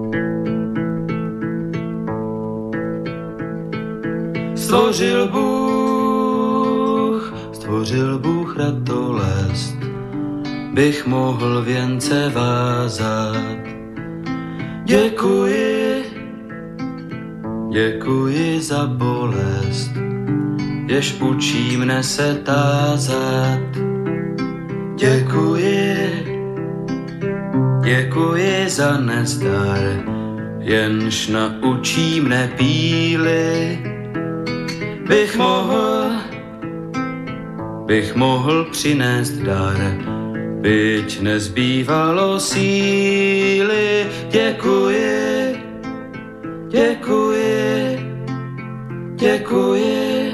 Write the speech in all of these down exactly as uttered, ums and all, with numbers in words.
Stvořil Bůh, stvořil Bůh ratolest, bych mohl věnce vázat. Děkuji, děkuji za bolest, jež učí mne se tázat. Děkuji, děkuji za nezdar, jenž naučí mne píly. Bych mohl, bych mohl přinést dar, byť nezbývalo síly. Děkuji, děkuji, děkuji,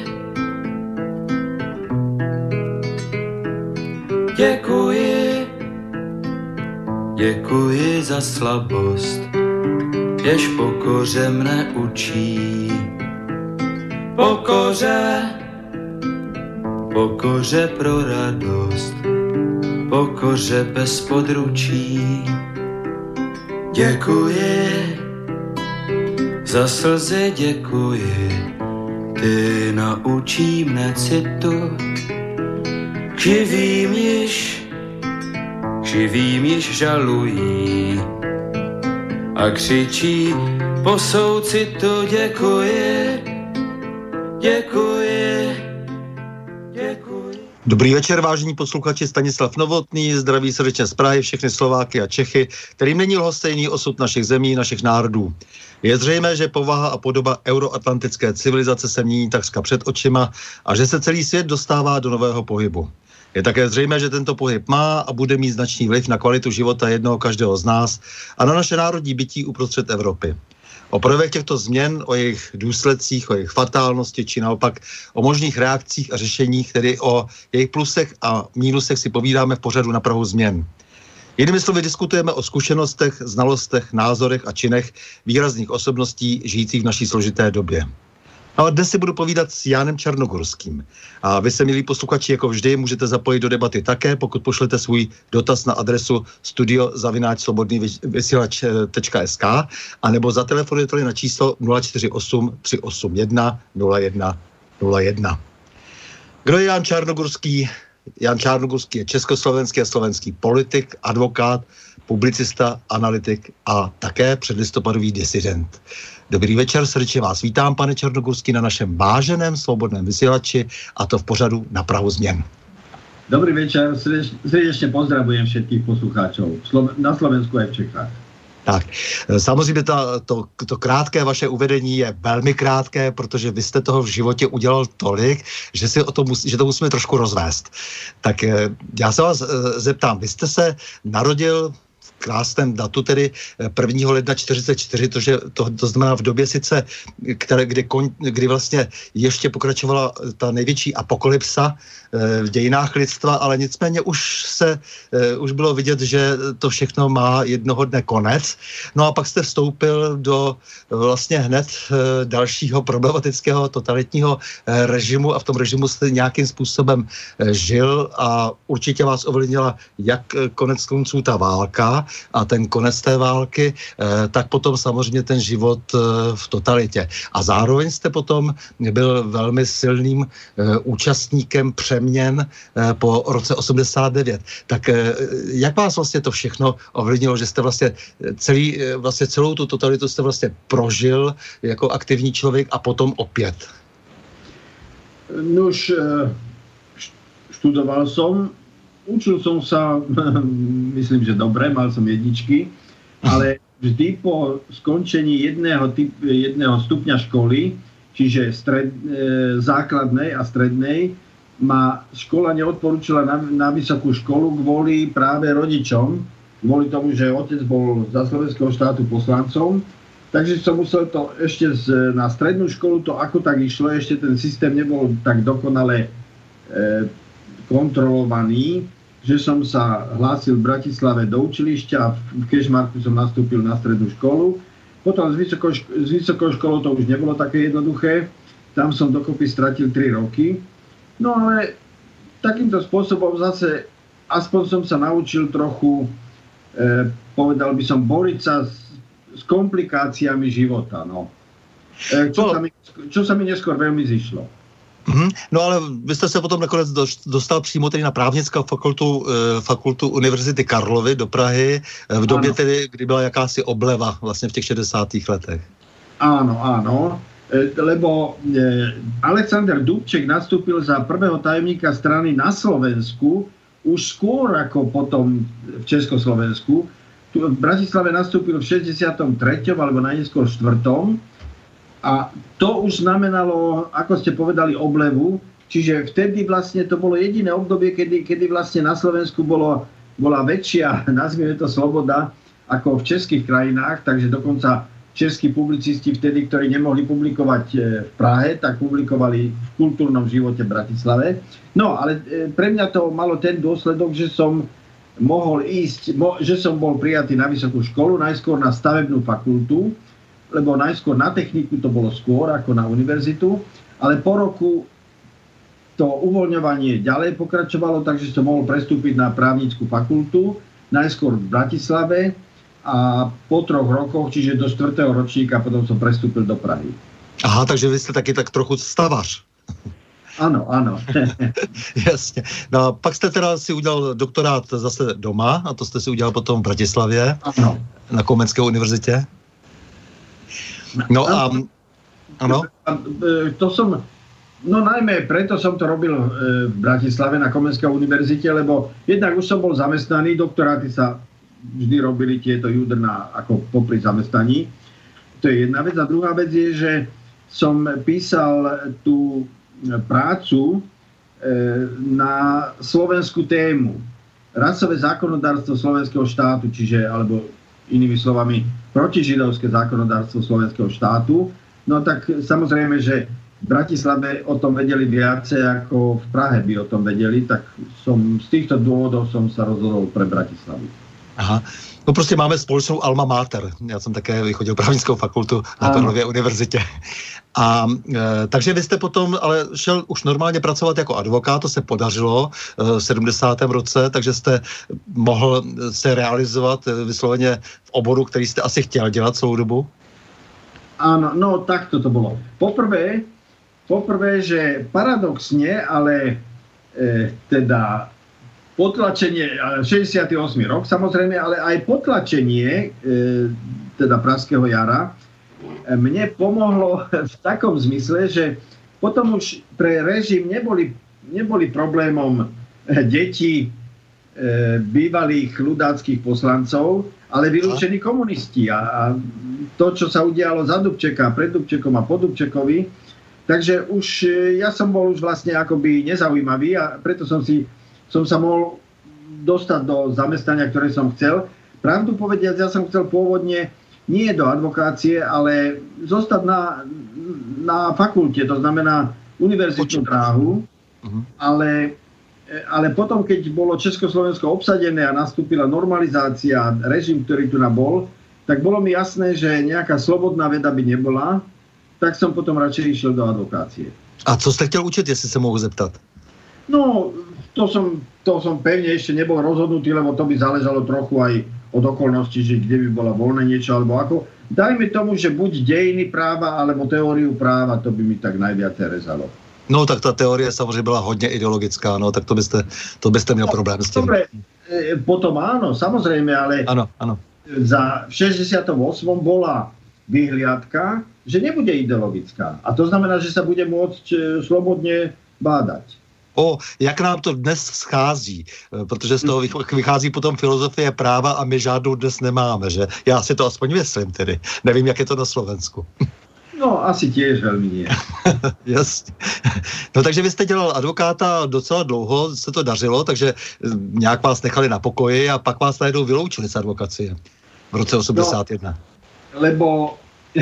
děkuji, děkuji za slabost, jež pokoře mne učí. Pokoře, pokoře pro radost, pokoře bez područí. Děkuji, za slzy děkuji, ty naučí mne citu. K živým již, k živým již žalují a křičí po soucitu. Děkuji, děkuji, děkuji. Dobrý večer, vážení posluchači, Stanislav Novotný, zdraví srdečně z Prahy, všechny Slováky a Čechy, kterým není lhostejný osud našich zemí, našich národů. Je zřejmé, že povaha a podoba euroatlantické civilizace se mění takřka před očima a že se celý svět dostává do nového pohybu. Je také zřejmé, že tento pohyb má a bude mít značný vliv na kvalitu života jednoho každého z nás a na naše národní bytí uprostřed Evropy. O projevech těchto změn, o jejich důsledcích, o jejich fatálnosti, či naopak o možných reakcích a řešeních, tedy o jejich plusech a mínusech si povídáme v pořadu Na prahu změn. Jinými slovy diskutujeme o zkušenostech, znalostech, názorech a činech výrazných osobností žijících v naší složité době. No a dnes si budu povídat s Jánem Čarnogorským. A vy se, milí posluchači, jako vždy můžete zapojit do debaty také, pokud pošlete svůj dotaz na adresu studio zavináč slobodný vysílač tečka es ká anebo zatelefonujete na číslo nula čtyři osm tři osm jedna nula jedna nula jedna. Kdo je Jan Čarnogorský? Jan Čarnogorský je československý a slovenský politik, advokát, publicista, analytik a také předlistopadový disident. Dobrý večer, srdečně vás vítám, pane Čarnogorský, na našem váženém svobodném vysílači, a to v pořadu Na prahu změn. Dobrý večer, srdečně pozdravujem všetkých poslucháčov na Slovensku a v Čechách. Tak, samozřejmě ta, to, to krátké vaše uvedení je velmi krátké, protože vy jste toho v životě udělal tolik, že, si o to, musí, že to musíme trošku rozvést. Tak já se vás zeptám, vy jste se narodil v krásném datu, tedy prvního ledna čtyřicet čtyři, to, že to, to znamená v době sice, které, kdy, kdy vlastně ještě pokračovala ta největší apokalypsa v dějinách lidstva, ale nicméně už se, už bylo vidět, že to všechno má jednoho dne konec. No a pak jste vstoupil do vlastně hned dalšího problematického totalitního režimu a v tom režimu jste nějakým způsobem žil a určitě vás ovlivnila jak konec konců ta válka a ten konec té války, tak potom samozřejmě ten život v totalitě. A zároveň jste potom byl velmi silným účastníkem přeměn po roce osmdesát devět. Tak jak vás vlastně to všechno ovlivnilo, že jste vlastně, celý, vlastně celou tu totalitu jste vlastně prožil jako aktivní člověk a potom opět? Nuž, študoval som, učil som sa, myslím, že dobre, mal som jedničky, ale vždy po skončení jedného, typ, jedného stupňa školy, čiže stred, e, základnej a strednej, ma škola neodporúčila na, na vysokú školu kvôli práve rodičom, kvôli tomu, že otec bol za slovenského štátu poslancom, takže som musel to ešte z, na strednú školu, to ako tak išlo, ešte ten systém nebol tak dokonale e, kontrolovaný, že som sa hlásil v Bratislave do učilišťa a v Kežmarku som nastúpil na strednú školu. Potom s vysokou, s vysokou školou to už nebolo také jednoduché. Tam som dokopy stratil tri roky. No ale takýmto spôsobom zase aspoň som sa naučil trochu, e, povedal by som, boriť sa s, s komplikáciami života, no. Čo, no. Sa, mi, čo sa mi neskôr veľmi zišlo. Mm-hmm. No ale vy jste se potom nakonec dostal přímo tedy na právnickou fakultu, fakultu Univerzity Karlovy do Prahy, v době ano. tedy, kdy byla jakási obleva vlastně v těch šedesátých letech. Áno, áno, lebo Alexander Dubček nastúpil za prvého tajomníka strany na Slovensku už skôr ako potom v Československu. Tu v Bratislave nastúpil v šesťdesiatom treťom alebo najneskôr štvrtom a to už znamenalo, ako ste povedali, oblevu, čiže vtedy vlastne to bolo jediné obdobie, kedy, kedy vlastne na Slovensku bolo, bola väčšia, nazvime to, sloboda ako v českých krajinách, takže dokonca českí publicisti vtedy, ktorí nemohli publikovať v Prahe, tak publikovali v kultúrnom živote v Bratislave. No, ale pre mňa to malo ten dôsledok, že som mohol ísť, že som bol prijatý na vysokú školu, najskôr na stavebnú fakultu, lebo najskôr na techniku to bolo skôr ako na univerzitu, ale po roku to uvoľňovanie ďalej pokračovalo, takže som mohol prestúpiť na právnickú fakultu, najskôr v Bratislave, a po troch rokoch, čiže do štvrtého ročníka, potom som prestúpil do Prahy. Aha, takže vy ste taky tak trochu stavař. Áno, áno. Jasně. No a pak jste teda si udělal doktorát zase doma, a to jste si udělal potom v Bratislavě, ano. Na Komenské univerzitě. No a... Ano? To som... No najmä preto som to robil v Bratislave na Komenskej univerzite, lebo jednak už som bol zamestnaný, doktoráty sa vždy robili tieto judrná ako popri zamestnaní. To je jedna vec. A druhá vec je, že som písal tú prácu na slovenskú tému. Rasové zákonodárstvo slovenského štátu, čiže, alebo inými slovami, protižidovské zákonodárstvo slovenského štátu. No tak samozrejme, že v Bratislave o tom vedeli viacej, ako v Prahe by o tom vedeli, tak som z týchto dôvodov som sa rozhodol pre Bratislavu. Aha. No prostě máme společnou alma mater. Já jsem také vychodil právnickou fakultu na Karlově univerzitě. A e, takže vy jste potom ale šel už normálně pracovat jako advokát, to se podařilo e, v sedmdesátém roce, takže jste mohl se realizovat e, vysloveně v oboru, který jste asi chtěl dělat celou dobu? Áno, no takto to bolo. Poprvé, poprvé, že paradoxne, ale e, teda potlačenie, šesťdesiaty ôsmy rok samozrejme, ale aj potlačenie e, teda Pražského jara e, mne pomohlo v takom zmysle, že potom už pre režim neboli, neboli problémom detí e, bývalých ľudáckých poslancov, ale vylúčení komunisti. A, a to, čo sa udialo za Dubčeka, pred Dubčekom a po Dubčekovi, takže už e, ja som bol už vlastne akoby nezaujímavý a preto som si som sa mohol dostať do zamestnania, ktoré som chcel. Pravdu povediac, ja som chcel pôvodne nie do advokácie, ale zostať na, na fakulte, to znamená univerzitnú dráhu, uh-huh. ale, ale potom, keď bolo Československo obsadené a nastúpila normalizácia, režim, ktorý tu nabol, tak bolo mi jasné, že nejaká slobodná veda by nebola, tak som potom radšej išiel do advokácie. A co ste chtěl učiť, jestli sa mohu zeptat? No, to som, to som pevne ešte nebol rozhodnutý, lebo to by záležalo trochu aj od okolností, že kde by bola voľné niečo, alebo ako. Dajme tomu, že buď dejiny práva, alebo teóriu práva, to by mi tak najviac rezalo. No, tak ta teorie samozřejmě byla hodně ideologická, no, tak to byste, to byste měl problém s tím. Dobre, potom áno, samozrejme, ale ano, ano. Za v šesťdesiatom ôsmom bola vyhliadka, že nebude ideologická. A to znamená, že sa bude môcť slobodne bádať. O, jak nám to dnes schází, protože z toho vychází potom filozofie práva a my žádnou dnes nemáme, že? Já si to aspoň myslím tedy. Nevím, jak je to na Slovensku. No, asi tiež veľmi nie. Jasně. No takže vy jste dělal advokáta docela dlouho, se to dařilo, takže nějak vás nechali na pokoji a pak vás najednou vyloučili z advokacie v roce osmdesát jedna. No, lebo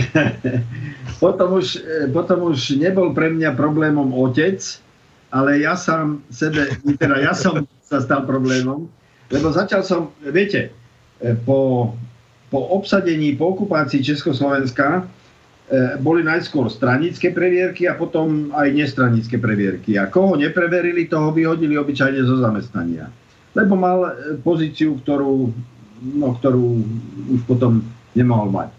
potom, už, potom už nebol pre mňa problémom otec, ale ja sám sebe, teda ja som sa stal problémom, lebo začal som, viete, po, po obsadení, po okupácii Československa boli najskôr stranické previerky a potom aj nestranické previerky. A koho nepreverili, toho vyhodili obyčajne zo zamestnania. Lebo mal pozíciu, ktorú, no, ktorú už potom nemohol mať.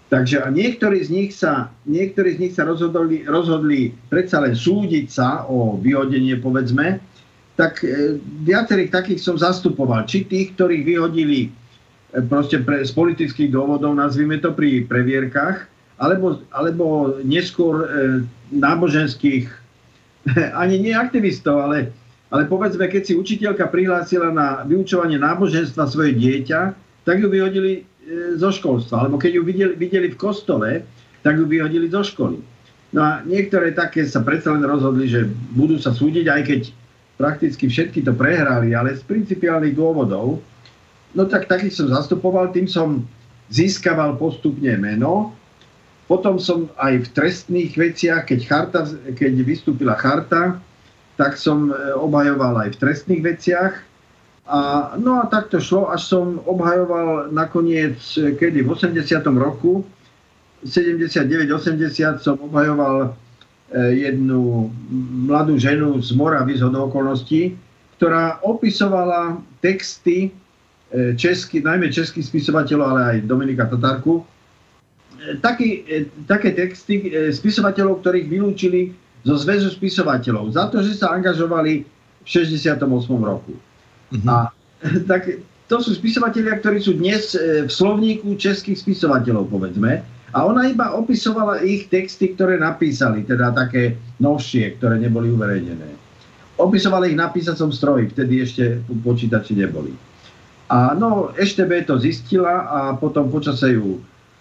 Takže a niektorí z nich sa, niektorí z nich sa rozhodli, rozhodli predsa len súdiť sa o vyhodenie, povedzme, tak e, viacerých takých som zastupoval. Či tých, ktorých vyhodili e, proste pre, z politických dôvodov, nazvime to pri previerkách, alebo, alebo neskôr e, náboženských, ani nie aktivistov, ale, ale povedzme, keď si učiteľka prihlásila na vyučovanie náboženstva svoje dieťa, tak ju vyhodili e, zo školstva. Alebo keď ju videli, videli v kostole, tak ju vyhodili zo školy. No a niektoré také sa predsa len rozhodli, že budú sa súdiť, aj keď prakticky všetky to prehrali, ale z principiálnych dôvodov. No tak takých som zastupoval, tým som získaval postupne meno. Potom som aj v trestných veciach, keď, charta, keď vystúpila charta, tak som obhajoval aj v trestných veciach. A, no a tak to šlo, až som obhajoval nakoniec, kedy v osemdesiatom roku, sedemdesiatdeväť osemdesiat som obhajoval jednu mladú ženu z Moravy zhodou okolností, ktorá opisovala texty česky, najmä českých spisovateľov, ale aj Dominika Tatárku. Taký, také texty spisovateľov, ktorých vylúčili zo zväzu spisovateľov za to, že sa angažovali v šesťdesiatom ôsmom roku. Mm-hmm. A tak to sú spisovatelia, ktorí sú dnes v slovníku českých spisovateľov, povedzme. A ona iba opisovala ich texty, ktoré napísali, teda také novšie, ktoré neboli uverejnené. Opisovala ich na písacom stroji, vtedy ešte počítači neboli. A no, es té bé to zistila a potom počase ju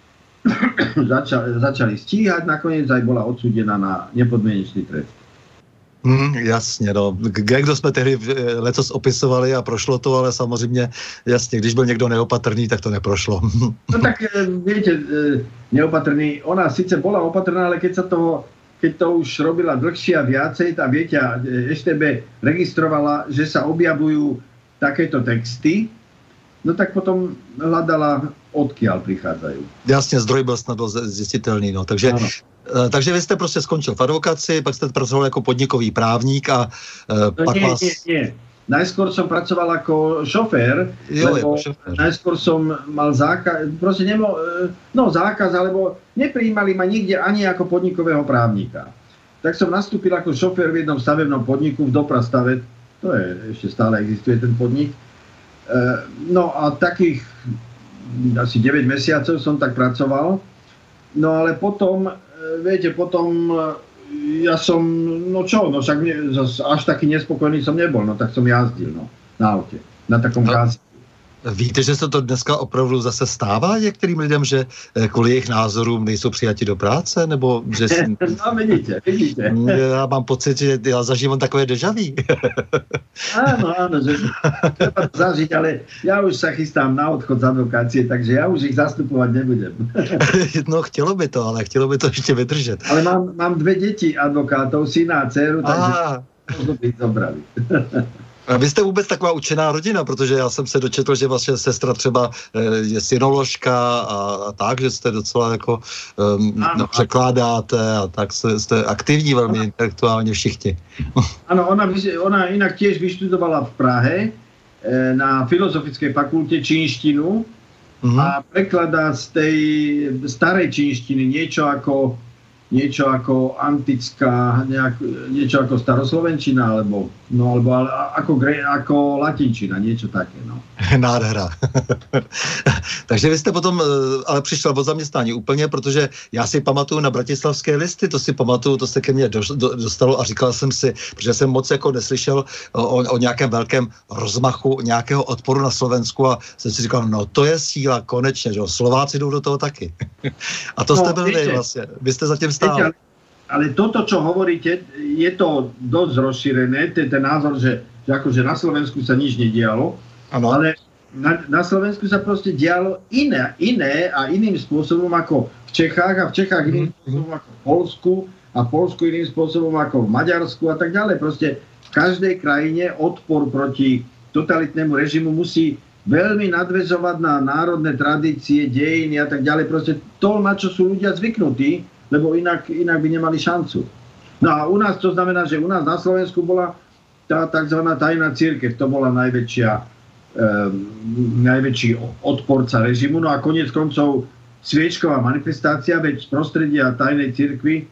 začali, začali stíhať, nakoniec aj bola odsúdená na nepodmienečný trest. Hmm, jasně, no. Kdo jsme tehdy letos opisovali a prošlo to, ale samozřejmě, jasně, když byl někdo neopatrný, tak to neprošlo. No tak viete, neopatrný, ona síce bola opatrná, ale keď sa toho, keď to už robila dlhšie a viacej, a viete, es té bé registrovala, že sa objavujú takéto texty, no tak potom hľadala, odkiaľ prichádzajú. Jasně, zdroj byl snadno zjistitelný, no, takže... Ano. Takže vy jste prostě skončil v advokaci, pak jste pracoval jako podnikový právník a no pak nie, vás... Nie, nie, Najskôr som pracoval ako šofér, jo, lebo šofér. najskôr som mal zákaz, proste nemo, no zákaz, alebo neprijímali ma nikde ani ako podnikového právnika. Tak som nastúpil ako šofér v jednom stavebnom podniku v Doprastave, to je, ešte stále existuje ten podnik. No a takých asi deväť mesiacov som tak pracoval. No ale potom viete, potom ja som, no čo, no však ne, až taký nespokojný som nebol, no tak som jazdil, no, na aute, na takom gázi. Víte, že se to dneska opravdu zase stává některým lidem, že kvůli jejich názorům nejsou přijati do práce, nebo že... Si... No vidíte, vidíte. Já mám pocit, že já zažívám takové dejaví. Áno, áno, že treba to zažiť, ale ja už sa chystám na odchod z advokácie, takže ja už ich zastupovať nebudem. No, chtělo by to, ale chtělo by to ještě vydržet. Ale mám, mám dve deti advokátov, syna a dceru, takže možno by ich zobrali. A vy jste vůbec taková učená rodina, protože já jsem se dočetl, že vaše sestra třeba je synoložka a, a tak, že jste docela jako um, no, překládáte a tak jste, jste aktivní velmi ona, intelektuálně všichni. Ano, ona, ona inak tiež vyštudovala v Prahe na Filozofickej fakulte čínštinu mm-hmm. a prekladá z tej starej čínštiny niečo ako niečo ako antická, nejak, niečo ako staroslovenčina, alebo, no, alebo ale, ako, ako latinčina, niečo také, no. Nádhera. Takže vy jste potom ale přišel od zaměstnání úplně, protože já si pamatuju na bratislavské listy, to si pamatuju, to se ke mně do, do, dostalo a říkal jsem si, protože jsem moc jako neslyšel o, o nějakém velkém rozmachu, nějakého odporu na Slovensku a jsem si říkal, no to je síla, konečně, že jo, Slováci jdou do toho taky. A to no, jste byli vlastně, vy jste zatím stál. Ale, ale toto, čo hovoríte, je to dosť rozšírené, ten, ten názor, že, že akože na Slovensku sa nič nedialo, ano. Ale na, na Slovensku sa proste dialo iné, iné a iným spôsobom ako v Čechách a v Čechách iným mm-hmm. spôsobom ako v Poľsku a v Poľsku iným spôsobom ako v Maďarsku a tak ďalej. Proste v každej krajine odpor proti totalitnému režimu musí veľmi nadväzovať na národné tradície, dejiny a tak ďalej. Proste to, na čo sú ľudia zvyknutí, lebo inak, inak by nemali šancu. No a u nás to znamená, že u nás na Slovensku bola tá tzv. Tajná cirkev, to bola najväčšia, um, najväčší odporca režimu. No a koniec koncov sviečková manifestácia, veď z prostredia tajnej cirkvi e,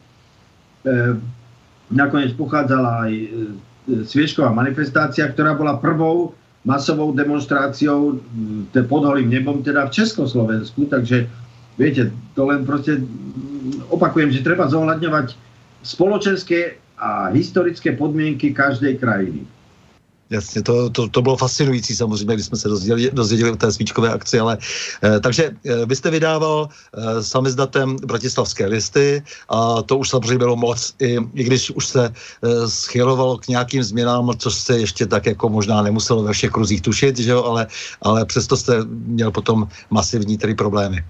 nakoniec pochádzala aj e, sviečková manifestácia, ktorá bola prvou masovou demonstráciou e, pod holým nebom, teda v Československu, takže viete, to len proste opakujem, že treba zohľadňovať spoločenské a historické podmienky každej krajiny. Jasně, to, to, to bylo fascinující samozřejmě, když jsme se dozvěděli, dozvěděli o té svíčkové akci, ale eh, takže eh, vy jste vydával eh, samizdatem Bratislavské listy a to už samozřejmě bylo moc, i, i když už se eh, schylovalo k nějakým změnám, což se ještě tak jako možná nemuselo ve všech kruzích tušit, že jo, ale, ale přesto jste měl potom masivní tedy problémy.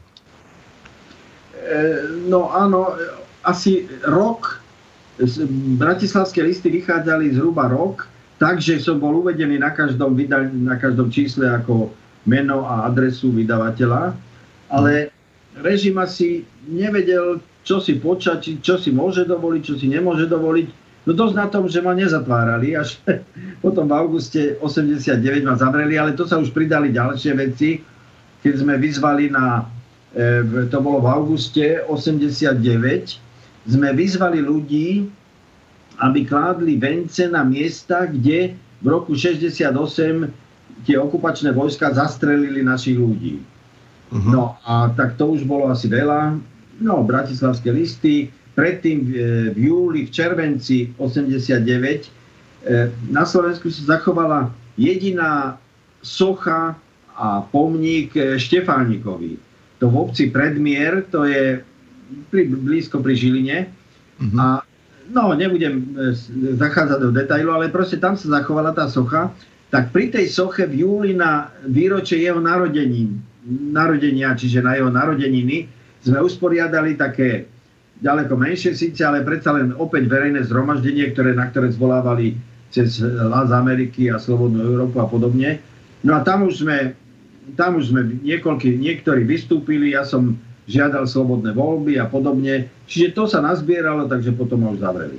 Eh, no áno, asi rok, Bratislavské listy vychádzali zhruba rok, takže som bol uvedený na každom, vyda- na každom čísle ako meno a adresu vydavateľa, ale režim asi nevedel, čo si počať, čo si môže dovoliť, čo si nemôže dovoliť. No dosť na tom, že ma nezatvárali, až potom v auguste osemdesiatdeväť ma zavreli, ale to sa už pridali ďalšie veci, keď sme vyzvali na, to bolo v auguste osemdesiatdeväť, sme vyzvali ľudí, aby kládli vence na miesta, kde v roku šesťdesiatosem tie okupačné vojska zastrelili našich ľudí. Uh-huh. No a tak to už bolo asi veľa. No, Bratislavské listy. Predtým v júli, v červenci osemdesiatdeväť na Slovensku sa zachovala jediná socha a pomník Štefánikovi. To v obci Predmier, to je pri, blízko pri Žiline. Uh-huh. A no, nebudem zachádzať do detailu, ale proste tam sa zachovala tá socha. Tak pri tej soche v júli na výročie jeho narodení, narodenia, čiže na jeho narodeniny, sme usporiadali také ďaleko menšie síce, ale predsa len opäť verejné zhromaždenie, ktoré, na ktoré zvolávali cez Hlas Ameriky a Slobodnú Európu a podobne. No a tam už sme, tam už sme niekoľký, niektorí vystúpili, ja som žiadal slobodné voľby a podobne. Čiže to sa nazbieralo, takže potom už zavreli.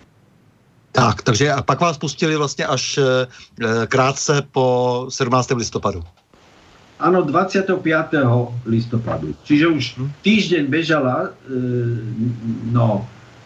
Tak, takže a pak vás pustili vlastně až e, krátce po sedmnáctého listopadu. Áno, dvadsiateho piateho listopadu. Čiže už týždeň bežala e, no,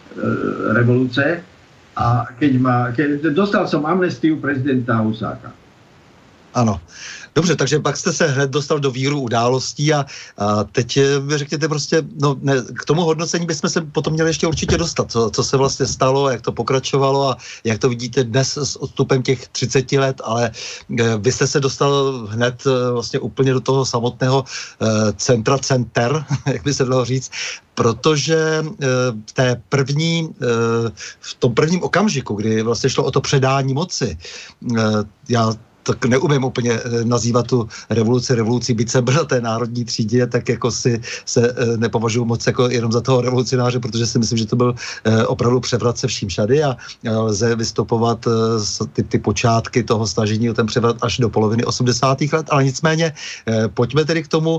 e, revolúcie a keď ma, keď, dostal som amnestiu prezidenta Husáka. Ano. Dobře, takže pak jste se hned dostal do víru událostí a, a teď mi řekněte prostě, no ne, k tomu hodnocení bychom se potom měli ještě určitě dostat, co, co se vlastně stalo, jak to pokračovalo a jak to vidíte dnes s odstupem těch třiceti let, ale e, vy jste se dostal hned e, vlastně úplně do toho samotného e, centra center, jak by se dalo říct, protože e, v té první, e, v tom prvním okamžiku, kdy vlastně šlo o to předání moci, e, já tak neumím úplně nazývat tu revoluci revolucí, byť jsem byl na té národní třídě, tak jako si se nepovažuji moc jako jenom za toho revolucionáře, protože si myslím, že to byl opravdu převrat se vším všady a lze vystupovat ty, ty počátky toho snažení o ten převrat až do poloviny osmdesátých let, ale nicméně pojďme tedy k tomu,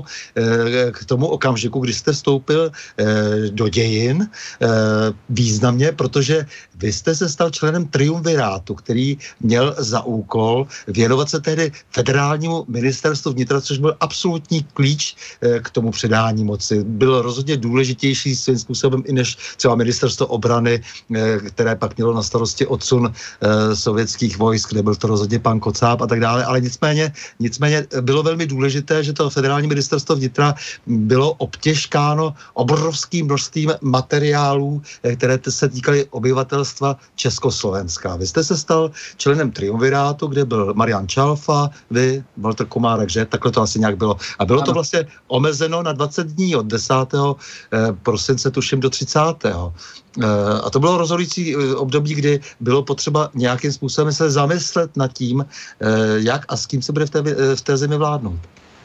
k tomu okamžiku, kdy jste vstoupil do dějin významně, protože vy jste se stal členem triumvirátu, který měl za úkol věnovat se tehdy federálnímu ministerstvu vnitra, což byl absolutní klíč k tomu předání moci. Bylo rozhodně důležitější svým způsobem i než třeba ministerstvo obrany, které pak mělo na starosti odsun sovětských vojsk, kde byl to rozhodně pan Kocáb a tak dále, ale nicméně, nicméně bylo velmi důležité, že to federální ministerstvo vnitra bylo obtěžkáno obrovským množstvím materiálů, které se týkaly obyvatelstva Československa. Vy jste se stal členem triumvirátu, kde byl Marian Čalfa, vy, Walter Komárek, že? Takhle to asi nějak bylo. A bylo to vlastně omezeno na dvacet dní od desátého prosince tuším do třicátého A to bylo rozhodující období, kdy bylo potřeba nějakým způsobem se zamyslet nad tím, jak a s kým se bude v té, v té zemi vládnout.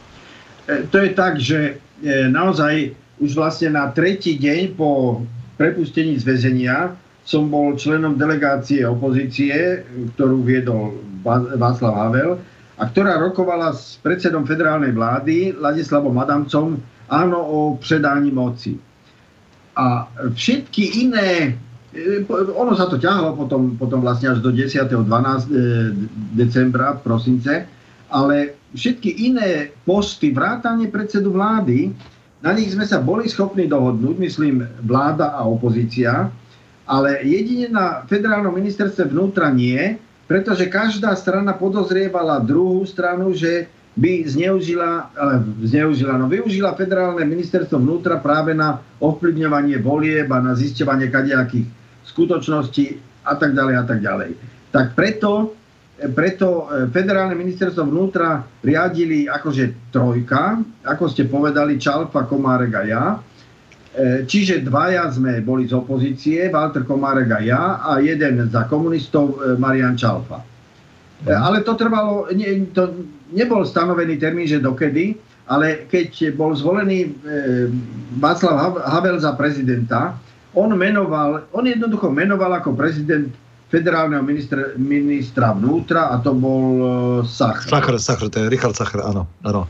To je tak, že naozaj už vlastne na tretí deň po prepustení z väzenia som bol členom delegácie opozície, ktorú viedol Václav Havel a ktorá rokovala s predsedom federálnej vlády Ladislavom Adamcom áno o předání moci. A všetky iné, ono sa to ťahlo potom, potom vlastne až do desiateho decembra, prosince, ale všetky iné posty, vrátane predsedu vlády, na nich sme sa boli schopní dohodnúť, myslím, vláda a opozícia, ale jedine na federálnom ministerstve vnútra nie, pretože každá strana podozrievala druhú stranu, že by zneužila, zneužila, no využila federálne ministerstvo vnútra práve na ovplyvňovanie volieb a na zisťovanie kadejakých skutočností a tak ďalej a tak ďalej. Tak preto, preto federálne ministerstvo vnútra riadili akože trojka, ako ste povedali, Čalfa, Komárek a ja. Čiže dvaja sme boli z opozície, Walter Komárek a ja, a jeden za komunistov, Marian Čalfa. Ale to trvalo, nie, to nebol stanovený termín, že dokedy, ale keď bol zvolený Václav Havel za prezidenta, on menoval, on jednoducho menoval ako prezident federálneho ministra, ministra vnútra a to bol Sachr. Sachr, Sachr, to je Richard Sachr, ano, ano.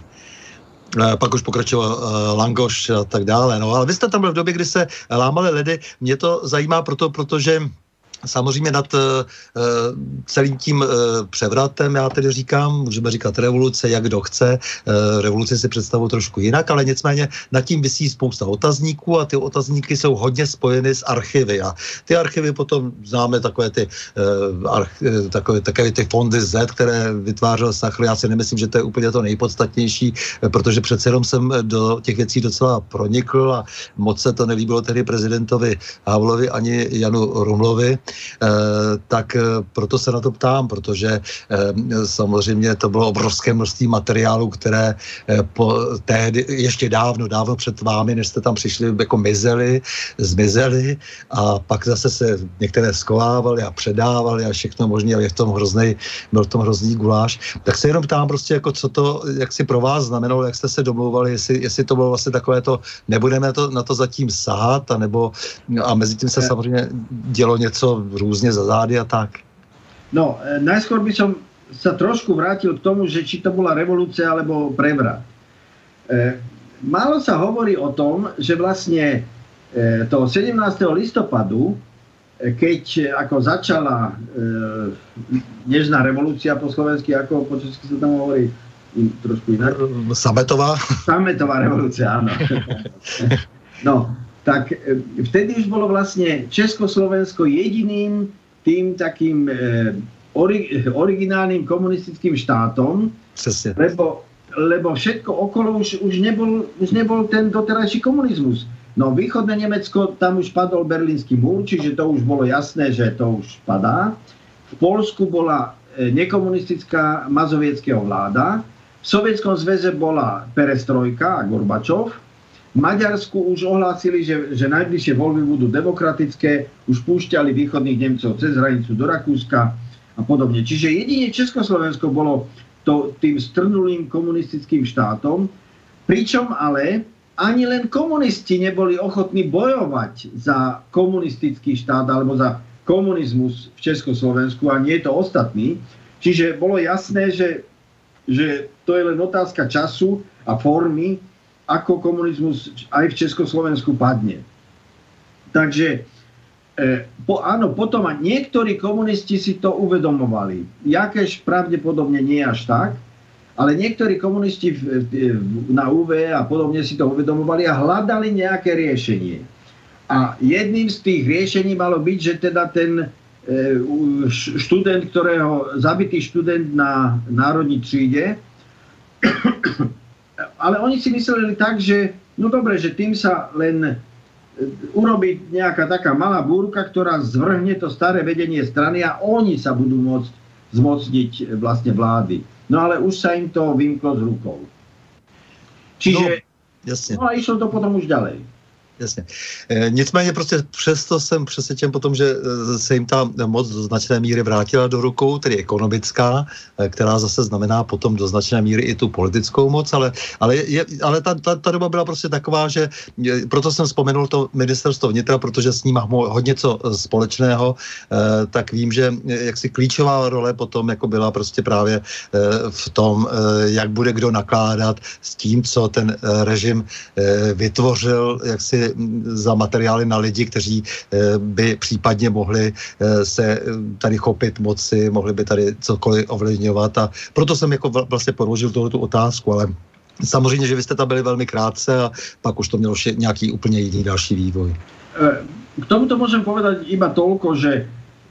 Pak už pokračoval Langoš a tak dále. No, ale vy jste tam byl v době, kdy se lámaly ledy. Mě to zajímá proto, protože samozřejmě nad uh, celým tím uh, převratem, já tedy říkám, můžeme říkat revoluce, jak kdo chce, uh, revoluci si představuji trošku jinak, ale nicméně nad tím visí spousta otazníků a ty otazníky jsou hodně spojeny s archivy a ty archivy potom známe takové ty, uh, arch, takové, takové ty fondy Z, které vytvářel Sachr. Já si nemyslím, že to je úplně to nejpodstatnější, protože přece jenom jsem do těch věcí docela pronikl a moc se to nelíbilo tedy prezidentovi Havlovi ani Janu Rumlovi. Eh, tak eh, proto se na to ptám, protože eh, samozřejmě to bylo obrovské množství materiálu, které eh, po tehdy, ještě dávno, dávno před vámi, než jste tam přišli, jako mizeli, zmizeli a pak zase se některé skovávali a předávali a všechno možné, ale je v tom hrozný, byl v tom hrozný guláš. Tak se jenom ptám prostě, jako co to, jak si pro vás znamenalo, jak jste se domlouvali, jestli, jestli to bylo vlastně takové to, nebudeme to, na to zatím sahat, anebo, a mezi tím se samozřejmě dělo něco různě za zády a tak. No, najskôr by som sa trošku vrátil k tomu, že či to bola revolúcia alebo prevrat. E, málo sa hovorí o tom, že vlastne e, toho sedemnásteho listopadu, e, keď ako začala e, nežná revolúcia po slovensky, ako po česky sa tam hovorí in, trošku inak. Sametová. Sametová revolúcia, áno. No, tak vtedy už bolo vlastne Československo jediným tým takým e, ori, originálnym komunistickým štátom, lebo, lebo všetko okolo už, už, nebol, už nebol ten doterajší komunizmus. No východné Nemecko, tam už padol Berlínsky múr, čiže to už bolo jasné, že to už padá. V Poľsku bola e, nekomunistická mazovieckého vláda, v Sovietskom zväze bola perestrojka a Gorbačov, v Maďarsku už ohlásili, že, že najbližšie voľby budú demokratické, už púšťali východných Nemcov cez hranicu do Rakúska a podobne. Čiže jedine Československo bolo to, tým strnulým komunistickým štátom, pričom ale ani len komunisti neboli ochotní bojovať za komunistický štát alebo za komunizmus v Československu a nie je to ostatní. Čiže bolo jasné, že, že to je len otázka času a formy, ako komunizmus aj v Československu padne. Takže e, po, áno, potom niektorí komunisti si to uvedomovali. Jakéž pravdepodobne nie až tak, ale niektorí komunisti v, v, na ú vé a podobne si to uvedomovali a hľadali nejaké riešenie. A jedným z tých riešení malo byť, že teda ten e, študent, ktorého, zabitý študent na národní tříde, ale oni si mysleli tak, že no dobre, že tým sa len urobí nejaká taká malá búrka, ktorá zvrhne to staré vedenie strany a oni sa budú môcť zmocniť vlastne vlády. No ale už sa im to vymklo z rukou. Čiže no, jasne. No a išlo to potom už ďalej. Jasně. E, nicméně prostě přesto jsem přesvědčen potom, že se jim ta moc do značné míry vrátila do rukou, tedy ekonomická, e, která zase znamená potom do značné míry i tu politickou moc, ale, ale, je, ale ta, ta, ta doba byla prostě taková, že je, proto jsem vzpomenul to ministerstvo vnitra, protože s ním mám hodně co společného, e, tak vím, že jaksi klíčová role potom jako byla prostě právě e, v tom, e, jak bude kdo nakládat s tím, co ten e, režim e, vytvořil, jak si za materiály na lidi, kteří by případně mohli se tady chopit moci, mohli by tady cokoliv ovlivňovat a proto jsem jako vlastně položil tuhletu otázku, ale Samozřejmě, že vy jste tam byli velmi krátce a pak už to mělo nějaký úplně jiný další vývoj. K tomuto môžem povedať iba toľko, že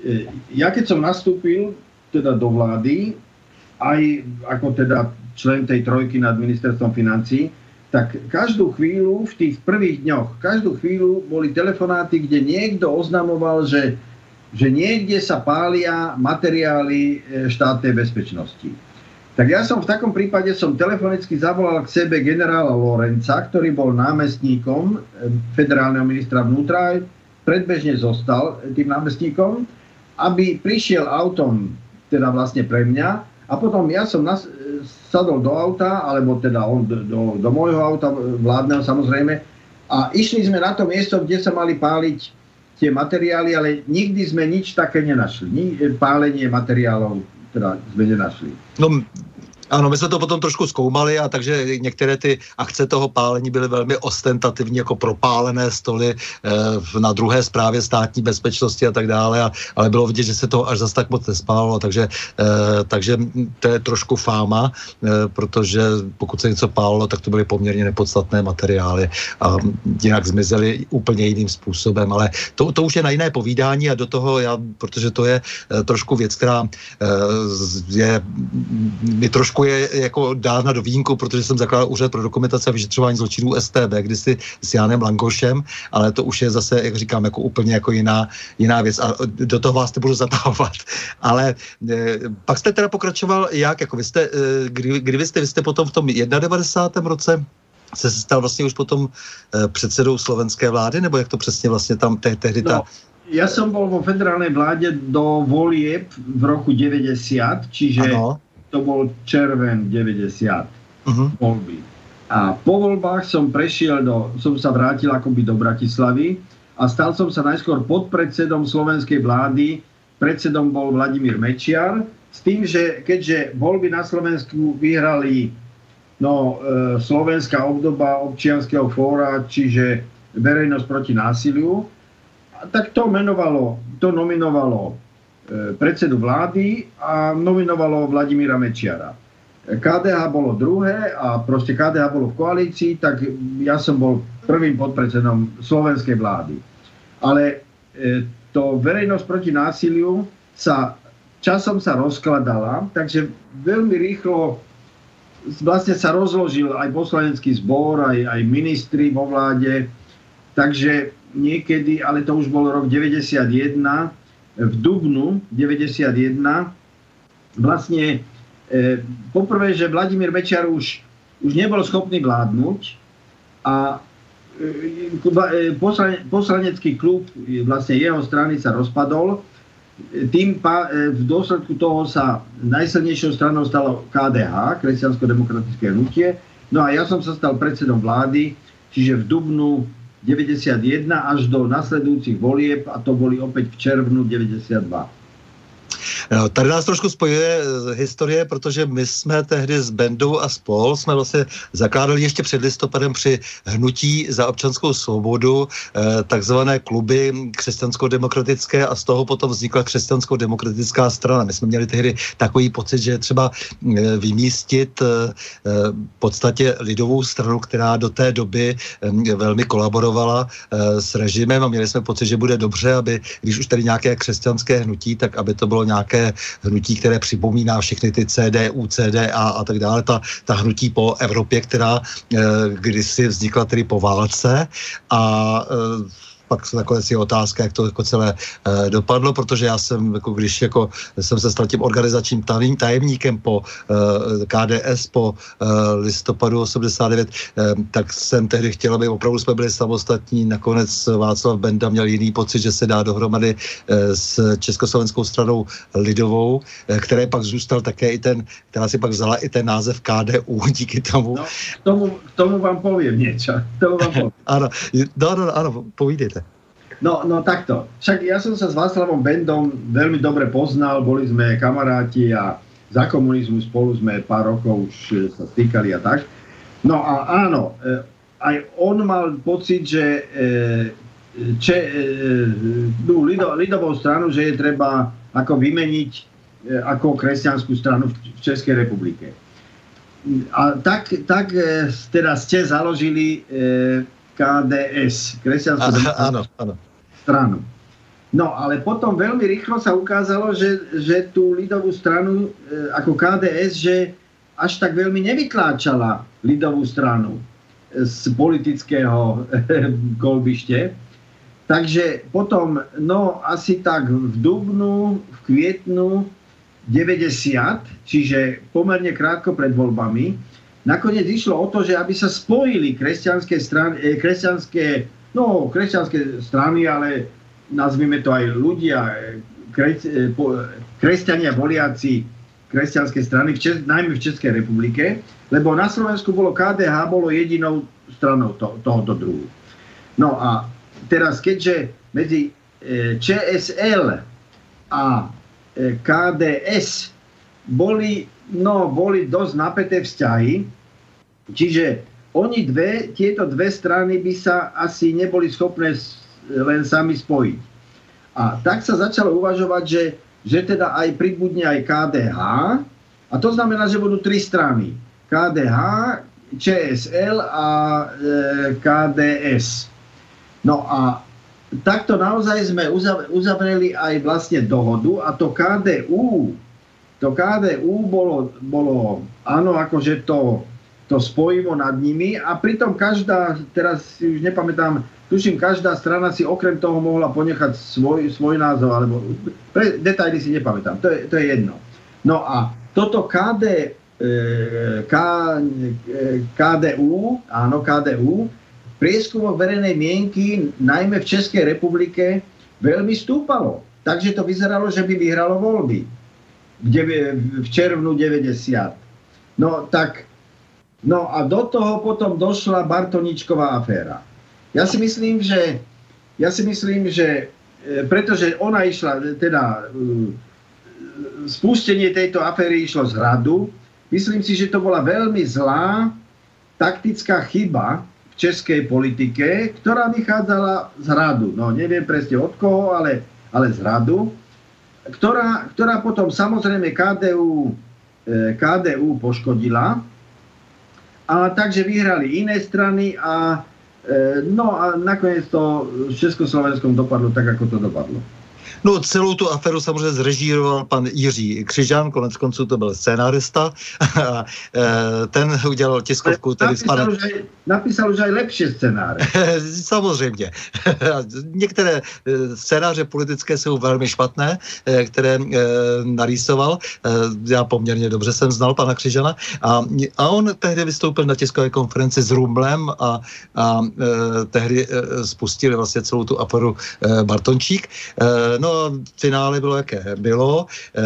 ja keď som nastúpil teda do vlády, aj ako teda člen tej trojky nad ministerstvom financií, tak každú chvíľu v tých prvých dňoch, každú chvíľu boli telefonáty, kde niekto oznamoval, že, že niekde sa pália materiály štátnej bezpečnosti. Tak ja som v takom prípade som telefonicky zavolal k sebe generála Lorenca, ktorý bol námestníkom federálneho ministra vnútra, predbežne zostal tým námestníkom, aby prišiel autom, teda vlastne pre mňa, a potom ja som nas, sadol do auta, alebo teda on do, do, do môjho auta, vládneho samozrejme, a išli sme na to miesto, kde sa mali páliť tie materiály, ale nikdy sme nič také nenašli. Ni, pálenie materiálov teda sme nenašli. No, ano, my jsme to potom trošku zkoumali a takže některé ty akce toho pálení byly velmi ostentativní, jako propálené stoly e, na druhé správě státní bezpečnosti a tak dále, a, ale bylo vidět, že se toho až zas tak moc nespálilo, takže, e, takže to je trošku fáma, e, protože pokud se něco pálilo, tak to byly poměrně nepodstatné materiály a jinak zmizely úplně jiným způsobem, ale to, to už je na jiné povídání a do toho já, protože to je e, trošku věc, která e, je mi trošku je jako dána do vínku, protože jsem zakládal úřad pro dokumentaci a vyšetřování zločinů S T B, kdysi s Jánem Langošem, ale to už je zase, jak říkám, jako úplně jako jiná, jiná věc a do toho vás nebudu zatahovat. Ale e, pak jste teda pokračoval jak? Jako vy jste, e, kdy, kdy vy jste, vy jste potom v tom devadesátém prvním roce se stal vlastně už potom e, předsedou slovenské vlády, nebo jak to přesně vlastně tam te, tehdy ta... No. Ja som bol vo federálnej vláde do volieb v roku deväťdesiat, čiže ano. To bol červen deväťdesiat uh-huh. voľby. A po voľbách som prešiel do, som sa vrátil akoby do Bratislavy a stal som sa najskôr podpredsedom slovenskej vlády. Predsedom bol Vladimír Mečiar, s tým, že keďže voľby na Slovensku vyhrali no, e, slovenská obdoba občianskeho fóra, čiže verejnosť proti násiliu, tak to menovalo, to nominovalo e, predsedu vlády a nominovalo Vladimíra Mečiara. ká dé há bolo druhé a proste ká dé há bolo v koalícii, tak ja som bol prvým podpredsedom slovenskej vlády. Ale e, to verejnosť proti násiliu sa časom sa rozkladala, takže veľmi rýchlo vlastne sa rozložil aj poslanecký zbor, aj, aj ministri vo vláde, takže niekedy, ale to už bol rok deväťdesiatjeden, v dubnu deväťdesiatjeden, vlastne e, poprvé, že Vladimír Mečiar už, už nebol schopný vládnuť a e, poslane, poslanecký klub vlastne jeho strany sa rozpadol. Tým pa, e, v dôsledku toho sa najsilnejšou stranou stalo ká dé há, Kresťansko-demokratické hnutie. No a ja som sa stal predsedom vlády, čiže v dubnu deväťdesiatjeden až do nasledujúcich volieb a to boli opäť v červnu deväťdesiatdva. No, tady nás trošku spojuje historie, protože my jsme tehdy s Bendou a spol jsme vlastně zakládali ještě před listopadem při hnutí za občanskou svobodu eh, takzvané kluby křesťansko-demokratické a z toho potom vznikla křesťansko-demokratická strana. My jsme měli tehdy takový pocit, že je třeba eh, vymístit eh, v podstatě lidovou stranu, která do té doby eh, velmi kolaborovala eh, s režimem a měli jsme pocit, že bude dobře, aby když už tady nějaké křesťanské hnutí, tak aby to bylo nějaké hnutí, které připomíná všechny ty C D U, C D A a tak dále, ta, ta hnutí po Evropě, která e, kdysi vznikla tedy po válce a e, pak nakonec je otázka, jak to jako celé e, dopadlo, protože já jsem, jako když jako, jsem se stal tím organizačním tajemníkem po e, K D S po e, listopadu osmdesát devět, e, tak jsem tehdy chtěl, aby opravdu jsme byli samostatní. Nakonec Václav Benda měl jiný pocit, že se dá dohromady e, s Československou stranou lidovou, e, které pak zůstal také i ten, která si pak vzala i ten název K D U díky tomu. No, k tomu, k tomu vám poviem niečo. Tomu vám poviem. Áno, no, no, áno, povídejte. No, no takto. Však ja som sa s Václavom Bendom veľmi dobre poznal, boli sme kamaráti a za komunizmu spolu sme pár rokov už sa stýkali a tak. No a áno, aj on mal pocit, že če, tú lido, lidovou stranu, že je treba ako vymeniť ako kresťanskú stranu v Českej republike. a tak, tak teda ste založili ká dé es, kresťanskú stranu. No, ale potom veľmi rýchlo sa ukázalo, že, že tú ľudovú stranu ako ká dé es, že až tak veľmi nevytláčala ľudovú stranu z politického kolbište. Takže potom, no asi tak v dubnu, v kvietnu deväťdesiat, čiže pomerne krátko pred voľbami, nakoniec išlo o to, že aby sa spojili kresťanské strany, kresťanské, no kresťanské strany, ale nazvime to aj ľudia, kres, kresťania voliaci kresťanské strany, v Čes, najmä v Českej republike, lebo na Slovensku bolo ká dé há, bolo jedinou stranou to, tohoto druhu. No a teraz, keďže medzi čé es el a ká dé es boli, no, boli dosť napäté vzťahy, čiže oni dve, tieto dve strany by sa asi neboli schopné len sami spojiť. A tak sa začalo uvažovať, že, že teda aj pribudne aj ká dé há, a to znamená, že budú tri strany. ká dé há, čé es el a e, ká dé es. No a takto naozaj sme uzavreli aj vlastne dohodu a to ká dé ú, to ká dé ú bolo, bolo áno, akože to, to spojivo nad nimi a pritom každá, teraz si už nepamätám, tuším, každá strana si okrem toho mohla ponechať svoj, svoj názov, alebo pre, detaily si nepamätám, to je, to je jedno. No a toto ká dé, ká, ká dé ú, áno, ká dé ú, prieskumok verejnej mienky, najmä v Českej republike, veľmi stúpalo. Takže to vyzeralo, že by vyhralo voľby v červnu deväťdesiat. No tak, no a do toho potom došla Bartoničková aféra. Ja si myslím, že, ja si myslím, že pretože ona išla, teda spustenie tejto aféry išlo z hradu, myslím si, že to bola veľmi zlá taktická chyba v českej politike, ktorá vychádzala z hradu. No neviem presne od koho, ale, ale z hradu, ktorá, ktorá potom samozrejme ká dé ú, ká dé ú poškodila. A takže vyhrali iné strany a no a nakoniec to v Československom dopadlo tak, ako to dopadlo. No celou tu aferu samozřejmě zrežíroval pan Jiří Křižan, konec konců to byl scénárista. Ten udělal tiskovku. Tedy napísal, pane... už aj, napísal už aj lepší scénáře. Samozřejmě. Některé scénáře politické jsou velmi špatné, které narýsoval. Já poměrně dobře jsem znal pana Křižana. A, a on tehdy vystoupil na tiskové konferenci s Rumlem a, a tehdy spustili vlastně celou tu aferu Bartončík. No a finále bylo, jaké bylo.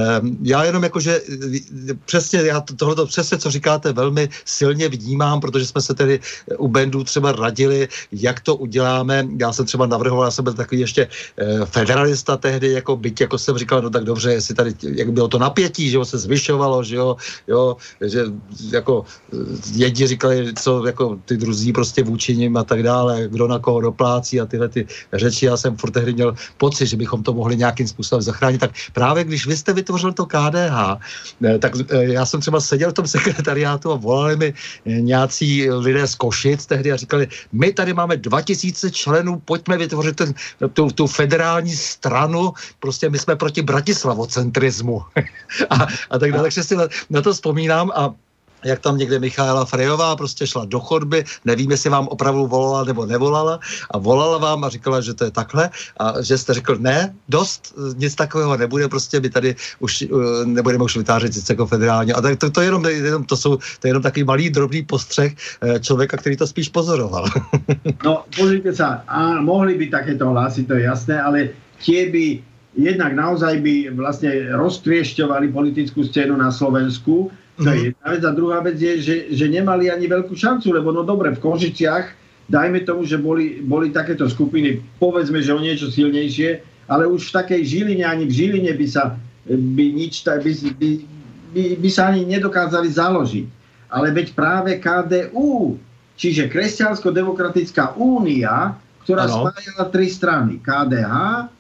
Já jenom jakože přesně, já tohleto přesně, co říkáte, velmi silně vnímám, protože jsme se tedy u bandů třeba radili, jak to uděláme. Já jsem třeba navrhoval, já jsem byl takový ještě federalista tehdy, jako byť, jako jsem říkal, no tak dobře, jestli tady, jak bylo to napětí, že jo, se zvyšovalo, že jo, jo, že jako jedni říkali, co jako ty druzí prostě vůči nim a tak dále, kdo na koho doplácí a tyhle ty řeči. Já jsem furt tehdy měl pocit, že bychom to mohli nějakým způsobem zachránit. Tak právě když vy jste vytvořil to ká dé há, tak já jsem třeba seděl v tom sekretariátu a volali mi nějací lidé z Košic tehdy a říkali, my tady máme dva tisíce členů, pojďme vytvořit ten, tu, tu federální stranu, prostě my jsme proti bratislavocentrismu. a, a tak dále, takže si na, na to vzpomínám a jak tam někde Michaela Frejová prostě šla do chodby, nevím, jestli vám opravdu volala nebo nevolala a volala vám a říkala, že to je takhle a že jste řekl, ne, dost, nic takového nebude, prostě my tady už uh, nebudeme už vytvářet nic jako federálně. A tak to, to, jenom, jenom, to jsou to je jenom takový malý, drobný postřeh uh, člověka, který to spíš pozoroval. No, pozrite sa, a mohli by takéto hlasy, to je jasné, ale tie by jednak naozaj by vlastne roztriešťovali politickú scénu na Slovensku. To je jedna vec. A druhá vec je, že, že nemali ani veľkú šancu, lebo no dobre, v Košiciach, dajme tomu, že boli, boli takéto skupiny, povedzme, že o niečo silnejšie, ale už v takej Žiline, ani v Žiline by sa, by nič, by, by, by, by sa ani nedokázali založiť. Ale veď práve ká dé ú, čiže Kresťansko-demokratická únia, ktorá ano. Spájala tri strany, ká dé há,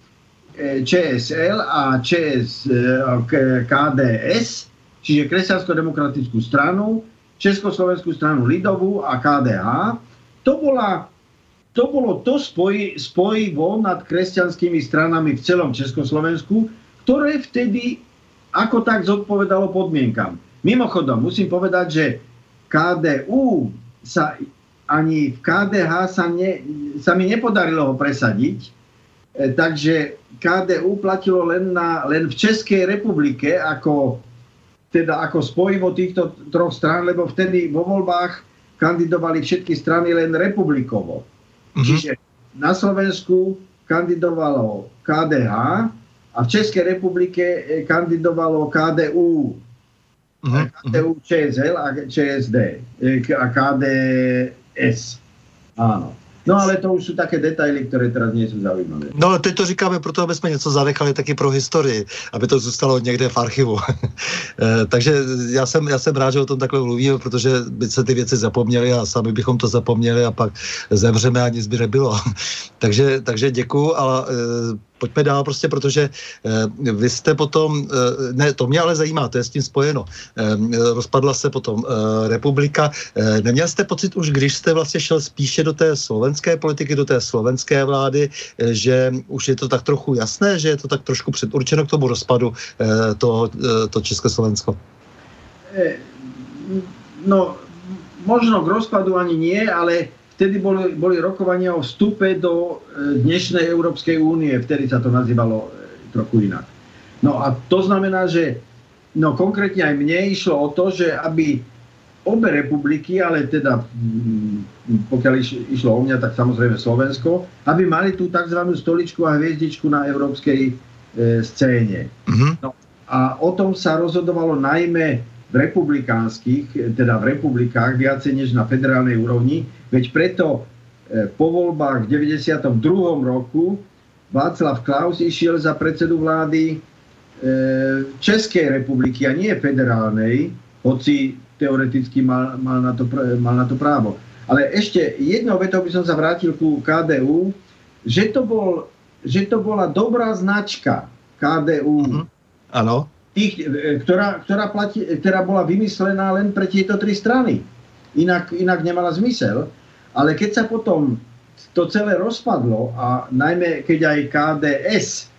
čé es el a ČS, ká dé es, čiže Kresťansko-demokratickú stranu, Československú stranu ľudovú a ká dé há. To, bola, to bolo to spoj, spojivo nad kresťanskými stranami v celom Československu, ktoré vtedy ako tak zodpovedalo podmienkam. Mimochodom, musím povedať, že ká dé ú sa ani v ká dé há sa, ne, sa mi nepodarilo ho presadiť, e, takže ká dé ú platilo len, na, len v Českej republike ako, teda ako spojivo týchto troch strán, lebo vtedy vo voľbách kandidovali všetky strany len republikovo. Mm-hmm. Čiže na Slovensku kandidovalo ká dé há a v Českej republike kandidovalo ká dé ú. Uh-huh. ká dé ú, Čé es el a Čé es dé a ká dé es. Áno. No ale to už sú také detaily, ktoré teraz nie sú zaujímavé. No ale teď to říkáme proto, aby jsme něco zanechali taky pro historii, aby to zůstalo někde v archivu. e, takže já jsem, já jsem rád, že o tom takhle mluvíme, protože by se ty věci zapomněly a sami bychom to zapomněli a pak zemřeme a nic by nebylo. takže, takže děkuju, ale e, pojďme dál prostě, protože e, vy jste potom, e, ne, to mě ale zajímá, to je s tím spojeno. E, rozpadla se potom e, republika. E, neměl jste pocit už, když jste vlastně šel spíše do té slovenské politiky, do té slovenské vlády, e, že už je to tak trochu jasné, že je to tak trošku předurčeno k tomu rozpadu e, to, e, to Československo? E, no, možno k rozpadu ani nie, ale vtedy boli, boli rokovania o vstupe do dnešnej Európskej únie, vtedy sa to nazývalo trochu inak. No a to znamená, že no konkrétne aj mne išlo o to, že aby obe republiky, ale teda pokiaľ išlo o mňa, tak samozrejme Slovensko, aby mali tú tzv. Stoličku a hviezdičku na európskej e, scéne. Mm-hmm. No a o tom sa rozhodovalo najmä v republikánskych, teda v republikách, viacej než na federálnej úrovni. Veď preto e, po voľbách v deväťdesiatom druhom roku Václav Klaus išiel za predsedu vlády e, Českej republiky a nie federálnej, hoci teoreticky mal, mal, na to, mal na to právo. Ale ešte jednou vetou by som sa vrátil ku ká dé ú, že to, bol, že to bola dobrá značka ká dé ú. Áno. Mm-hmm. Tých, ktorá, ktorá, platí, ktorá bola vymyslená len pre tieto tri strany. Inak, inak nemala zmysel. Ale keď sa potom to celé rozpadlo a najmä keď aj ká dé es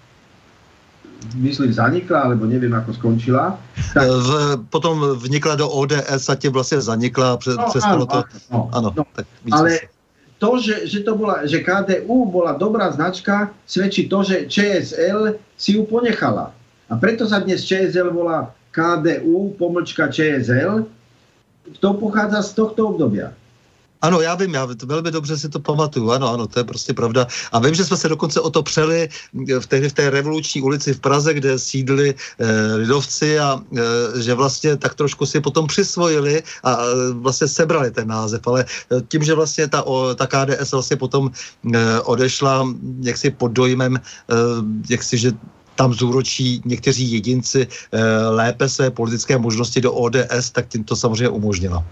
myslím zanikla, alebo neviem ako skončila. Tak... V, potom vnikla do ó dé es a tě vlastně zanikla a pre, no, přestalo to. No, ano, no, tak ale to, že, že, to bola, že ká dé ú bola dobrá značka, svedčí to, že Čé es el si ju ponechala. A preto sa dnes Čé es el volá ká dé ú pomlčka Čé es el. To pochádza z tohto obdobia. Ano, já vím, já velmi dobře si to pamatuju, ano, ano, to je prostě pravda. A vím, že jsme se dokonce o to přeli v té, v té revoluční ulici v Praze, kde sídli eh, lidovci a eh, že vlastně tak trošku si potom přisvojili a eh, vlastně sebrali ten název, ale eh, tím, že vlastně ta, o, ta ká dé es vlastně potom eh, odešla jaksi pod dojmem, eh, jaksi, že tam zúročí někteří jedinci eh, lépe své politické možnosti do ó dé es, tak tím to samozřejmě umožnila.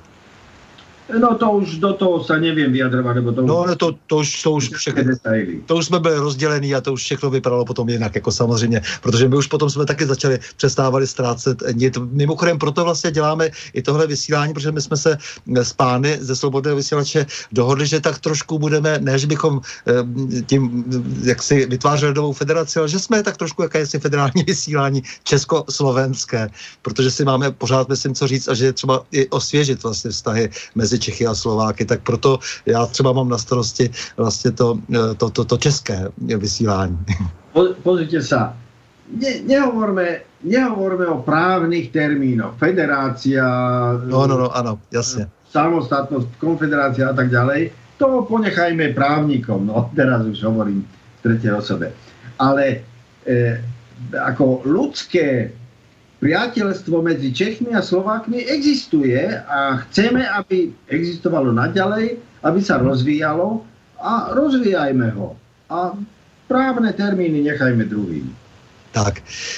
No to už do toho sa neviem vyjadrovať, lebo to... No, to, to už, to už všechno, to už jsme byli rozdělení a to už všechno vypadalo potom jinak, jako samozřejmě, protože my už potom jsme taky začali, přestávali ztrácet nit. Mimochodem proto vlastně děláme i tohle vysílání, protože my jsme se s pány ze Slobodného vysílače dohodli, že tak trošku budeme, ne, že bychom tím, jak si vytvářeli novou federaci, ale že jsme tak trošku jakési federální vysílání československé, protože si máme pořád, myslím, co říct a že je třeba i osvěžit vlastně vztahy mezi Čechy a Slováky, tak proto já třeba mám na starosti vlastně to, to, to, to české vysílání. Po, pozrite sa, ne, nehovorme, nehovorme o právnych termínoch, federácia, no, no, no, áno, jasne. Samostatnosť, konfederácia a tak ďalej, to ponechajme právnikom, no teraz už hovorím v tretej osobe. Ale e, ako ľudské priateľstvo medzi Čechmi a Slovákmi existuje a chceme, aby existovalo naďalej, aby sa rozvíjalo a rozvíjajme ho. A právne termíny nechajme druhým. Tak.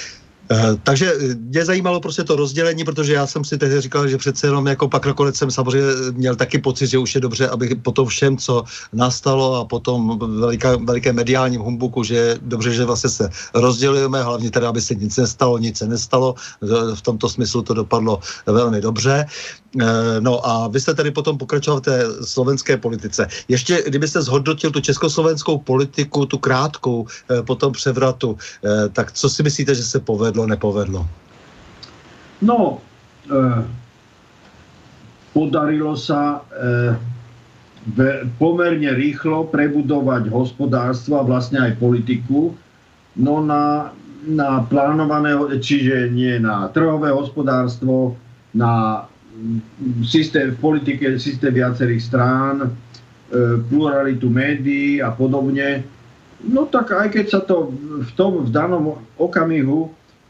Takže mě zajímalo prostě to rozdělení, protože já jsem si tehdy říkal, že přece jenom jako pak nakonec jsem samozřejmě měl taky pocit, že už je dobře, aby po tom všem, co nastalo a potom veliká, veliké mediálním humbuku, že je dobře, že vlastně se rozdělujeme, hlavně teda, aby se nic nestalo, nic se nestalo. V tomto smyslu to dopadlo velmi dobře. No a vy jste tedy potom pokračoval v té slovenské politice. Ještě, kdybyste zhodnotil tu československou politiku, tu krátkou po tom převratu, tak co si myslíte, že se povedlo, nepovedlo? No, eh, podarilo sa eh, pomerne rýchlo prebudovať hospodárstvo a vlastne aj politiku, no na, na plánované, čiže nie na trhové hospodárstvo, na systém v politike, systém viacerých strán, pluralitu médií a podobne. No tak aj keď sa to v tom v danom okamihu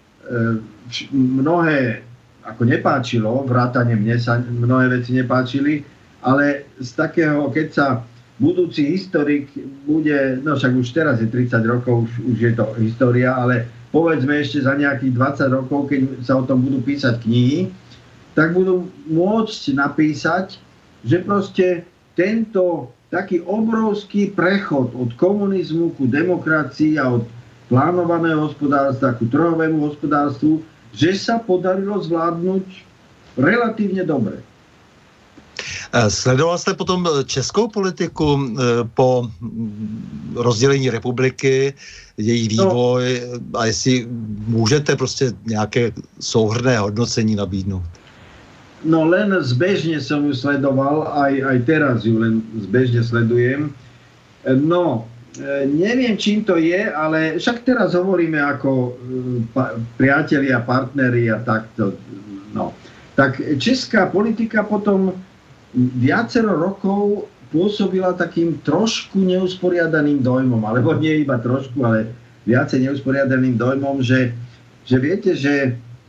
mnohé ako nepáčilo, vrátane mne sa mnohé veci nepáčili, ale z takého, keď sa budúci historik bude, no však už teraz je tridsať rokov, už, už je to história, ale povedzme ešte za nejakých dvadsať rokov, keď sa o tom budú písať knihy, tak budú môcť napísať, že proste tento taký obrovský prechod od komunizmu ku demokracii a od plánovaného hospodárstva ku trhovému hospodárstvu, že sa podarilo zvládnuť relatívne dobre. Sledoval jste potom českou politiku po rozdělení republiky, její vývoj no, a jestli můžete prostě nějaké souhrnné hodnocení nabídnout? No len zbežne som ju sledoval, aj, aj teraz ju len zbežne sledujem. No, neviem, čím to je, ale však teraz hovoríme ako pa, priatelia, partneri a takto. No. Tak česká politika potom viacero rokov pôsobila takým trošku neusporiadaným dojmom, alebo nie iba trošku, ale viacej neusporiadaným dojmom, že, že viete, že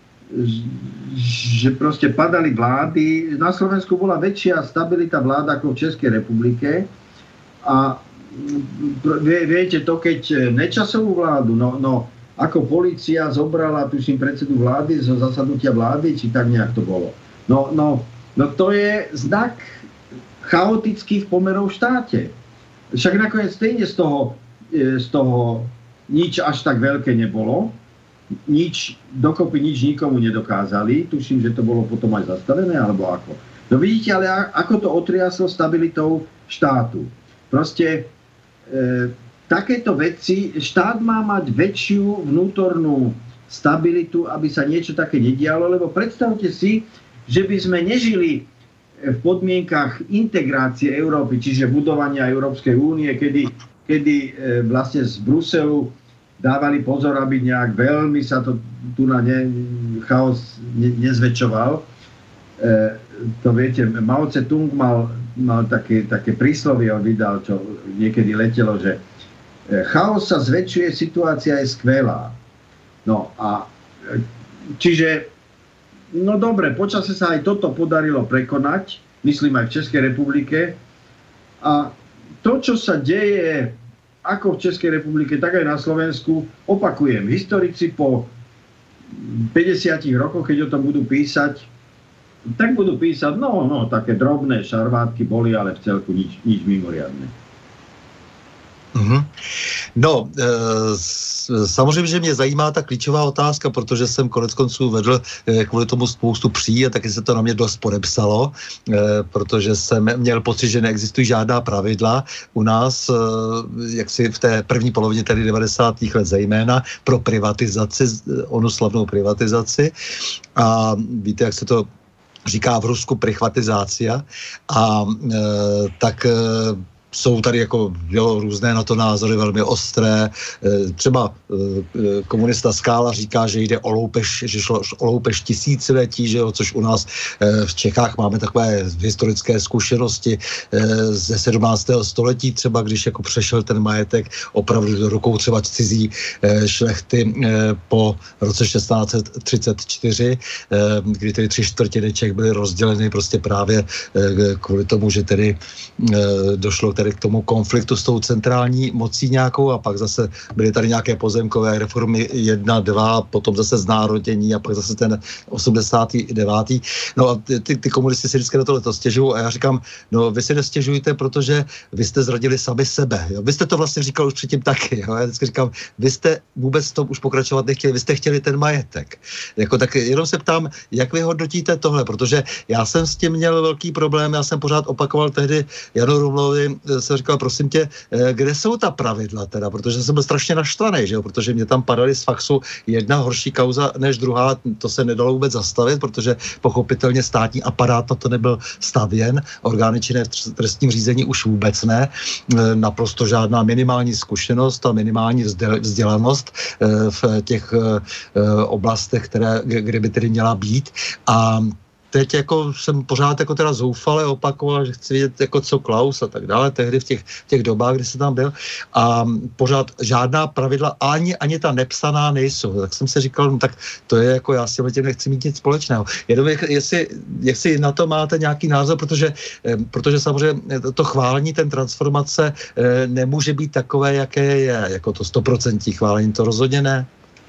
že proste padali vlády. Na Slovensku bola väčšia stabilita vlád ako v Českej republike a viete to, keď Nečasovú vládu, no, no ako polícia zobrala, tuším, predsedu vlády zo zasadnutia vlády, či tak nejak to bolo. No, no, no to je znak chaotických pomerov v štáte. Však nakoniec stejne z toho, z toho nič až tak veľké nebolo. Nič, dokopy nič nikomu nedokázali. Tuším, že to bolo potom aj zastavené, alebo ako. No vidíte, ale ako to otriaslo stabilitou štátu. Proste e, takéto veci, štát má mať väčšiu vnútornú stabilitu, aby sa niečo také nedialo, lebo predstavte si, že by sme nežili v podmienkach integrácie Európy, čiže budovania Európskej únie, kedy, kedy e, vlastne z Bruselu dávali pozor, aby nejak veľmi sa to tu na ne, chaos ne, nezväčšoval. E, to viete, Mao Tse-tung mal, mal také, také príslovie, on vydal, čo niekedy letelo, že chaos sa zväčšuje, situácia je skvelá. No a čiže, no dobre, počase sa aj toto podarilo prekonať, myslím aj v Českej republike. A to, čo sa deje ako v Českej republike, tak aj na Slovensku, opakujem, historici po päťdesiatich rokoch, keď o tom budú písať, tak budú písať, no, no, také drobné šarvátky boli, ale v celku nič, nič mimoriadne. Mm-hmm. No, e, samozřejmě, že mě zajímá ta klíčová otázka, protože jsem konec konců vedl e, kvůli tomu spoustu pří a taky se to na mě dost podepsalo, e, protože jsem měl pocit, že neexistují žádná pravidla u nás, e, jaksi v té první polovině tedy devadesátých let zejména, pro privatizaci, onu slavnou privatizaci. A víte, jak se to říká v Rusku prichvatizácia. A e, tak... E, jsou tady jako jo, různé na to názory velmi ostré. Třeba komunista Skála říká, že jde o loupež, že šlo o loupež tisíciletí, že jo, což u nás v Čechách máme takové historické zkušenosti ze sedmnáctého století, třeba když jako přešel ten majetek opravdu do rukou třeba cizí šlechty po roce šestnáct set třicet čtyři, kdy tedy tři čtvrtiny Čech byly rozděleny prostě právě kvůli tomu, že tedy došlo k té tedy k tomu konfliktu s tou centrální mocí nějakou a pak zase byly tady nějaké pozemkové reformy jedna, dva, potom zase znárodění a pak zase ten osmdesátý devátý No a ty, ty komunisti si vždycky na tohle to stěžují a já říkám, no vy si nestěžujte, protože vy jste zradili sami sebe. Jo? Vy jste to vlastně říkal už předtím taky. Jo? Já vždycky říkám, vy jste vůbec to už pokračovat nechtěli, vy jste chtěli ten majetek. Jako, tak jenom se ptám, jak vy hodnotíte tohle, protože já jsem s tím měl velký problém, já jsem pořád opakoval tehdy Janu Rumlovi, jsem říkal, prosím tě, kde jsou ta pravidla teda, protože jsem byl strašně naštvaný, že jo? Protože mě tam padaly z faxu jedna horší kauza než druhá, to se nedalo vůbec zastavit, protože pochopitelně státní aparát na to nebyl stavěn, orgány činné v trestním řízení už vůbec ne, naprosto žádná minimální zkušenost a minimální vzdělanost v těch oblastech, které, kde by tedy měla být. A teď jako jsem pořád jako teda zoufale opakoval, že chci vidět jako co Klaus a tak dále, tehdy v těch, těch dobách, kdy jsem tam byl a pořád žádná pravidla ani, ani ta nepsaná nejsou. Tak jsem si říkal, no tak to je jako, já si o tím nechci mít nic společného. Jenom jestli, jestli na to máte nějaký názor, protože, protože samozřejmě to chválení, ten transformace nemůže být takové, jaké je, jako to stoprocentní chválení, to rozhodně ne.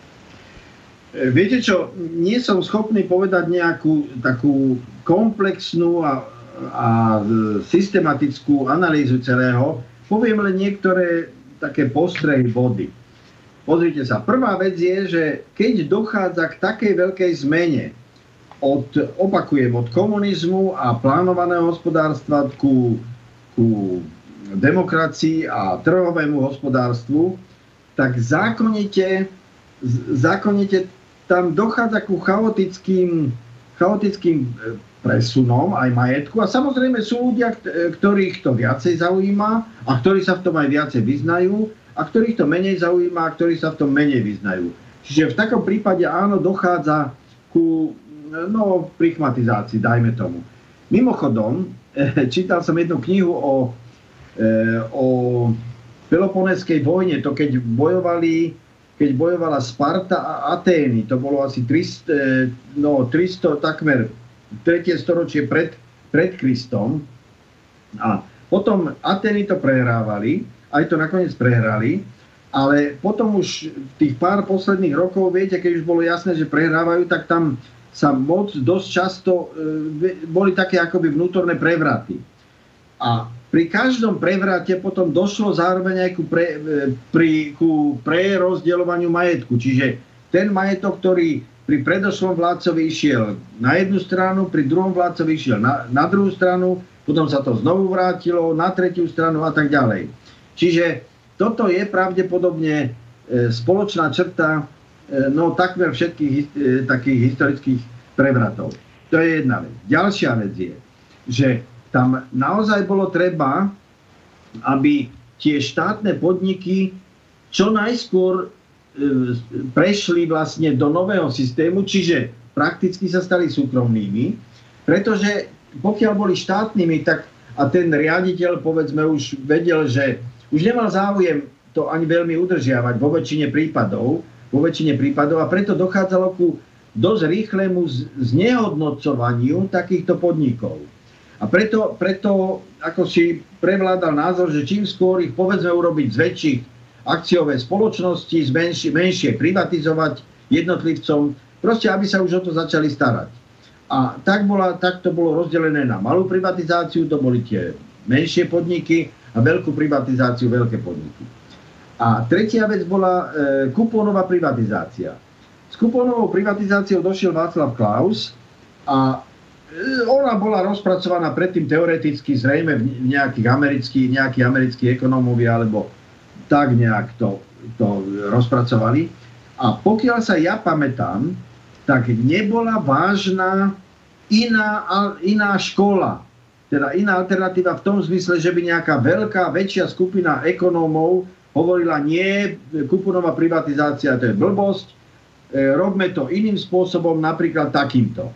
Viete čo, nie som schopný povedať nejakú takú komplexnú a, a systematickú analýzu celého. Poviem len niektoré také postrehy body. Pozrite sa, prvá vec je, že keď dochádza k takej veľkej zmene od, opakujem, od komunizmu a plánovaného hospodárstva ku, ku demokracii a trhovému hospodárstvu, tak zákonite, zákonite tam dochádza ku chaotickým, chaotickým presunom aj majetku a samozrejme sú ľudia, ktorých to viacej zaujíma a ktorí sa v tom aj viacej vyznajú a ktorých to menej zaujíma a ktorí sa v tom menej vyznajú. Čiže v takom prípade áno, dochádza ku no, prichmatizácii, dajme tomu. Mimochodom, čítal som jednu knihu o, o Peloponeskej vojne, to keď bojovali keď bojovala Sparta a Atény, to bolo asi tristo, no, tristo takmer tretie storočie pred, pred Kristom. A potom Atény to prehrávali, aj to nakoniec prehrali, ale potom už tých pár posledných rokov, viete, keď už bolo jasné, že prehrávajú, tak tam sa moc dosť často e, boli také akoby vnútorné prevraty. A pri každom prevrate potom došlo zároveň aj ku, pre, pri, ku prerozdeľovaniu majetku. Čiže ten majetok, ktorý pri predošlom vládcovi išiel na jednu stranu, pri druhom vládcovi išiel na, na druhú stranu, potom sa to znovu vrátilo na tretiu stranu a tak ďalej. Čiže toto je pravdepodobne e, spoločná črta e, no takmer všetkých e, takých historických prevratov. To je jedna vec. Ďalšia vec je, že tam naozaj bolo treba, aby tie štátne podniky čo najskôr prešli vlastne do nového systému, čiže prakticky sa stali súkromnými, pretože pokiaľ boli štátnymi, tak a ten riaditeľ, povedzme, už vedel, že už nemal záujem to ani veľmi udržiavať vo väčšine prípadov, vo väčšine prípadov a preto dochádzalo ku dosť rýchlemu znehodnocovaniu takýchto podnikov. A preto, preto ako si prevládal názor, že čím skôr ich povedzme urobiť z väčších akciové spoločnosti, z menšie, menšie privatizovať jednotlivcom, proste aby sa už o to začali starať. A tak, bola, tak to bolo rozdelené na malú privatizáciu, to boli tie menšie podniky a veľkú privatizáciu, veľké podniky. A tretia vec bola e, kupónová privatizácia. S kupónovou privatizáciou došiel Václav Klaus a ona bola rozpracovaná predtým teoreticky, zrejme v nejakých amerických, nejakí americkí ekonómovia, alebo tak nejak to, to rozpracovali. A pokiaľ sa ja pamätám, tak nebola vážna iná, iná škola, teda iná alternatíva v tom zmysle, že by nejaká veľká, väčšia skupina ekonómov hovorila, nie, kupónová privatizácia to je blbosť, robme to iným spôsobom, napríklad takýmto.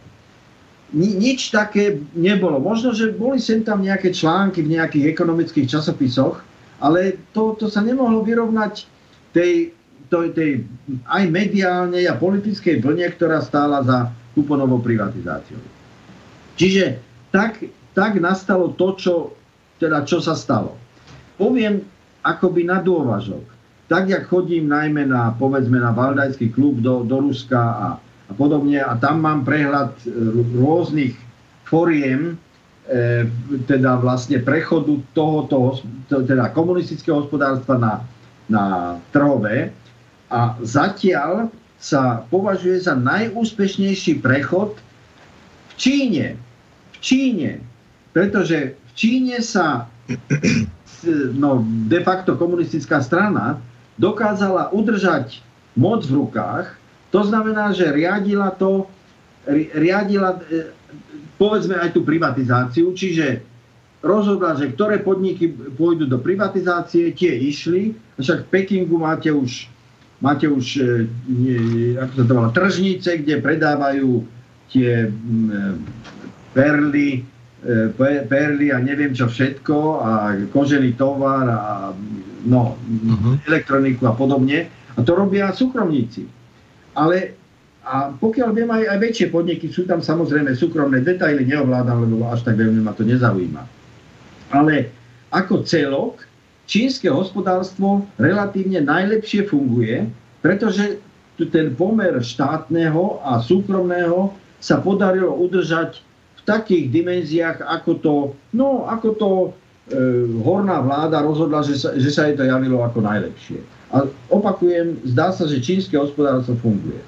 Nič také nebolo. Možno, že boli sem tam nejaké články v nejakých ekonomických časopisoch, ale to, to sa nemohlo vyrovnať tej, tej, tej aj mediálnej a politickej vlne, ktorá stála za kupónovou privatizáciou. Čiže tak, tak nastalo to, čo, teda, čo sa stalo. poviem akoby na dôvažok. Tak, jak chodím najmä na, povedzme, na Valdajský klub do, do Ruska a, a podobne, a tam mám prehľad rôznych foriem, e, teda vlastne prechodu tohoto, teda komunistického hospodárstva na, na trhové. A zatiaľ sa považuje za najúspešnejší prechod v Číne. V Číne. Pretože v Číne sa no, de facto komunistická strana dokázala udržať moc v rukách. To znamená, že riadila to, riadila povedzme aj tú privatizáciu, čiže rozhodla, že ktoré podniky pôjdu do privatizácie, tie išli. Však v Pekingu máte už Máte už, nie, ako sa to volá, tržnice, kde predávajú tie perly, perly a neviem čo všetko a kožený tovar a no, uh-huh. elektroniku a podobne. A to robia súkromníci. Ale a pokiaľ viem, aj, aj väčšie podniky, sú tam samozrejme súkromné detaily, neovládam, lebo až tak veľmi ma to nezaujíma. Ale ako celok, čínske hospodárstvo relatívne najlepšie funguje, pretože ten pomer štátneho a súkromného sa podarilo udržať v takých dimenziách, ako to, no, ako to e, horná vláda rozhodla, že sa, že sa jej to javilo ako najlepšie. A opakujem, zdá sa, že čínske hospodárstvo funguje.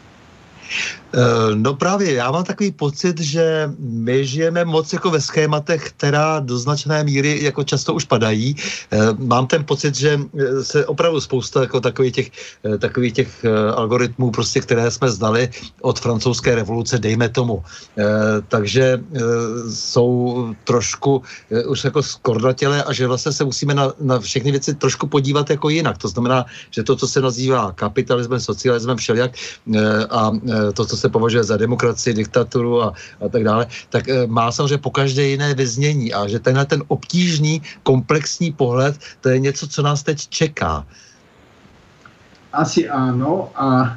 No právě, já mám takový pocit, že my žijeme moc jako ve schématech, která do značné míry jako často už padají. Mám ten pocit, že se opravdu spousta jako takových těch, takových těch algoritmů, prostě, které jsme znali od francouzské revoluce, dejme tomu. Takže jsou trošku už jako skordatělé a že vlastně se musíme na, na všechny věci trošku podívat jako jinak. To znamená, že to, co se nazývá kapitalismem, socialismem, všelijak a to, co se považuje za demokracii, diktaturu a, a tak dále, tak e, má samozřejmě po každé jiné vyznění a že tenhle ten obtížný, komplexní pohled, to je něco, co nás teď čeká. Asi áno a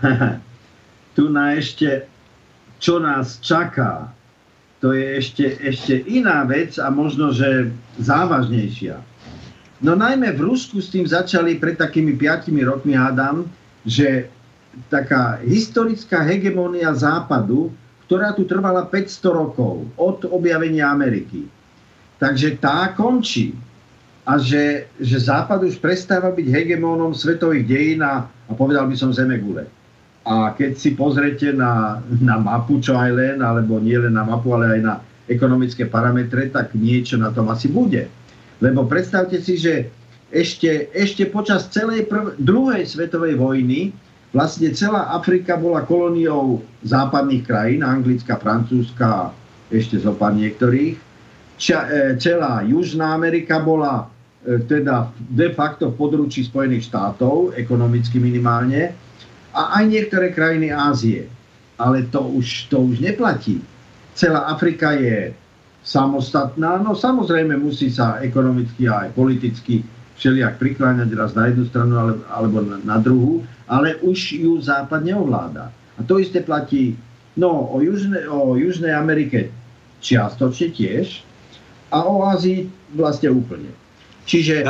tu na ešte, čo nás čaká, to je ešte, ešte iná vec a možno, že závažnejšia. No najmä v Rusku s tým začali pred takými piatimi rokmi, hádam, že taká historická hegemónia západu, ktorá tu trvala päťsto rokov od objavenia Ameriky. Takže tá končí. A že, že západ už prestáva byť hegemónom svetových dejín a, a povedal by som zemegule. A keď si pozrete na, na mapu, čo aj len, alebo nie len na mapu, ale aj na ekonomické parametre, tak niečo na tom asi bude. Lebo predstavte si, že ešte, ešte počas celej prv, druhej svetovej vojny vlastne celá Afrika bola kolóniou západných krajín, Anglická, Francúzska, ešte zo pár niektorých. Ča, e, celá Južná Amerika bola e, teda de facto v područí Spojených štátov, ekonomicky minimálne, a aj niektoré krajiny Ázie. Ale to už, to už neplatí. Celá Afrika je samostatná, no samozrejme musí sa ekonomicky a aj politicky všelijak prikláňať raz na jednu stranu alebo na, na druhú, ale už ju západ neovláda. A to isté platí no, o, Južne, o Južnej Amerike čiastočne tiež a o Ázii vlastne úplne. Čiže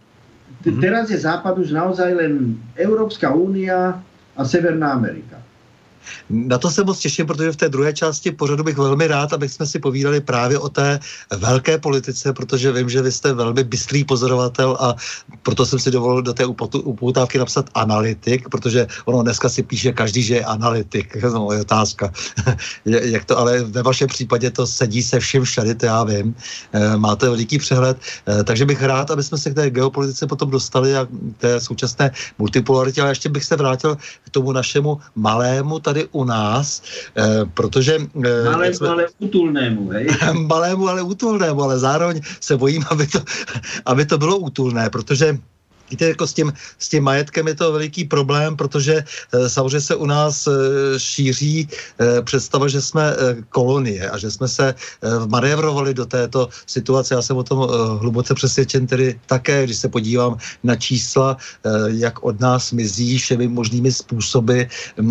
t- teraz je západ už naozaj len Európska únia a Severná Amerika. Na to se moc těším, protože v té druhé části pořadu bych velmi rád, abych jsme si povídali právě o té velké politice, protože vím, že vy jste velmi bystrý pozorovatel a proto jsem si dovolil do té upoutávky napsat analytik, protože ono dneska si píše každý, že je analytik. No, je otázka. Jak to, ale ve vašem případě to sedí se vším všady, to já vím. Máte veliký přehled, takže bych rád, aby jsme se k té geopolitice potom dostali a k té současné multipolaritě, ale ještě bych se vrátil k tomu našemu malému tady u nás, eh, protože... Eh, malému, jsme, ale útulnému, hej? malému, ale útulnému, ale zároveň se bojím, aby to, aby to bylo útulné, protože Víte, jako s tím, s tím majetkem je to veliký problém, protože e, samozřejmě se u nás e, šíří e, představa, že jsme e, kolonie a že jsme se e, manévrovali do této situace. Já jsem o tom e, hluboce přesvědčen tedy také, když se podívám na čísla, e, jak od nás mizí všemi možnými způsoby e,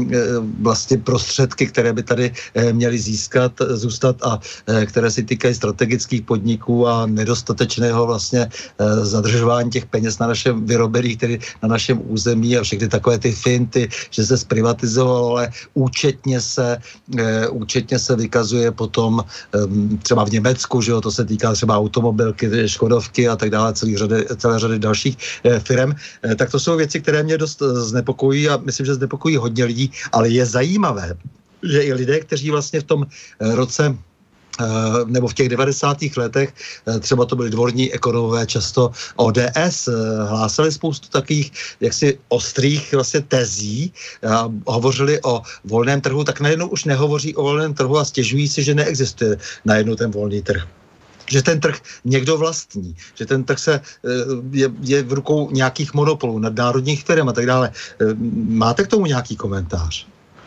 vlastně prostředky, které by tady e, měly získat, zůstat a e, které si týkají strategických podniků a nedostatečného vlastně e, zadržování těch peněz na našem vyrobených tedy na našem území a všechny takové ty finty, že se zprivatizovalo, ale účetně se, e, účetně se vykazuje potom e, třeba v Německu, že jo, to se týká třeba automobilky, Škodovky a tak dále, celý řady, celé řady dalších e, firem. E, tak to jsou věci, které mě dost znepokojí a myslím, že znepokojí hodně lidí, ale je zajímavé, že i lidé, kteří vlastně v tom roce nebo v těch devadesátých letech, třeba to byli dvorní ekonomové, často O D S, hlásali spoustu takových jaksi ostrých vlastně tezí, a hovořili o volném trhu, tak najednou už nehovoří o volném trhu a stěžují si, že neexistuje najednou ten volný trh. Že ten trh někdo vlastní, že ten trh se je, je v rukou nějakých monopolů, nadnárodních firm a tak dále. Máte k tomu nějaký komentář?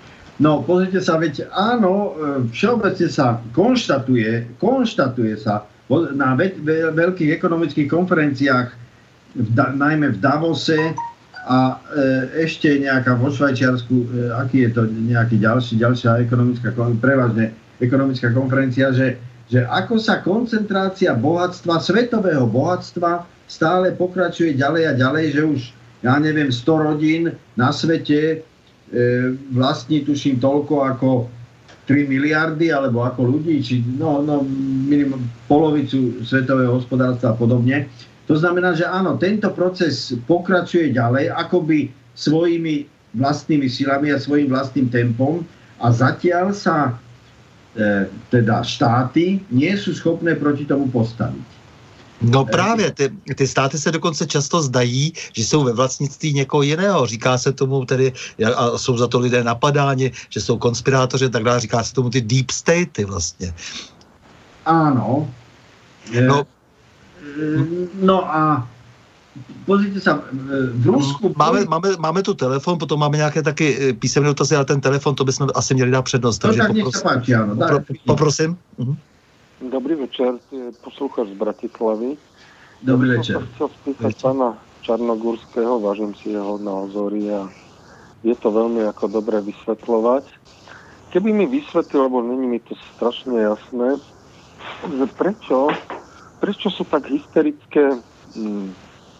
No, pozrite sa, veď áno, všeobecne sa konštatuje, konštatuje sa na ve- ve- veľkých ekonomických konferenciách, v da- najmä v Davose a e, ešte nejaká vo Švajčiarsku, e, aký je to nejaký ďalší, ďalšia ekonomická, prevažne ekonomická konferencia, že, že ako sa koncentrácia bohatstva, svetového bohatstva stále pokračuje ďalej a ďalej, že už, ja neviem, sto rodín na svete vlastní, tuším, toľko ako tri miliardy, alebo ako ľudí, či no, no minimum polovicu svetového hospodárstva a podobne. To znamená, že áno, tento proces pokračuje ďalej, akoby svojimi vlastnými silami a svojim vlastným tempom a zatiaľ sa e, teda štáty nie sú schopné proti tomu postaviť. No právě, ty, ty státy se dokonce často zdají, že jsou ve vlastnictví někoho jiného. Říká se tomu tedy, a jsou za to lidé napadáni, že jsou konspirátoři, tak dále, říká se tomu ty deep statey vlastně. Áno. No, no a pozrite sa, v Rusku... Máme, máme, máme tu telefon, potom máme nějaké taky písemné dotazy, ale ten telefon, to bychom asi měli dát přednost. No tak nech sa páči, áno. Popro, poprosím. Uh-huh. Dobrý večer, posluchač z Bratislavy. Dobrý večer. Ja som chcel spýtať pána Čarnogurského, vážim si jeho názory a je to veľmi ako dobre vysvetľovať. Keby mi vysvetlil, lebo není mi to strašne jasné, že prečo, prečo sú tak hysterické, hm,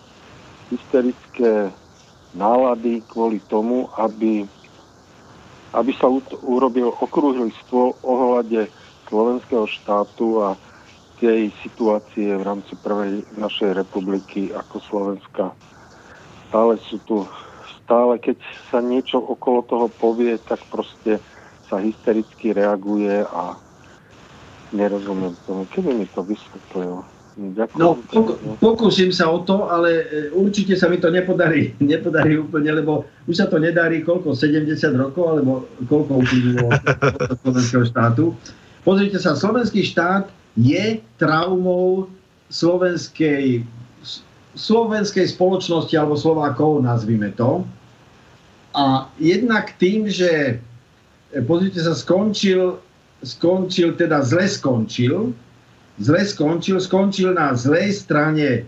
hysterické nálady kvôli tomu, aby, aby sa urobil okrúhly stôl ohľade slovenského štátu a tej situácie v rámci prvej našej republiky ako Slovenska. Stále sú tu, stále keď sa niečo okolo toho povie, tak proste sa hystericky reaguje a nerozumiem tomu. Keby mi to vysvetlil? Ďakujem. No, pok- pokúsim sa o to, ale určite sa mi to nepodarí, nepodarí úplne, lebo už sa to nedarí koľko, sedemdesiat rokov, alebo koľko uplynulo od slovenského štátu. Pozrite sa, slovenský štát je traumou slovenskej, slovenskej spoločnosti alebo Slovákov, nazvime to. A jednak tým, že pozrite sa, skončil, skončil, teda zle skončil, zle skončil, skončil na zlej strane e,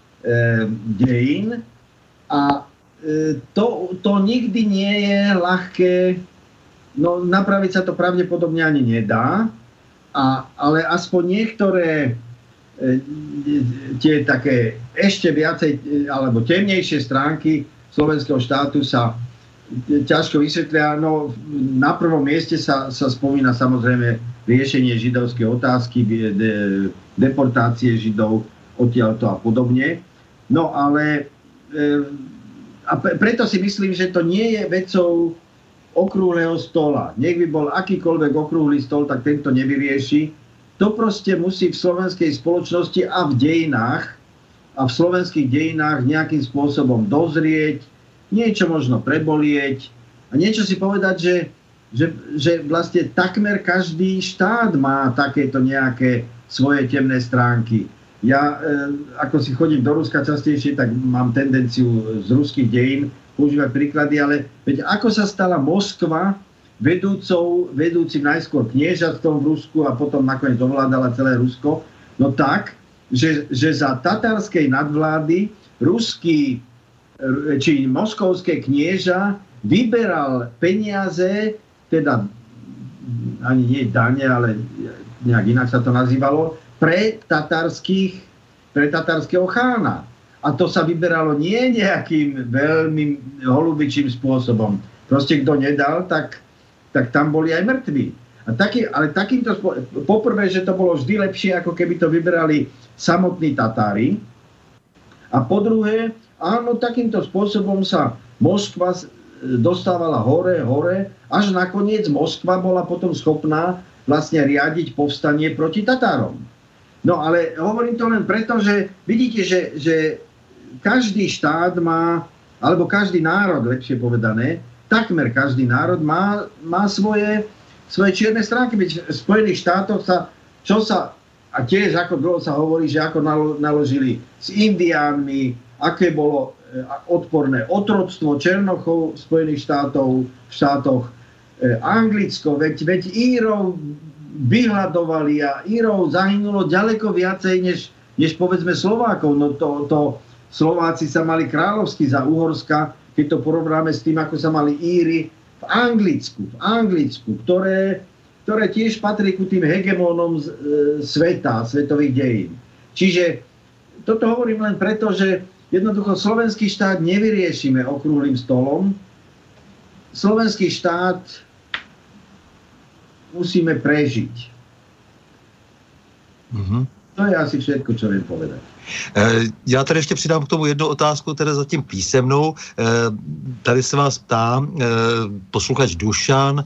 dejín a e, to, to nikdy nie je ľahké, no napraviť sa to pravdepodobne ani nedá. A, ale aspoň niektoré e, tie také ešte viacej alebo temnejšie stránky slovenského štátu sa ťažko vysvetlia. No, na prvom mieste sa, sa spomína samozrejme riešenie židovskej otázky, de, deportácie židov odtiaľto a podobne. No ale e, a preto si myslím, že to nie je vecou okrúhleho stola. Nech by bol akýkoľvek okrúhly stol, tak tento nevyrieši. To proste musí v slovenskej spoločnosti a v dejinách a v slovenských dejinách nejakým spôsobom dozrieť, niečo možno prebolieť a niečo si povedať, že, že, že vlastne takmer každý štát má takéto nejaké svoje temné stránky. Ja, ako si chodím do Ruska častejšie, tak mám tendenciu z ruských dejín používať príklady, ale veď ako sa stala Moskva vedúcou, vedúcim najskôr kniežatstvom v Rusku a potom nakoniec ovládala celé Rusko, no tak, že, že za tatárskej nadvlády ruský či moskovské knieža vyberal peniaze, teda ani nie dane, ale nejak inak sa to nazývalo, pre tatárskych, pre tatárskeho chána. A to sa vyberalo nie nejakým veľmi holubičím spôsobom. Proste kto nedal, tak, tak tam boli aj mŕtvi. A taký, ale takýmto spôsobom, poprvé, že to bolo vždy lepšie, ako keby to vyberali samotní Tatári. A po druhé, áno, takýmto spôsobom sa Moskva dostávala hore, hore, až nakoniec Moskva bola potom schopná vlastne riadiť povstanie proti Tatárom. No ale hovorím to len preto, že vidíte, že, že každý štát má, alebo každý národ, lepšie povedané, takmer každý národ má, má svoje, svoje čierne stránky. Veď v Spojených štátoch sa, čo sa, a tiež ako dlho sa hovorí, že ako naložili s Indiánmi, aké bolo odporné otroctvo Černochov v Spojených štátov, v štátoch, Anglicko, veď, veď Írov vyhľadovali a Írov zahynulo ďaleko viacej, než, než povedzme Slovákov. No to, to Slováci sa mali kráľovsky za Uhorska, keď to porovnáme s tým, ako sa mali Íri v Anglicku, v Anglicku, ktoré, ktoré tiež patrí ku tým hegemónom z, e, sveta, svetových dejín. Čiže toto hovorím len preto, že jednoducho slovenský štát nevyriešime okrúhlym stolom. Slovenský štát musíme prežiť. Mm-hmm. To je asi všetko, čo viem povedať. Já tady ještě přidám k tomu jednu otázku, teda zatím písemnou. Tady se vás ptá posluchač Dušan,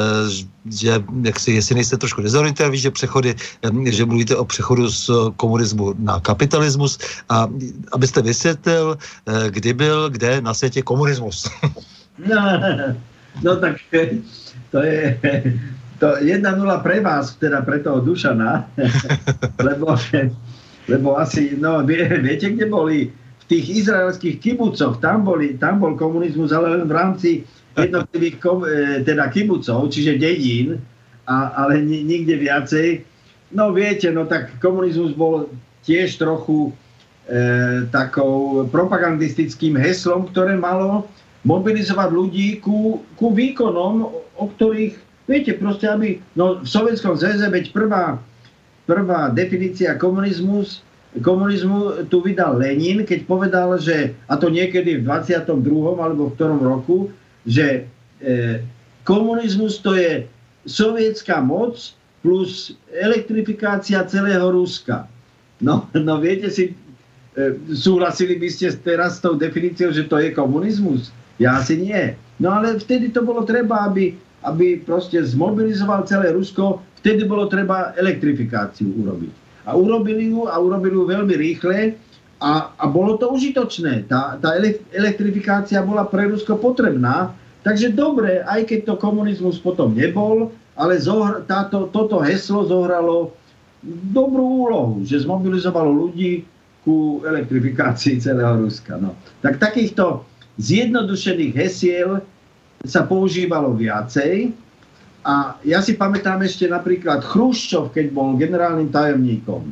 že jak si, jestli nejste trošku dezorientovaní, že přechody, že mluvíte o přechodu z komunismu na kapitalismus, a abyste vysvětlil, kdy byl, kde na světě komunismus. No, no tak to je to jedna nula pre vás, teda pre toho Dušana, lebo, lebo asi, no vie, viete, kde boli? V tých izraelských kibucoch, tam, boli, tam bol komunizmus, ale len v rámci jednotlivých teda kibucov, čiže dedín, a, ale nikde viacej. No viete, no tak komunizmus bol tiež trochu e, takou propagandistickým heslom, ktoré malo mobilizovať ľudí ku, ku výkonom, o ktorých, viete, proste, aby, no v Sovietskom zväze, veď prvá, prvá definícia komunizmus, komunizmu tu vydal Lenin, keď povedal, že, a to niekedy v dvadsiatom druhom alebo v ktorom roku, že e, komunizmus to je sovietská moc plus elektrifikácia celého Ruska. No, no viete si, e, súhlasili by ste teraz s tou definíciou, že to je komunizmus? Ja asi nie. No ale vtedy to bolo treba, aby, aby proste zmobilizoval celé Rusko, vtedy bolo treba elektrifikáciu urobiť. A urobili ju a urobili ju veľmi rýchle a, a bolo to užitočné. Tá, tá elektrifikácia bola pre Rusko potrebná, takže dobre, aj keď to komunizmus potom nebol, ale zohr, táto, toto heslo zohralo dobrú úlohu, že zmobilizovalo ľudí ku elektrifikácii celého Ruska. No. Tak takýchto zjednodušených hesiel sa používalo viacej. A ja si pamätám ešte napríklad Chruščov, keď bol generálnym tajomníkom.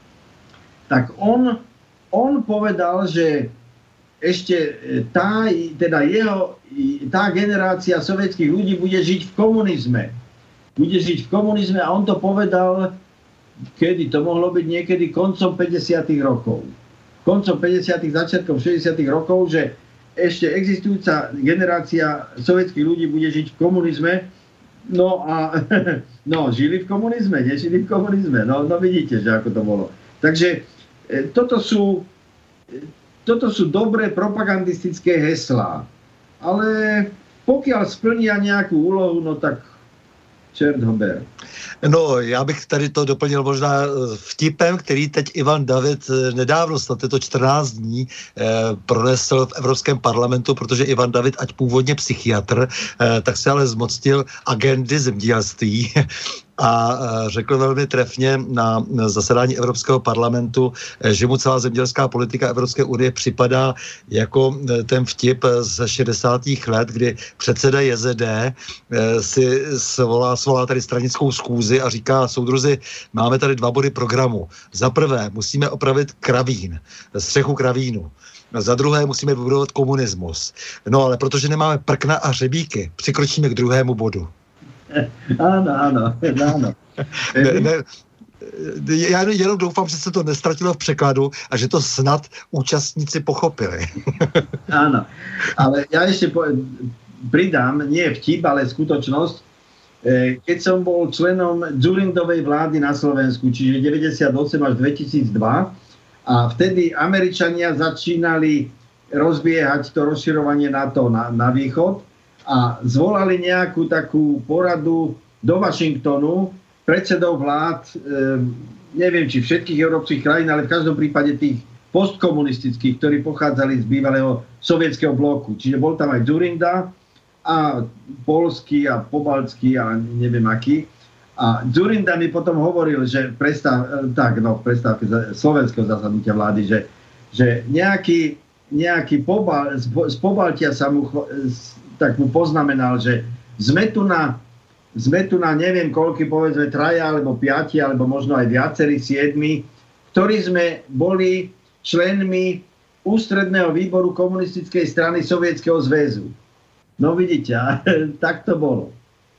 Tak on, on povedal, že ešte tá, teda jeho, tá generácia sovietských ľudí bude žiť v komunizme. Bude žiť v komunizme a on to povedal, kedy to mohlo byť niekedy koncom päťdesiatych rokov. Koncom päťdesiatych, začiatkom šesťdesiatych rokov, že ešte existujúca generácia sovietských ľudí bude žiť v komunizme. No a no, žili v komunizme, nežili v komunizme. No, no vidíte, že ako to bolo. Takže e, toto sú, e, toto sú dobré propagandistické heslá. Ale pokiaľ splnia nejakú úlohu, no tak čert ho ber. No, já bych tady to doplnil možná vtipem, který teď Ivan David nedávno, snad je to čtrnáct dní, eh, pronesl v Evropském parlamentu, protože Ivan David, ať původně psychiatr, eh, tak se ale zmocnil agendy zemědělství a řekl velmi trefně na zasedání Evropského parlamentu, že mu celá zemědělská politika Evropské unie připadá jako ten vtip ze šedesátých let, kdy předseda J Z D si svolá, svolá tady stranickou schůzi a říká: soudruzi, máme tady dva body programu. Za prvé musíme opravit kravín, střechu kravínu. Za druhé musíme vybudovat komunismus. No ale protože nemáme prkna a hřebíky, přikročíme k druhému bodu. Áno, áno, áno. Ne, ne, já jenom doufám, že se to nestratilo v překladu a že to snad účastníci pochopili. Áno, ale ja ešte po, pridám, nie vtip, ale skutočnosť. Keď som bol členom Dzurindovej vlády na Slovensku, čiže deväťdesiatosem až dvetisícdva, a vtedy Američania začínali rozbiehať to rozširovanie NATO na, na východ a zvolali nejakú takú poradu do Washingtonu predsedov vlád, e, neviem či všetkých európskych krajín, ale v každom prípade tých postkomunistických, ktorí pochádzali z bývalého sovietskeho bloku. Čiže bol tam aj Dzurinda a polský a pobaltský a neviem aký. A Dzurinda mi potom hovoril, že prestav, tak, no, v prestávke slovenského zasadnutia vlády, že, že nejaký, nejaký pobal, z Pobaltia sa mu, tak mu poznamenal, že sme tu na, sme tu na neviem koľky, povedzme traja, alebo piati, alebo možno aj viacerí, siedmi, ktorí sme boli členmi ústredného výboru komunistickej strany Sovietskeho zväzu. No vidíte, tak to bolo.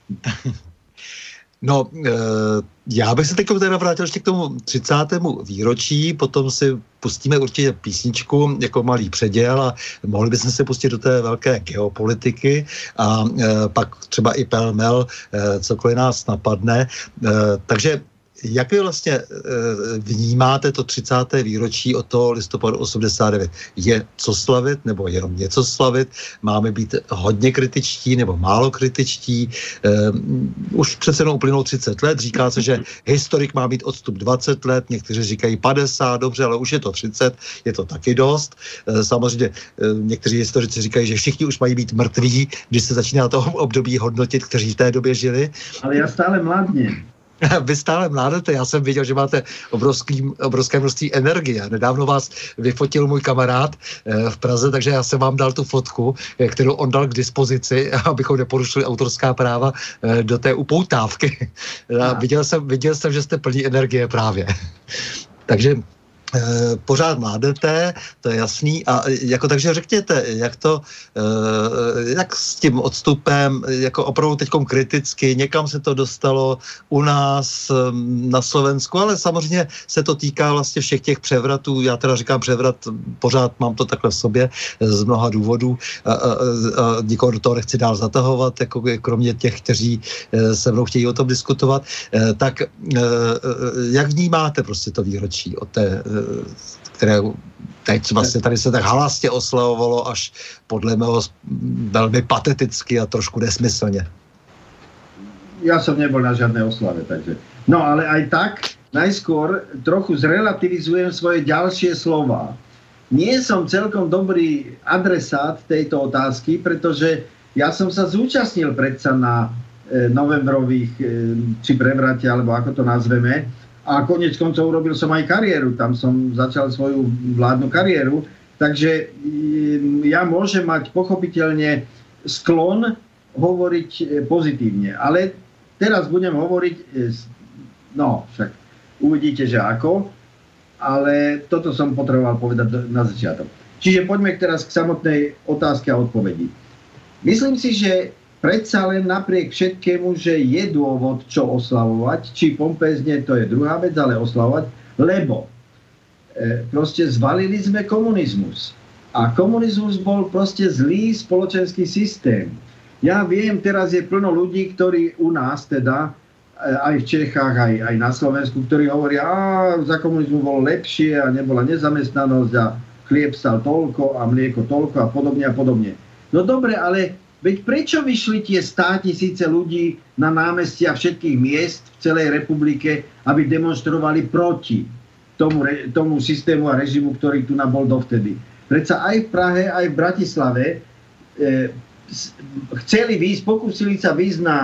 No, e, já bych se teď teda vrátil ještě k tomu třicátému výročí, potom si pustíme určitě písničku jako malý předěl a mohli bychom se pustit do té velké geopolitiky a e, pak třeba i pelmel, e, cokoliv nás napadne. E, takže jak vy vlastně e, vnímáte to třicáté výročí od toho listopadu osmdesát devět? Je co slavit nebo jenom něco slavit? Máme být hodně kritičtí nebo málo kritičtí? E, už přece jenom uplynulo třicet let, říká se, že historik má mít odstup dvacet let, někteří říkají padesát, dobře, ale už je to třicet, je to taky dost. E, samozřejmě e, někteří historici říkají, že všichni už mají být mrtví, když se začíná toho období hodnotit, kteří v té době žili. Ale já stále mladně. Vy stále mládete, já jsem viděl, že máte obrovský, obrovské množství energie. Nedávno vás vyfotil můj kamarád eh, v Praze, takže já jsem vám dal tu fotku, eh, kterou on dal k dispozici, abychom neporušili autorská práva eh, do té upoutávky. A viděl jsem, viděl jsem, že jste plní energie právě. Takže E, pořád mládete, to je jasný. A jako takže řekněte, jak to, e, jak s tím odstupem, jako opravdu teďkom kriticky, někam se to dostalo u nás na Slovensku, ale samozřejmě se to týká vlastně všech těch převratů. Já teda říkám převrat, pořád mám to takhle v sobě z mnoha důvodů. A, a, a nikoho do toho nechci dál zatahovat, jako kromě těch, kteří se mnou chtějí o tom diskutovat. E, tak e, jak vnímáte prostě to výročí od té, které teď vlastně tady se tak halastě oslavovalo až podle mého velmi pateticky a trošku nesmyslně. Ja som nebol na žiadnej oslave, takže. No ale aj tak, najskôr trochu zrelativizujem svoje ďalšie slova. Nie som celkom dobrý adresát tejto otázky, pretože ja som sa zúčastnil predsa na e, novembrových e, či prevrate, alebo ako to nazveme, a konec koncov urobil som aj kariéru, tam som začal svoju vládnu kariéru, takže ja môžem mať pochopiteľne sklon hovoriť pozitívne, ale teraz budem hovoriť, no však uvidíte, že ako, ale toto som potreboval povedať na začiatok. Čiže poďme teraz k samotnej otázke a odpovedi. Myslím si, že predsa len napriek všetkému, že je dôvod, čo oslavovať, či pompézne, to je druhá vec, ale oslavovať, lebo e, proste zvalili sme komunizmus. A komunizmus bol proste zlý spoločenský systém. Ja viem, teraz je plno ľudí, ktorí u nás teda, e, aj v Čechách, aj, aj na Slovensku, ktorí hovoria, a za komunizmu bolo lepšie a nebola nezamestnanosť a chlieb stal toľko a mlieko toľko a podobne a podobne. No dobre, ale veď prečo vyšli tie státisíce ľudí na námestia všetkých miest v celej republike, aby demonstrovali proti tomu, tomu systému a režimu, ktorý tu nabol dovtedy? Predsa aj v Prahe, aj v Bratislave e, chceli výjsť, pokúsili sa výjsť na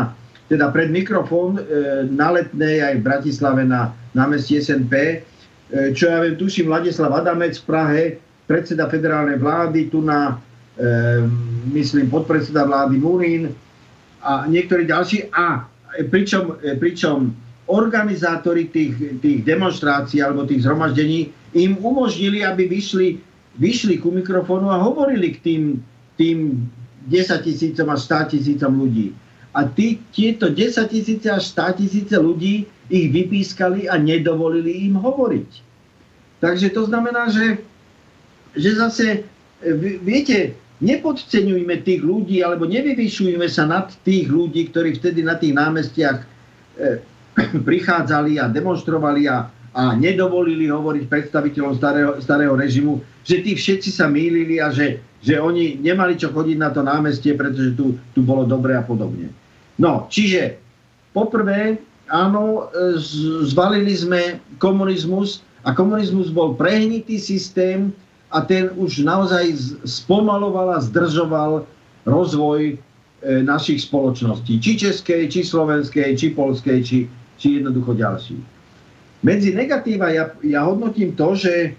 teda pred mikrofón na Letnej aj v Bratislave na námestí es en pé, čo ja viem, tuším Ladislav Adamec v Prahe, predseda federálnej vlády, tu na, myslím, podpredseda vlády Murín a niektorí ďalší. A pričom, pričom organizátori tých, tých demonštrácií alebo tých zhromaždení im umožnili, aby vyšli, vyšli ku mikrofónu a hovorili k tým, tým desaťtisícom až státisícom ľudí. A tí, tieto desaťtisíce až státisíce ľudí ich vypískali a nedovolili im hovoriť. Takže to znamená, že, že zase, viete, nepodceňujme tých ľudí alebo nevyvyšujme sa nad tých ľudí, ktorí vtedy na tých námestiach eh, prichádzali a demonštrovali a, a nedovolili hovoriť predstaviteľom starého, starého režimu, že tí všetci sa mýlili a že, že oni nemali čo chodiť na to námestie, pretože tu, tu bolo dobre a podobne. No, čiže poprvé, áno, zvalili sme komunizmus a komunizmus bol prehnitý systém a ten už naozaj spomaloval a zdržoval rozvoj e, našich spoločností. Či českej, či slovenskej, či poľskej, či či jednoducho ďalší. Medzi negatíva ja, ja hodnotím to, že,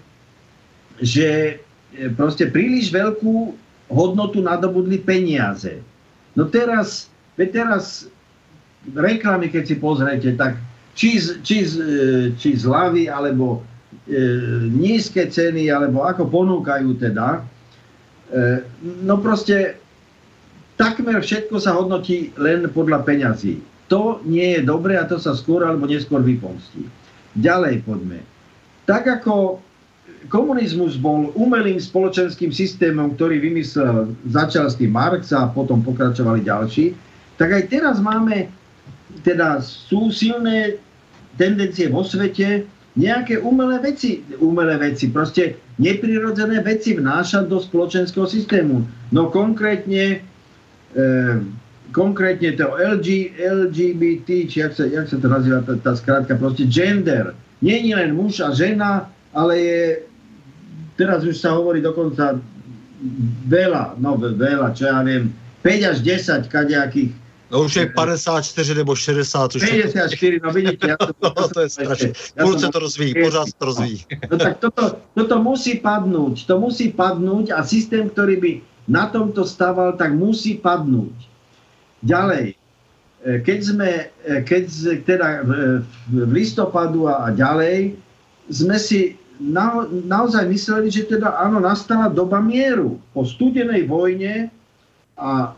že proste príliš veľkú hodnotu nadobudli peniaze. No teraz, teraz reklamy, keď si pozriete, tak či, či, či zľavy, alebo e, nízke ceny, alebo ako ponúkajú teda, e, no proste takmer všetko sa hodnotí len podľa peňazí. To nie je dobré a to sa skôr alebo neskôr vypomstí. Ďalej poďme. Tak ako komunizmus bol umelým spoločenským systémom, ktorý vymyslel, začal s tým Marx a potom pokračovali ďalší, tak aj teraz máme, teda sú silné tendencie vo svete nejaké umelé veci, umelé veci, proste neprirodzené veci vnášať do spoločenského systému. No konkrétne e, konkrétne to el gé bé té, či jak sa, jak sa to nazýva tá, tá skrátka, proste gender. Nie je len muž a žena, ale je, teraz už sa hovorí dokonca veľa, no veľa, čo ja viem, päť až desať kadejakých. No už je päťdesiatštyri nebo šesťdesiat. Už päťdesiatštyri, no vidíte. Ja to, no, to je strašné. Furt sa to rozvíjí, pořád to rozvíjí. No tak toto, toto musí padnúť. To musí padnúť a systém, ktorý by na tomto stával, tak musí padnúť. Ďalej, keď sme, keď teda v listopadu a ďalej, sme si na, naozaj mysleli, že teda áno, nastala doba mieru. Po studenej vojne a e,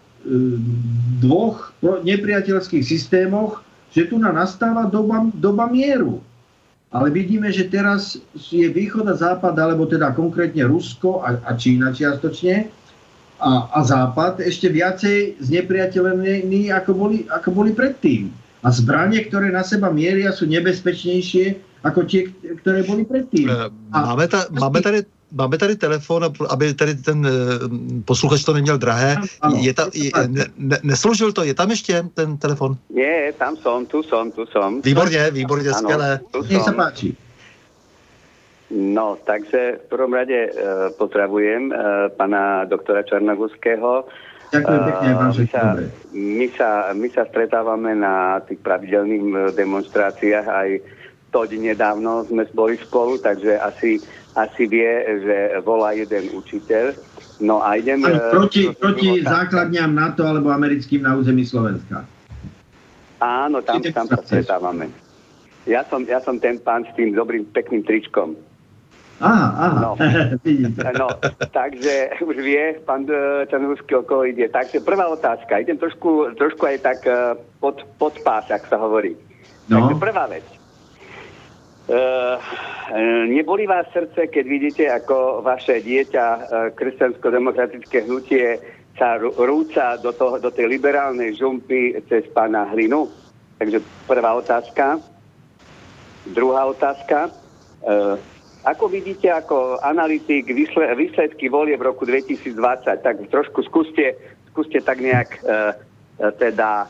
dvoch nepriateľských systémoch, že tu nastáva doba, doba mieru. Ale vidíme, že teraz je východ a západ, alebo teda konkrétne Rusko a, a Čína čiastočne, A, a Západ ešte viacej znepriateľení, ako boli, ako boli predtým. A zbranie, ktoré na seba mieria, sú nebezpečnejšie ako tie, ktoré boli predtým. Máme, ta, máme, tady, máme tady telefon, aby tady ten posluchač to neměl drahé. Ano, je ta, je, ne, ne, nesložil to? Je tam ještě ten telefon? Nie, tam som, tu som, tu som. Výborně, výborně, skvělé. Nech sa páči. No, takže v prvom rade e, pozdravujem e, pana doktora Čarnogurského. Ďakujem pekne, vám my, sa, my, sa, my sa stretávame na tých pravidelných demonstráciách, aj toť nedávno sme boli spolu, takže asi, asi vie, že volá jeden učiteľ. No a idem... Proti, proti základňam NATO alebo americkým na území Slovenska. Áno, tam, tam sa stretávame. Ja som, ja som ten pán s tým dobrým, pekným tričkom. Aha, aha. No. no, takže už vie, pán Čarnogurský, o koho ide. Takže prvá otázka. Idem trošku, trošku aj tak pod, pod pás, ak sa hovorí. No. Takže prvá vec. Uh, neboli vás srdce, keď vidíte, ako vaše dieťa, uh, kresťansko-demokratické hnutie, sa rúca do, toho, do tej liberálnej žumpy cez pána Hlinu? Takže prvá otázka. Druhá otázka. Uh, Ako vidíte ako analytik výsledky volie v roku dvetisícdvadsať, tak trošku skúste, skúste tak nejak e, teda e,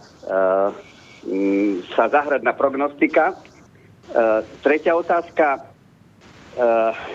m, sa zahrať na prognostika. E, tretia otázka. E, e,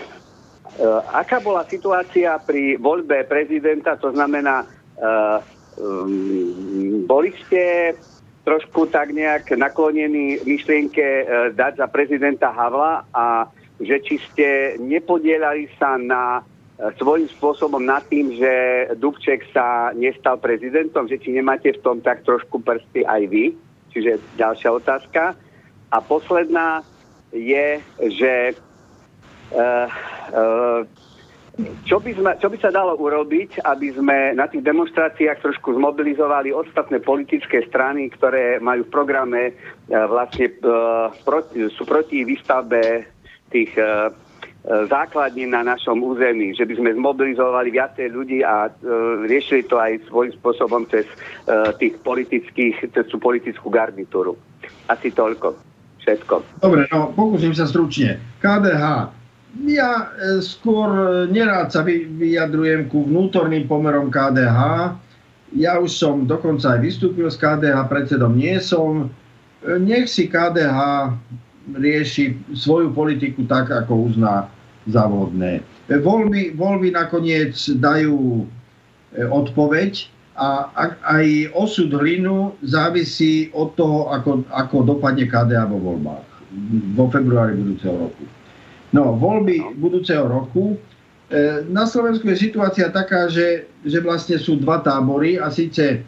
aká bola situácia pri voľbe prezidenta, to znamená, e, um, boli ste trošku tak nejak naklonený myšlienke e, dať za prezidenta Havla a že či ste nepodielali sa na e, svojím spôsobom nad tým, že Dubček sa nestal prezidentom, že či nemáte v tom tak trošku prsty aj vy. Čiže ďalšia otázka. A posledná je, že e, e, Čo by, sme, čo by sa dalo urobiť, aby sme na tých demonstráciách trošku zmobilizovali ostatné politické strany, ktoré majú v programe e, vlastne e, proti, sú proti výstavbe tých e, základní na našom území, že by sme zmobilizovali viacej ľudí a e, riešili to aj svojím spôsobom cez e, tých politických, cez tú politickú garnitúru. Asi toľko. Všetko. Dobre, no pokúsim sa stručne. ká dé há. Ja e, skôr nerád sa vy, vyjadrujem ku vnútorným pomerom ká dé há. Ja už som dokonca aj vystúpil z ká dé há, predsedom nie som. E, nech si ká dé há rieši svoju politiku tak, ako uzná za vhodné. E, voľby, voľby nakoniec dajú e, odpoveď a ak, aj osud Hlinu závisí od toho, ako, ako dopadne ká dé há vo voľbách vo februári budúceho roku. No, voľby budúceho roku. E, na Slovensku je situácia taká, že, že vlastne sú dva tábory a síce e,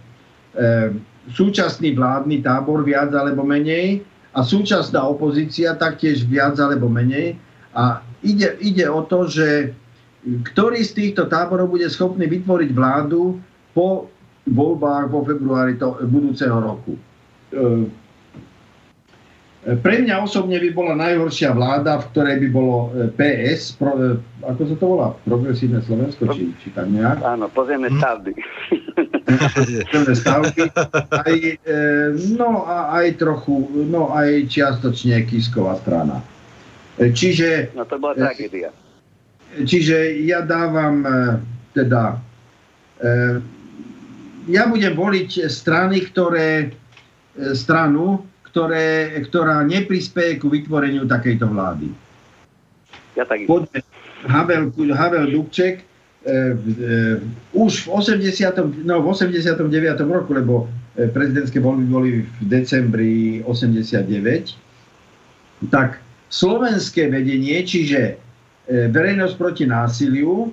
súčasný vládny tábor viac alebo menej a súčasná opozícia taktiež viac alebo menej. A ide, ide o to, že ktorý z týchto táborov bude schopný vytvoriť vládu po voľbách vo februári to, budúceho roku. E, Pre mňa osobne by bola najhoršia vláda, v ktorej by bolo pé es, pro, ako sa to volá? Progresívne Slovensko, či, či tak nejak? Áno, pozemné stavby. Pozemné stavby. Aj, e, no a aj trochu, no aj čiastočne Kisková strana. E, čiže... No to bola tragédia. E, čiže ja dávam e, teda... E, ja budem voliť strany, ktoré... E, stranu, Ktoré, ktorá neprispieje ku vytvoreniu takejto vlády. Ja tak... Poďme, Havel, Havel Dubček e, e, už v osemdesiatom, no, v osemdesiatom deviatom roku, lebo prezidentské voľby boli v decembri osemdesiatdeväť, tak slovenské vedenie, čiže e, verejnosť proti násiliu,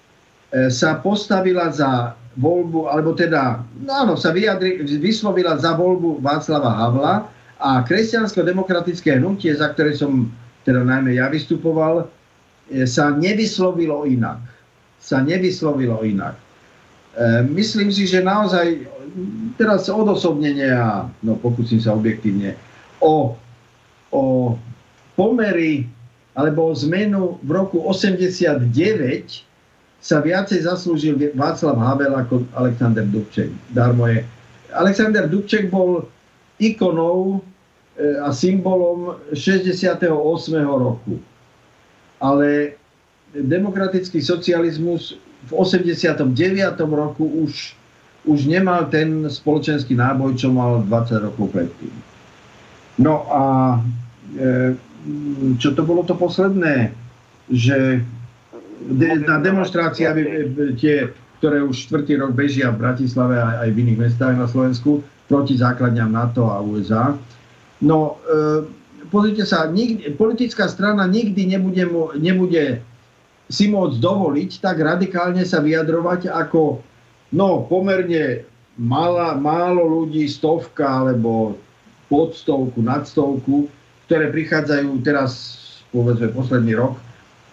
e, sa postavila za voľbu, alebo teda, no áno, sa vyjadri, vyslovila za voľbu Václava Havla a kresťansko-demokratické hnutie, za ktoré som teda najmä ja vystupoval, sa nevyslovilo inak. Sa nevyslovilo inak. E, myslím si, že naozaj teraz odosobnenie a no pokúsim sa objektívne o, o pomery alebo o zmenu v roku osemdesiatdeväť sa viacej zaslúžil Václav Havel ako Alexander Dubček. Darmo je. Alexander Dubček bol ikonou a symbolom šesťdesiateho ôsmeho roku. Ale demokratický socializmus v osemdesiatom deviatom roku už, už nemal ten spoločenský náboj, čo mal dvadsať rokov predtým. No a e, čo to bolo to posledné? Že de, na demonstrácie, tie, ktoré už štvrtý rok bežia v Bratislave aj, aj v iných mestách na Slovensku, proti základňam NATO a ú es á. No, e, pozrite sa, nikdy, politická strana nikdy nebude, nebude si môcť dovoliť tak radikálne sa vyjadrovať ako, no, pomerne mála, málo ľudí, stovka alebo pod stovku, nad stovku, ktoré prichádzajú teraz, povedzme, posledný rok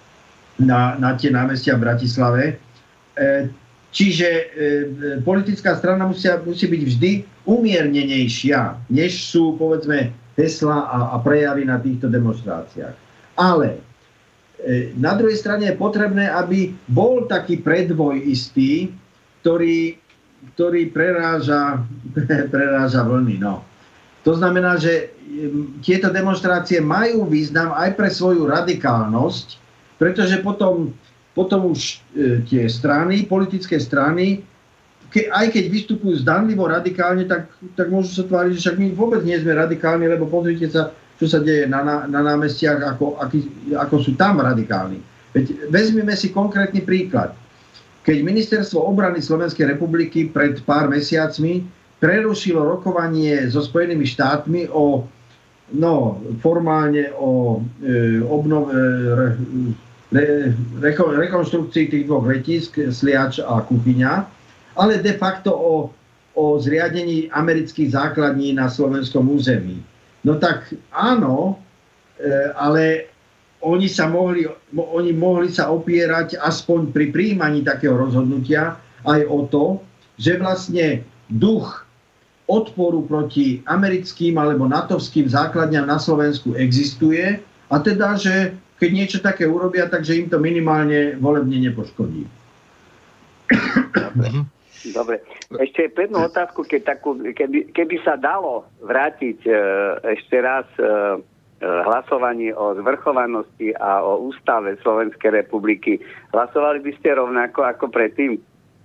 na, na tie námestia v Bratislave. E, čiže e, politická strana musia, musí byť vždy umiernenejšia, než sú, povedzme, hesla a, a prejavy na týchto demonstráciách. Ale e, na druhej strane je potrebné, aby bol taký predvoj istý, ktorý, ktorý preráža, preráža vlny. No. To znamená, že tieto demonstrácie majú význam aj pre svoju radikálnosť, pretože potom, potom už e, tie strany, politické strany, ke, aj keď vystupujú zdanlivo radikálne, tak, tak môžu sa tváriť, že však my vôbec nie sme radikálni, lebo pozrite sa, čo sa deje na, na, na námestiach, ako, aký, ako sú tam radikálni. Veď vezmime si konkrétny príklad. Keď Ministerstvo obrany Slovenskej republiky pred pár mesiacmi prerušilo rokovanie so Spojenými štátmi o, no, formálne o e, obnove, re, re, reko, rekonštrukcii tých dvoch letísk, Sliač a Kuchyňa, ale de facto o, o zriadení amerických základní na slovenskom území. No tak áno, e, ale oni sa mohli, oni mohli sa opierať aspoň pri prijímaní takého rozhodnutia aj o to, že vlastne duch odporu proti americkým alebo natovským základňam na Slovensku existuje a teda, že keď niečo také urobia, takže im to minimálne volebne nepoškodí. Dobre. Dobre. Ešte jednu otázku, keď takú, keby, keby sa dalo vrátiť e, ešte raz e, hlasovanie o zvrchovanosti a o ústave Slovenskej republiky, hlasovali by ste rovnako ako predtým?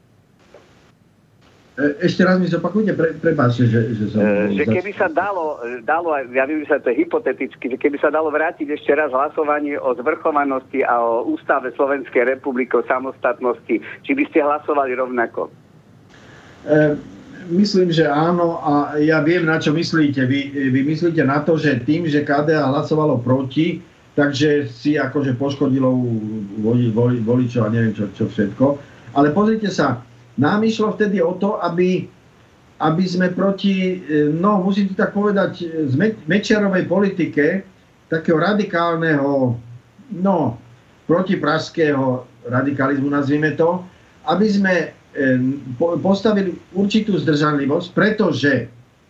Ešte raz mi zopakujte, pre, prepáčte, že, že som... E, že keby sa dalo, dalo, ja viem, že sa to je hypoteticky, že keby sa dalo vrátiť ešte raz hlasovanie o zvrchovanosti a o ústave Slovenskej republiky, o samostatnosti, či by ste hlasovali rovnako? E, myslím, že áno a ja viem, na čo myslíte. Vy, vy myslíte na to, že tým, že ká dé á hlasovalo proti, takže si akože poškodilo voli, voli, voličov a neviem čo, čo všetko. Ale pozrite sa, nám išlo vtedy o to, aby, aby sme proti, no musím to tak povedať, z Mečiarovej politike, takého radikálneho, no protipražského radikalizmu, nazvime to, aby sme postavili určitú zdržanlivosť, pretože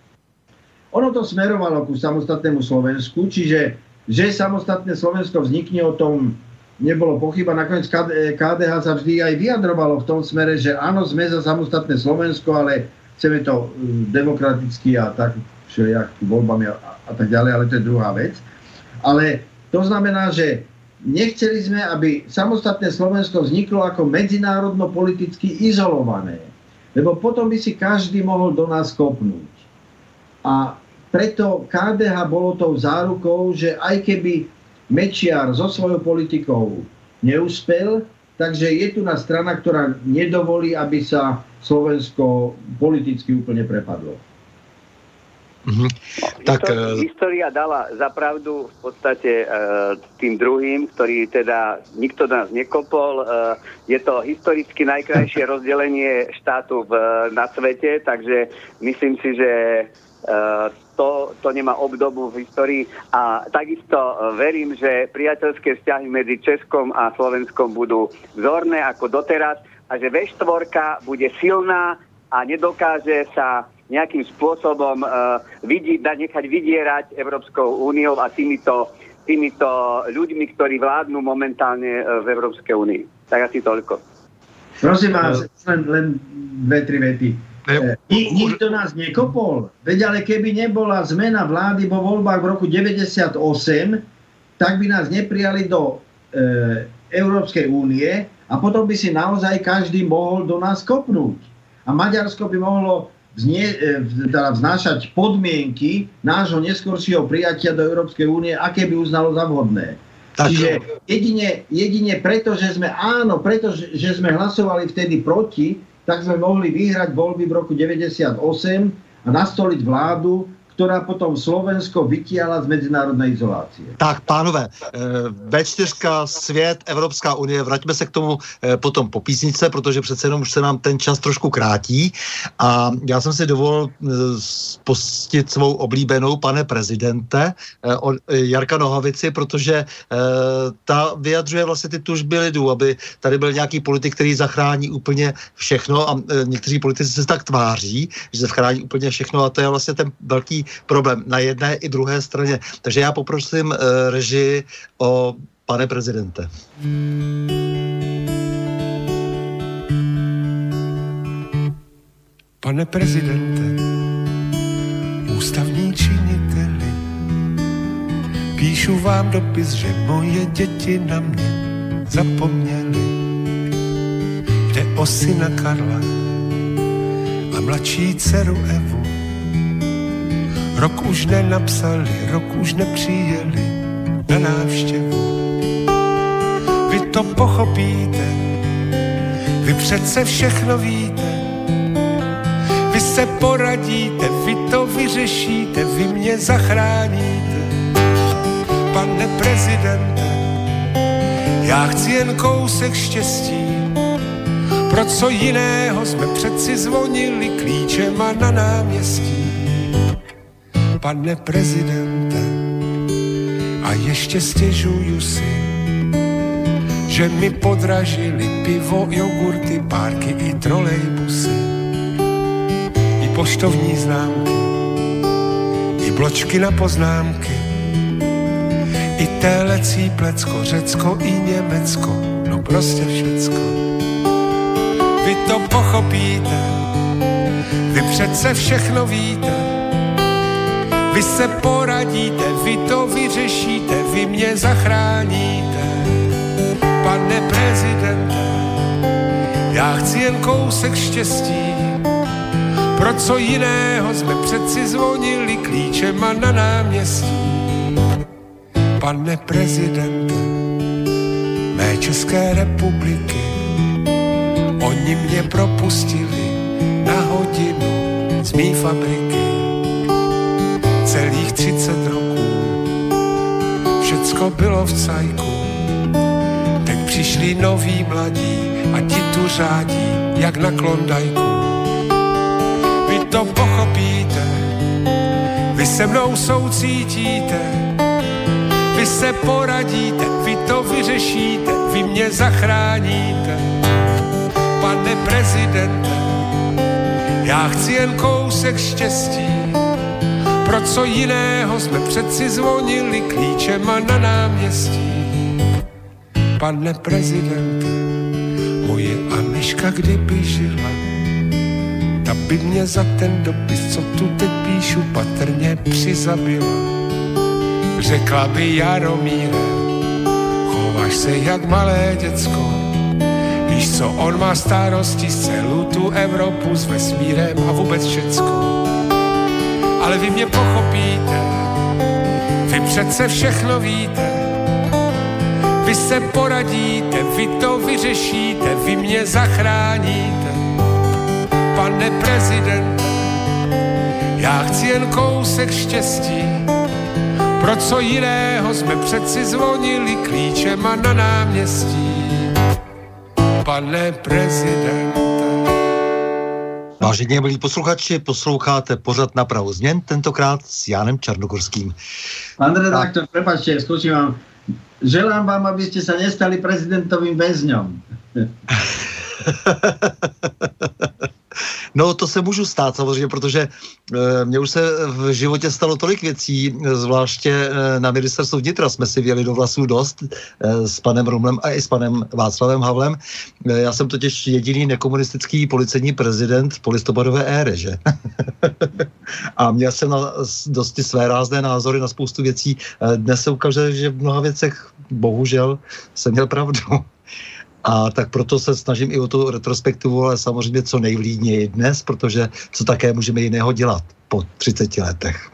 ono to smerovalo ku samostatnému Slovensku, čiže že samostatné Slovensko vznikne, o tom nebolo pochyba. Nakoniec ká dé há sa vždy aj vyjadrovalo v tom smere, že áno, sme za samostatné Slovensko, ale chceme to demokraticky a tak všelijak voľbami a, a tak ďalej, ale to je druhá vec. Ale to znamená, že nechceli sme, aby samostatné Slovensko vzniklo ako medzinárodno-politicky izolované. Lebo potom by si každý mohol do nás kopnúť. A preto ká dé há bolo tou zárukou, že aj keby Mečiar so svojou politikou neúspel, takže je tu na strana, ktorá nedovolí, aby sa Slovensko politicky úplne prepadlo. Mm-hmm. Tak, História, história dala zapravdu v podstate e, tým druhým, ktorý teda nikto nás nekopol. E, je to historicky najkrajšie rozdelenie štátu v, na svete, takže myslím si, že e, to, to nemá obdobu v histórii a takisto verím, že priateľské vzťahy medzi Českom a Slovenskom budú vzorné ako doteraz a že vé štyri bude silná a nedokáže sa nejakým spôsobom uh, vidieť, nechať vydierať Európskou úniou a týmito, týmito ľuďmi, ktorí vládnu momentálne uh, v Európskej únii. Tak asi toľko. Prosím vás, len, len dve, tri vety. Nik, nikto nás nekopol. Veď ale keby nebola zmena vlády vo voľbách v roku deväťdesiatosem, tak by nás neprijali do e, Európskej únie a potom by si naozaj každý mohol do nás kopnúť. A Maďarsko by mohlo Vznie, teda vznášať podmienky nášho neskoršieho prijatia do Európskej únie, aké by uznalo za vhodné. Tak. Čiže jedine, jedine preto, že sme áno, preto, že sme hlasovali vtedy proti, tak sme mohli vyhrať voľby v roku deväťdesiatosem a nastoliť vládu, ktorá potom Slovensko vytiala z medzinárodnej izolácie. Tak, pánové, vé čtyři, svět, Evropská unie, vraťme se k tomu potom po písničce, protože přece jenom už se nám ten čas trošku krátí. A já jsem si dovolil pustit svou oblíbenou, pane prezidente, od Jarka Nohavici, protože ta vyjadřuje vlastně ty tužby lidů, aby tady byl nějaký politik, který zachrání úplně všechno a někteří politici se tak tváří, že se zachrání úplně všechno a to je vlastně ten velký problém na jedné i druhé straně. Takže já poprosím uh, režii o pane prezidente. Pane prezidente, ústavní činiteli, píšu vám dopis, že moje děti na mě zapomněly. Jde o syna Karla a mladší dceru Evu. Rok už nenapsali, rok už nepřijeli na návštěvu. Vy to pochopíte, vy přece všechno víte. Vy se poradíte, vy to vyřešíte, vy mě zachráníte. Pane prezidente, já chci jen kousek štěstí, pro co jiného jsme přeci zvonili klíčema na náměstí. Pane prezidente, a ještě stěžuju si, že mi podražili pivo, jogurty, párky i trolejbusy, i poštovní známky, i bločky na poznámky, i telecí plecko, Řecko i Německo, no prostě všecko. Vy to pochopíte, vy přece všechno víte, vy se poradíte, vy to vyřešíte, vy mě zachráníte. Pane prezidente, já chci jen kousek štěstí, pro co jiného jsme přeci zvonili klíčema na náměstí. Pane prezidente mé České republiky, oni mě propustili na hodinu z mý fabriky. Celých třicet roků všecko bylo v cajku. Teď přišli noví mladí a ti tu řádí jak na Klondajku. Vy to pochopíte, vy se mnou soucítíte, vy se poradíte, vy to vyřešíte, vy mě zachráníte. Pane prezidente, já chci jen kousek štěstí, pro co jiného jsme přeci zvonili klíčema na náměstí. Pane prezidente, moje Aniška kdyby žila, ta by mě za ten dopis, co tu teď píšu, patrně přizabila. Řekla by: Jaromíre, chováš se jak malé děcko, víš co, on má starosti z celou tu Evropu s vesmírem a vůbec všecko. Ale vy mě pochopíte, vy přece všechno víte, vy se poradíte, vy to vyřešíte, vy mě zachráníte. Pane prezidente, já chci jen kousek štěstí, pro co jiného jsme přeci zvonili klíčema na náměstí. Pane prezidente. Vážení milí posluchači, posloucháte pořad Napravu změn, tentokrát s Jánem Čarnogorským. Pán redaktor, prepáčte, skúsim vám. Želám vám, aby ste sa nestali prezidentovým väzňom. No, to se můžu stát samozřejmě, protože e, mně už se v životě stalo tolik věcí, zvláště e, na ministerstvu vnitra jsme si věli do vlasů dost e, s panem Rumlem a i s panem Václavem Havlem. E, já jsem totiž jediný nekomunistický policejní prezident v polistopadové éře, že? A měl jsem na dosti své rázné názory na spoustu věcí. E, dnes se ukáže, že v mnoha věcech bohužel jsem měl pravdu. A tak proto se snažím i o tu retrospektivu, ale samozřejmě co nejvlídněji dnes, protože co také můžeme jiného dělat po třiceti letech.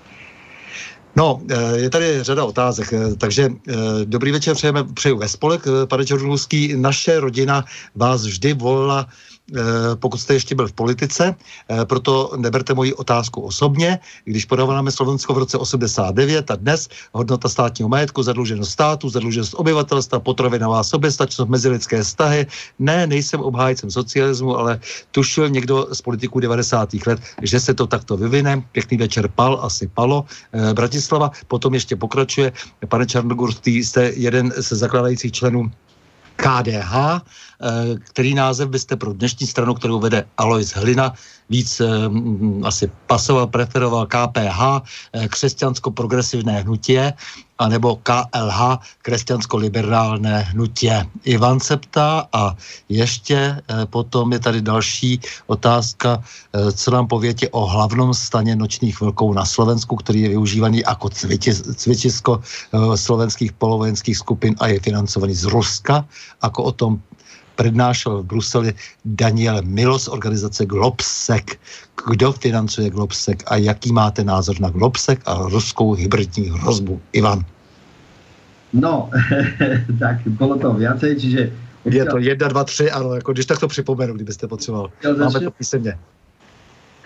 No, je tady řada otázek, takže dobrý večer, přejeme, přeju ve spolek, pane Čarnogorský. Naše rodina vás vždy volila, pokud jste ještě byl v politice, proto neberte moji otázku osobně. Když podáváme Slovensko v roce osmdesát devět a dnes hodnota státního majetku, zadluženost státu, zadluženost obyvatelstva, potravinová soběstačnost, mezilidské vztahy. Ne, nejsem obhájcem socialismu, ale tušil někdo z politiků devadesátých let, že se to takto vyvine. Pěkný večer, Pal, asi Palo, Bratislava. Potom ještě pokračuje. Pane Čarnogorský, jste jeden ze zakládajících členů K D H, který název byste pro dnešní stranu, kterou vede Alois Hlina, víc um, asi pasoval, preferoval K P H, křesťansko-progresivné hnutí, anebo K L H, křesťansko-liberálné hnutí. Ivan se ptá a ještě eh, potom je tady další otázka, eh, co nám povětě o hlavnom stane nočních vlků na Slovensku, který je využívaný jako cvičisko eh, slovenských polovojenských skupin a je financovaný z Ruska, jako o tom přednášel v Bruseli Daniel Milo z organizace Globsec. Kdo financuje Globsec a jaký máte názor na Globsec a ruskou hybridní hrozbu? Ivan. No, tak bylo to viacej, čiže... Je to jedna, dva, tři, ano, jako když tak to připomenu, kdybyste potřeboval. Máme to písemně.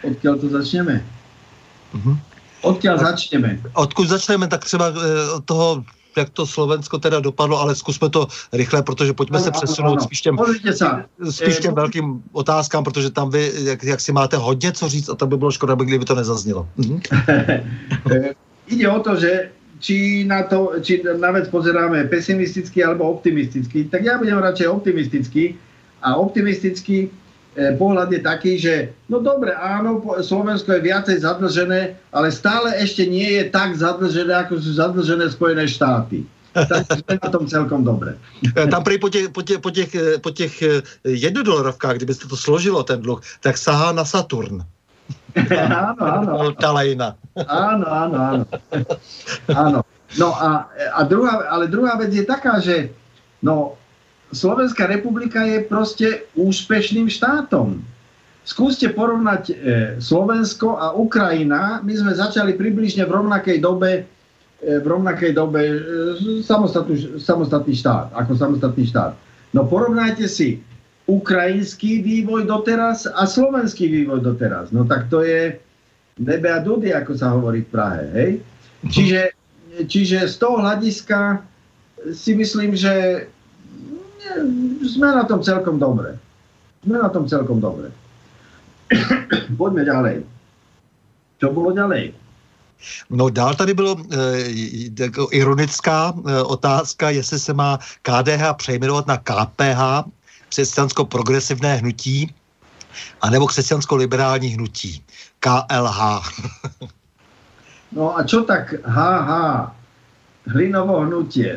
odkiaľ to začneme? Uh-huh. Odkiaľ tak, začneme? Odkud začneme, tak třeba od toho, jak to Slovensko teda dopadlo, ale zkusme to rychle, protože pojďme ano, se přesunout ano, ano. spíš těm, spíš těm e, velkým otázkám, protože tam vy, jak, jak si máte hodně co říct a tam by bylo škoda, kdyby to nezaznělo. Mhm. Ide o to, že či na, to, či na vec pozeráme pesimisticky alebo optimisticky, tak ja budem radšej optimistický a optimistický eh, pohľad je taký, že no dobre, áno, Slovensko je viacej zadlžené, ale stále ešte nie je tak zadlžené, ako sú zadlžené Spojené štáty. Takže sme na tom celkom dobre. Tam prý po těch, po těch, po těch, po těch jednodolarovkách, kdybyste to složilo ten dluh, tak sahá na Saturn. Áno, áno. Talajna. Áno, áno, áno. Áno. No a, a druhá, ale druhá vec je taká, že no, Slovenská republika je proste úspešným štátom. Skúste porovnať e, Slovensko a Ukrajina. My sme začali približne v rovnakej dobe e, v rovnakej dobe e, samostatný, samostatný štát, ako samostatný štát. No porovnajte si ukrajinský vývoj doteraz a slovenský vývoj doteraz. No tak to je nebe a dudy, ako sa hovorí v Prahe, hej? Čiže, čiže z toho hľadiska si myslím, že sme na tom celkom dobre. Sme na tom celkom dobre. Poďme ďalej. Čo bolo ďalej? No dál tady bylo e, jako ironická e, otázka, jestli se má K D H přejmenovat na K P H, křesťansko-progresivné hnutí, anebo křesťansko-liberální hnutí. K L H. No a čo tak há há? Hlinovo hnutie.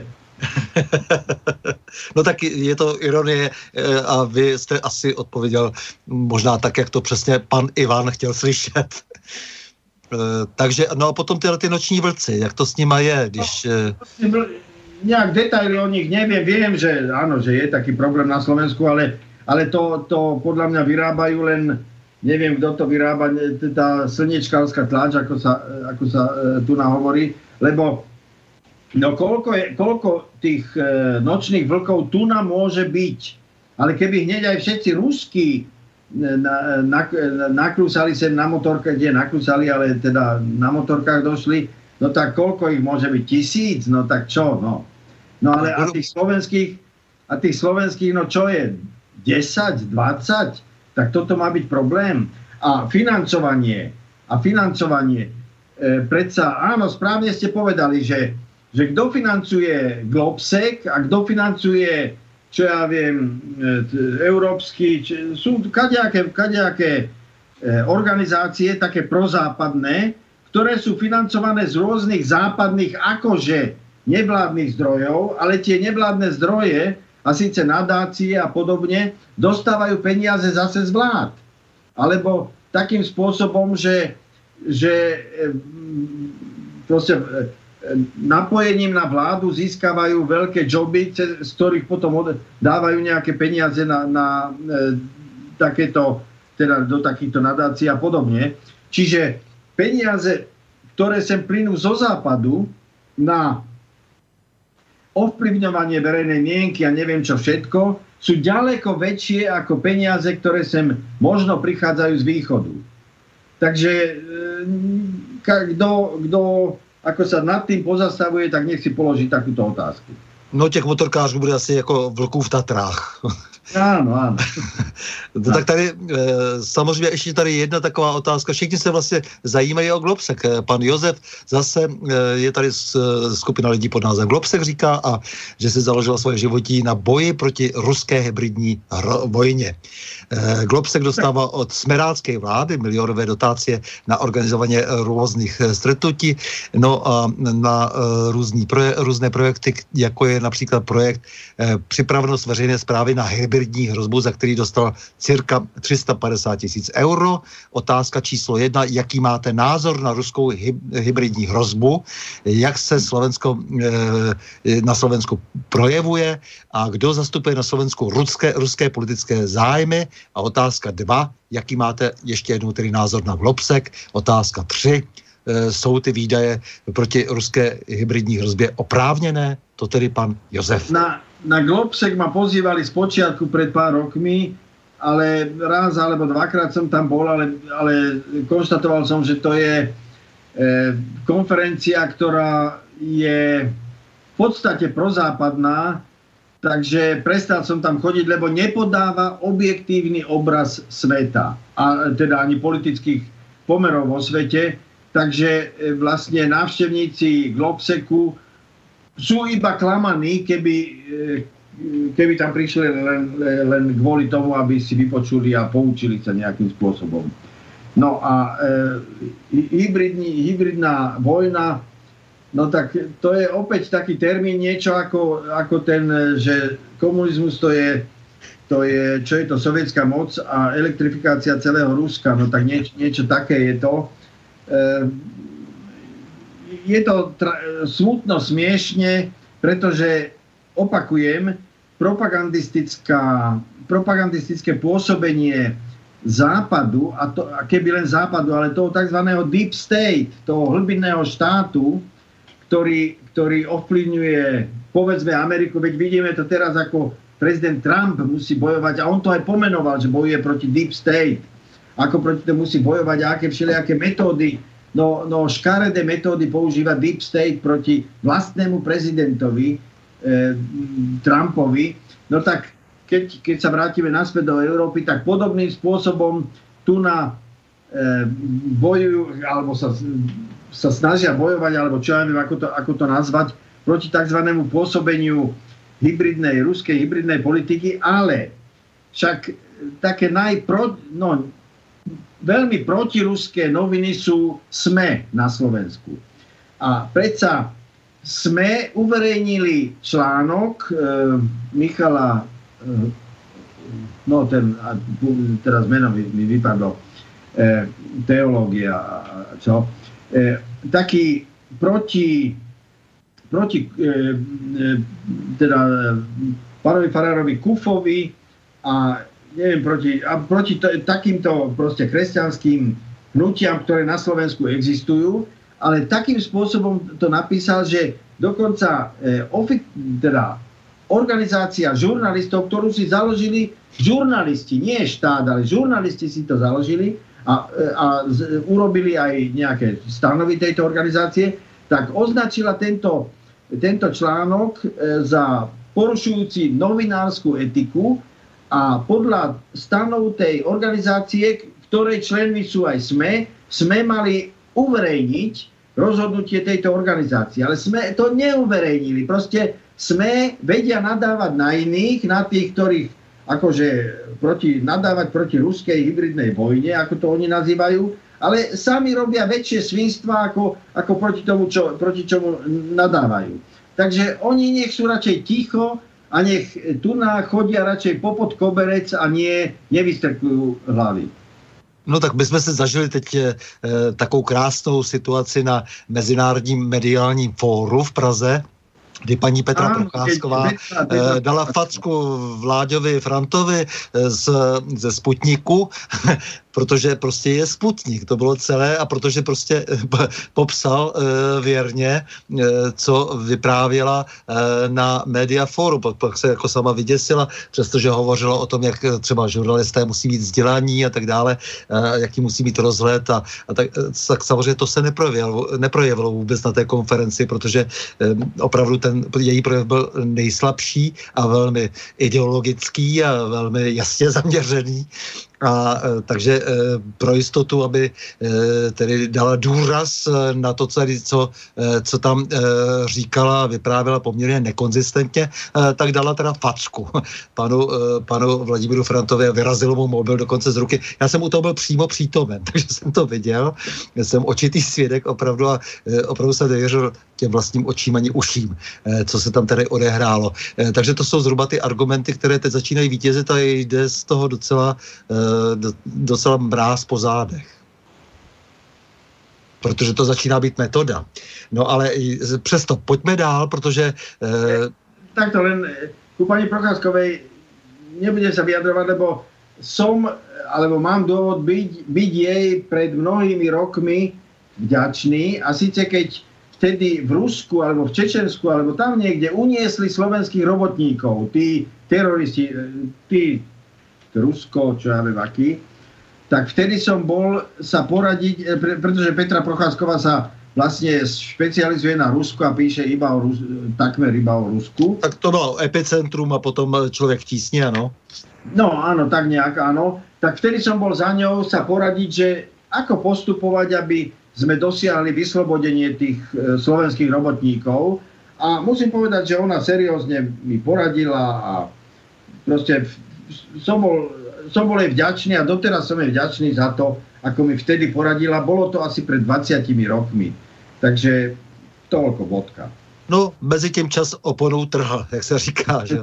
No tak je to ironie a vy jste asi odpověděl možná tak, jak to přesně pan Ivan chtěl slyšet. Takže, no a potom tyhle ty noční vlci, jak to s nima je, když... No, nejak detaily o nich neviem, viem, že áno, že je taký problém na Slovensku, ale, ale to, to podľa mňa vyrábajú len, neviem, kto to vyrába, tá slnečkárska tlač, ako sa, ako sa e, tu nahovorí, lebo no koľko, je, koľko tých e, nočných vlkov tu nám môže byť, ale keby hneď aj všetci ruskí na, na, naklúsali sem na motorkách, kde naklúsali, ale teda na motorkách došli, no tak koľko ich môže byť? Tisíc? No tak čo? No, no ale a tých slovenských, a tých slovenských, no čo je? desať, dvadsať? Tak toto má byť problém. A financovanie, a financovanie, e, predsa, áno, správne ste povedali, že, že kto financuje Globsec a kto financuje, čo ja viem, e, európsky, či, sú kadejaké, kadejaké e, organizácie, také prozápadné, ktoré sú financované z rôznych západných akože nevládnych zdrojov, ale tie nevládne zdroje, a síce nadácie a podobne, dostávajú peniaze zase z vlád. Alebo takým spôsobom, že, že proste napojením na vládu získavajú veľké joby, z ktorých potom dávajú nejaké peniaze na, na takéto, teda do takýchto nadácií a podobne. Čiže peniaze, ktoré sem plynú zo západu na ovplyvňovanie verejnej mienky a neviem čo všetko, sú ďaleko väčšie ako peniaze, ktoré sem možno prichádzajú z východu. Takže kto, kto ako sa nad tým pozastavuje, tak nech si položí takúto otázku. No těch motorkářů bude asi jako vlků v Tatrách. Áno, áno. No, tak tady samozřejmě ještě tady jedna taková otázka. Všichni se vlastně zajímají o Globsec. Pan Josef zase je tady skupina lidí pod názvem Globsec říká, a že si založila svoje životí na boji proti ruské hybridní vojně. Globsec dostává od smerácké vlády milionové dotácie na organizování různých stretnutí, no a na různý proje, různé projekty, jako je například projekt Připravenost veřejné správy na hybridní hrozbu, za který dostal cirka tři sta padesát tisíc euro. Otázka číslo jedna, jaký máte názor na ruskou hybridní hrozbu, jak se Slovensko, na Slovensku projevuje a kdo zastupuje na Slovensku ruské, ruské politické zájmy. A otázka dva, jaký máte ještě jednou tedy názor na Globsec. Otázka tři, jsou ty výdaje proti ruské hybridní hrozbě oprávněné? To tedy pan Josef. Na, na Globsec ma pozývali z počiatku pred pár rokmi ale raz alebo dvakrát som tam bol, ale, ale konštatoval som, že to je e, konferencia, ktorá je v podstate prozápadná, takže prestal som tam chodiť, lebo nepodáva objektívny obraz sveta, a teda ani politických pomerov vo svete, takže e, vlastne návštevníci Globseku sú iba klamaní, keby e, keby tam prišli len, len kvôli tomu, aby si vypočuli a poučili sa nejakým spôsobom. No a e, hybridní, hybridná vojna, no tak to je opäť taký termín, niečo ako, ako ten, že komunizmus to je, to je, čo je to sovietská moc a elektrifikácia celého Ruska, no tak nieč, niečo také je to. E, je to tra- smutno, smiešne, pretože opakujem, propagandistická, propagandistické pôsobenie západu, a, to, a keby len západu, ale toho tzv. Deep state, toho hlbinného štátu, ktorý, ktorý ovplyvňuje, povedzme, Ameriku, veď vidíme to teraz, ako prezident Trump musí bojovať, a on to aj pomenoval, že bojuje proti Deep state, ako proti tomu musí bojovať, a aké všelijaké metódy, no, no škaredé metódy používa Deep state proti vlastnému prezidentovi, Trumpovi, no tak keď, keď sa vrátime naspäť do Európy, tak podobným spôsobom tu na e, bojujú, alebo sa, sa snažia bojovať, alebo čo ja neviem, ako to, ako to nazvať, proti tzv. Pôsobeniu hybridnej, ruskej hybridnej politiky, ale však také najpro, no, veľmi protiruské noviny sú SME na Slovensku. A predsa sme uverejnili článok e, Michala, e, no ten, a, teraz meno mi, mi vypadlo, e, teológia, čo, e, taký proti, proti e, e, teda pánovi farárovi Kufovi a neviem, proti, a proti t- takýmto proste kresťanským hnutiam, ktoré na Slovensku existujú, ale takým spôsobom to napísal, že dokonca e, ofi- teda organizácia žurnalistov, ktorú si založili žurnalisti, nie štát, ale žurnalisti si to založili a, a z, urobili aj nejaké stanovy tejto organizácie, tak označila tento, tento článok e, za porušujúci novinárskú etiku a podľa stanov tej organizácie, ktorej členmi sú aj SME, SME mali uverejniť rozhodnutie tejto organizácie. Ale sme to neuverejnili. Proste sme vedia nadávať na iných, na tých, ktorých akože proti, nadávať proti ruskej hybridnej vojne, ako to oni nazývajú, ale sami robia väčšie svinstva, ako, ako proti tomu, čo, proti čomu nadávajú. Takže oni nech sú radšej ticho a nech tu chodia radšej popod koberec a nie nevystrkujú hlavy. No tak my jsme se zažili teď e, takovou krásnou situaci na Mezinárodním mediálním fóru v Praze, kdy paní Petra Procházková e, dala facku Vláďovi Frantovi z, ze Sputniku, protože prostě je Sputnik, to bylo celé, a protože prostě popsal e, věrně, e, co vyprávěla e, na Mediaforu. Pak, pak se jako sama vyděsila, přestože hovořila o tom, jak třeba žurnalisté musí mít vzdělání a tak dále, e, jaký musí mít rozhled a, a tak, tak samozřejmě to se neprojevilo, neprojevilo vůbec na té konferenci, protože e, opravdu ten její projev byl nejslabší a velmi ideologický a velmi jasně zaměřený. A takže pro jistotu, aby tedy dala důraz na to, co, co, co tam říkala, vyprávěla poměrně nekonzistentně, tak dala teda facku panu, panu Vladimíru Frantovi a vyrazil mu mobil dokonce z ruky. Já jsem u toho byl přímo přítomen, takže jsem to viděl. Jsem očitý svědek opravdu a opravdu jsem nevěřil těm vlastním očím ani uším, co se tam tady odehrálo. Takže to jsou zhruba ty argumenty, které teď začínají vítězit a jde z toho docela docela mráz po zádech. Protože to začíná být metoda. No ale přesto, pojďme dál, protože... Eh... Takto len ku pani Procházkovej nebudem sa vyjadrovať, lebo som, alebo mám dôvod byť, byť jej pred mnohými rokmi vďačný, a síce keď vtedy v Rusku, alebo v Čečensku, alebo tam niekde uniesli slovenských robotníkov, tí teroristi, tí Rusko, čo ja viem aký, tak vtedy som bol sa poradiť, pre, pretože Petra Procházková sa vlastne špecializuje na Rusko a píše iba o Rus, takmer iba o Rusku. Tak to bolo epicentrum a potom Človek v tísni, áno? No áno, tak nejak áno. Tak vtedy som bol za ňou sa poradiť, že ako postupovať, aby sme dosiahli vyslobodenie tých e, slovenských robotníkov. A musím povedať, že ona seriózne mi poradila a proste som bol, som bol jej vďačný a doteraz som jej vďačný za to, ako mi vtedy poradila. Bolo to asi pred dvadsiatimi rokmi. Takže toľko bodka. No, mezi tím čas oponou trhl, jak se říká. Že?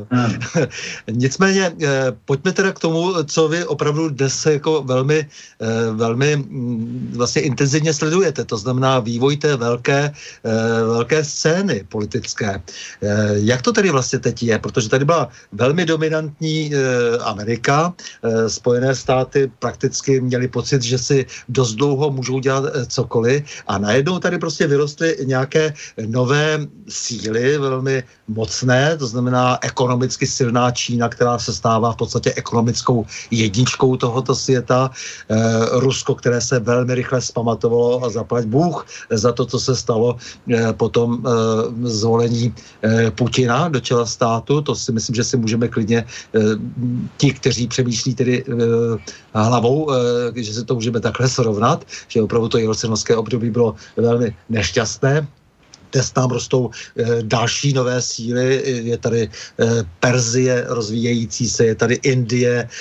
Nicméně, eh, pojďme teda k tomu, co vy opravdu dnes jako velmi, eh, velmi mm, vlastně intenzivně sledujete. To znamená vývoj té velké, eh, velké scény politické. Eh, jak to tedy vlastně teď je? Protože tady byla velmi dominantní eh, Amerika. Eh, Spojené státy prakticky měli pocit, že si dost dlouho můžou dělat eh, cokoliv a najednou tady prostě vyrostly nějaké nové síly, velmi mocné, to znamená ekonomicky silná Čína, která se stává v podstatě ekonomickou jedničkou tohoto světa, e, Rusko, které se velmi rychle zpamatovalo a zaplať Bůh za to, co se stalo e, po tom e, zvolení e, Putina do čela státu, to si myslím, že si můžeme klidně e, ti, kteří přemýšlí tedy e, hlavou, e, že si to můžeme takhle srovnat, že opravdu to jelcinovské období bylo velmi nešťastné. Dnes tam rostou e, další nové síly, je tady e, Perzie rozvíjející se, je tady Indie e,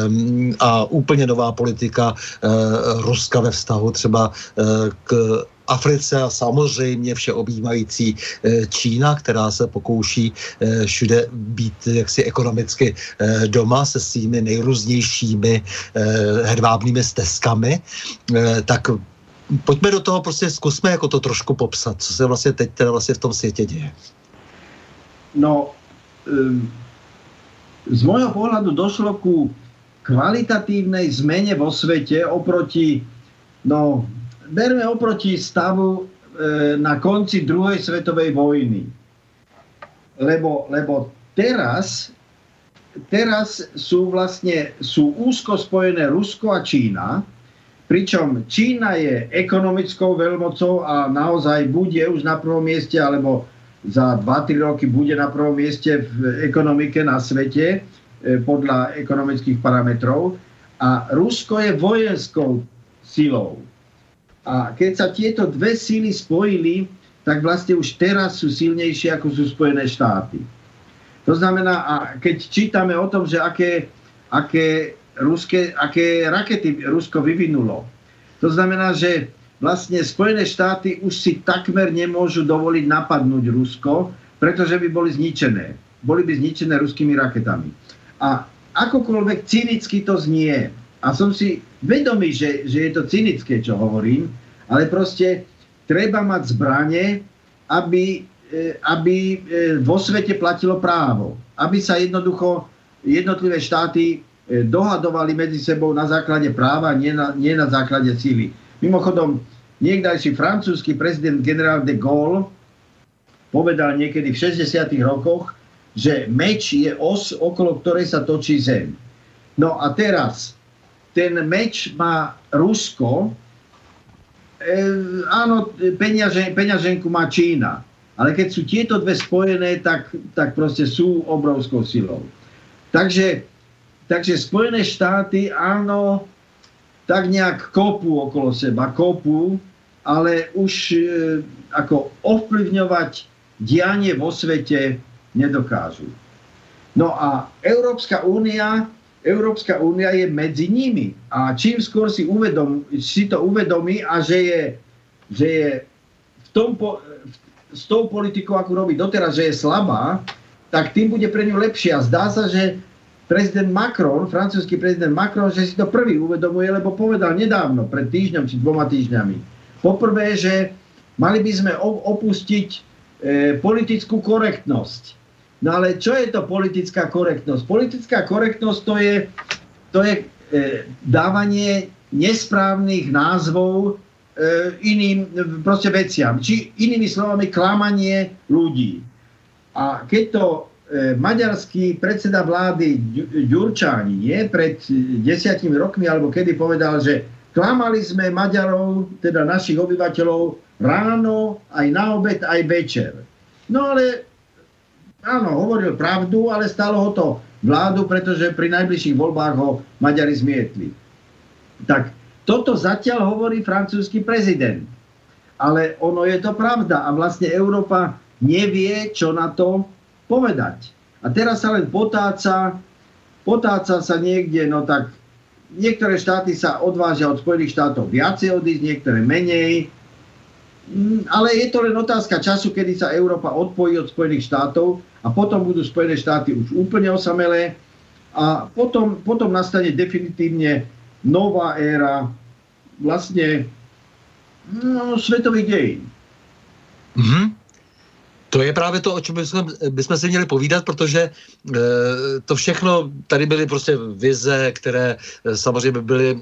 a úplně nová politika e, Ruska ve vztahu třeba e, k Africe a samozřejmě všeobjímající e, Čína, která se pokouší e, všude být jaksi ekonomicky e, doma se svými nejrůznějšími e, hedvábnými stezkami, e, tak pojďme do toho, prostě zkusme jako to trošku popsat, co se vlastně teď teda vlastně v tom světě děje. No, z môjho pohľadu došlo ku kvalitatívnej zmene vo svete oproti, no, berme oproti stavu na konci druhej svetovej vojny. Lebo, lebo teraz, teraz sú vlastne, sú úzko spojené Rusko a Čína, pričom Čína je ekonomickou veľmocou a naozaj bude už na prvom mieste, alebo za dva tri roky bude na prvom mieste v ekonomike na svete podľa ekonomických parametrov. A Rusko je vojenskou silou. A keď sa tieto dve síly spojili, tak vlastne už teraz sú silnejšie, ako sú Spojené štáty. To znamená, a keď čítame o tom, že aké, aké Ruské, aké rakety Rusko vyvinulo. To znamená, že vlastne Spojené štáty už si takmer nemôžu dovoliť napadnúť Rusko, pretože by boli zničené. Boli by zničené ruskými raketami. A akokoľvek cynicky to znie, a som si vedomý, že, že je to cynické, čo hovorím, ale proste treba mať zbrane, aby, aby vo svete platilo právo. Aby sa jednoducho jednotlivé štáty dohadovali medzi sebou na základe práva, nie na, nie na základe síly. Mimochodom, niekdajší francúzsky prezident generál de Gaulle povedal niekedy v šesťdesiatych rokoch, že meč je os, okolo ktorej sa točí zem. No a teraz ten meč má Rusko, e, áno, peňažen, peňaženku má Čína, ale keď sú tieto dve spojené, tak, tak proste sú obrovskou silou. Takže Takže Spojené štáty, áno, tak nejak kopú okolo seba, kopú, ale už e, ako ovplyvňovať dianie vo svete nedokážu. No a Európska únia, Európska únia je medzi nimi. A čím skôr si, uvedom, si to uvedomí a že je, že je v tom po, v, s tou politikou, ako robí doteraz, že je slabá, tak tým bude pre ňu lepšie. A zdá sa, že prezident Macron, francúzsky prezident Macron, že si to prvý uvedomuje, lebo povedal nedávno, pred týždňom či dvoma týždňami. Poprvé, že mali by sme opustiť e, politickú korektnosť. No ale čo je to politická korektnosť? Politická korektnosť to je, to je e, dávanie nesprávnych názvov e, iným proste veciam. Či inými slovami klamanie ľudí. A keď to maďarský predseda vlády Ďurčáni, nie, pred desiatimi rokmi, alebo kedy povedal, že klamali sme Maďarov, teda našich obyvateľov, ráno, aj na obed, aj večer. No ale, áno, hovoril pravdu, ale stalo ho to vládu, pretože pri najbližších voľbách ho Maďari zmietli. Tak toto zatiaľ hovorí francúzsky prezident. Ale ono je to pravda a vlastne Európa nevie, čo na to povedať. A teraz sa len potáca, potáca sa niekde, no tak niektoré štáty sa odvážia od Spojených štátov viacej odísť, niektoré menej. Ale je to len otázka času, kedy sa Európa odpojí od Spojených štátov a potom budú Spojené štáty už úplne osamelé a potom, potom nastane definitívne nová éra vlastne no, svetových dejín. Mm-hmm. To je právě to, o čem bychom, bychom si měli povídat, protože e, to všechno, tady byly prostě vize, které e, samozřejmě byly e,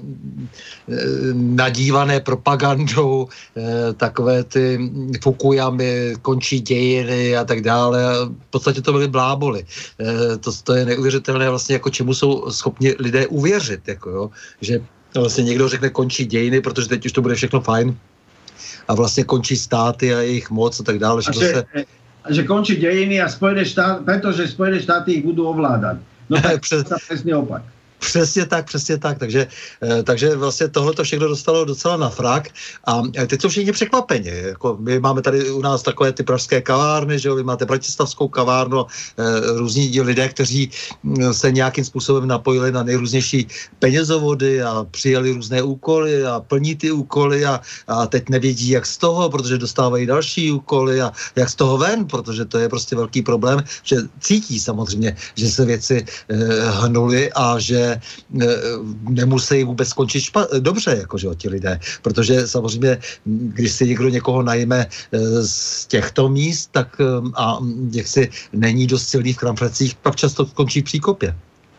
nadívané propagandou, e, takové ty Fukuyamy, končí dějiny a tak dále. V podstatě to byly bláboli. E, to, to je neuvěřitelné vlastně, jako čemu jsou schopni lidé uvěřit, jako jo, že vlastně někdo řekne končí dějiny, protože teď už to bude všechno fajn. A vlastně končí státy a jejich moc a tak dále. A že, se... že končí dějiny a Spojené štáty, protože Spojené štáty ich budou ovládat. No tak Přes... to přesně opak. Přesně tak, přesně tak. Takže, takže vlastně tohle to všechno dostalo docela na frak. A teď jsou všichni překvapeni. Jako my máme tady u nás takové ty pražské kavárny, že jo? Vy máte bratislavskou kavárnu, různí lidé, kteří se nějakým způsobem napojili na nejrůznější penězovody a přijali různé úkoly a plní ty úkoly a, a teď nevědí, jak z toho, protože dostávají další úkoly a jak z toho ven, protože to je prostě velký problém, že cítí samozřejmě, že se věci eh, hnuly a že nemusí vůbec skončit špa- dobře, jakože ti lidé, protože samozřejmě, když si někdo někoho najme z těchto míst, tak a jak si není dost silný v kramflecích, pak často skončí v příkopě.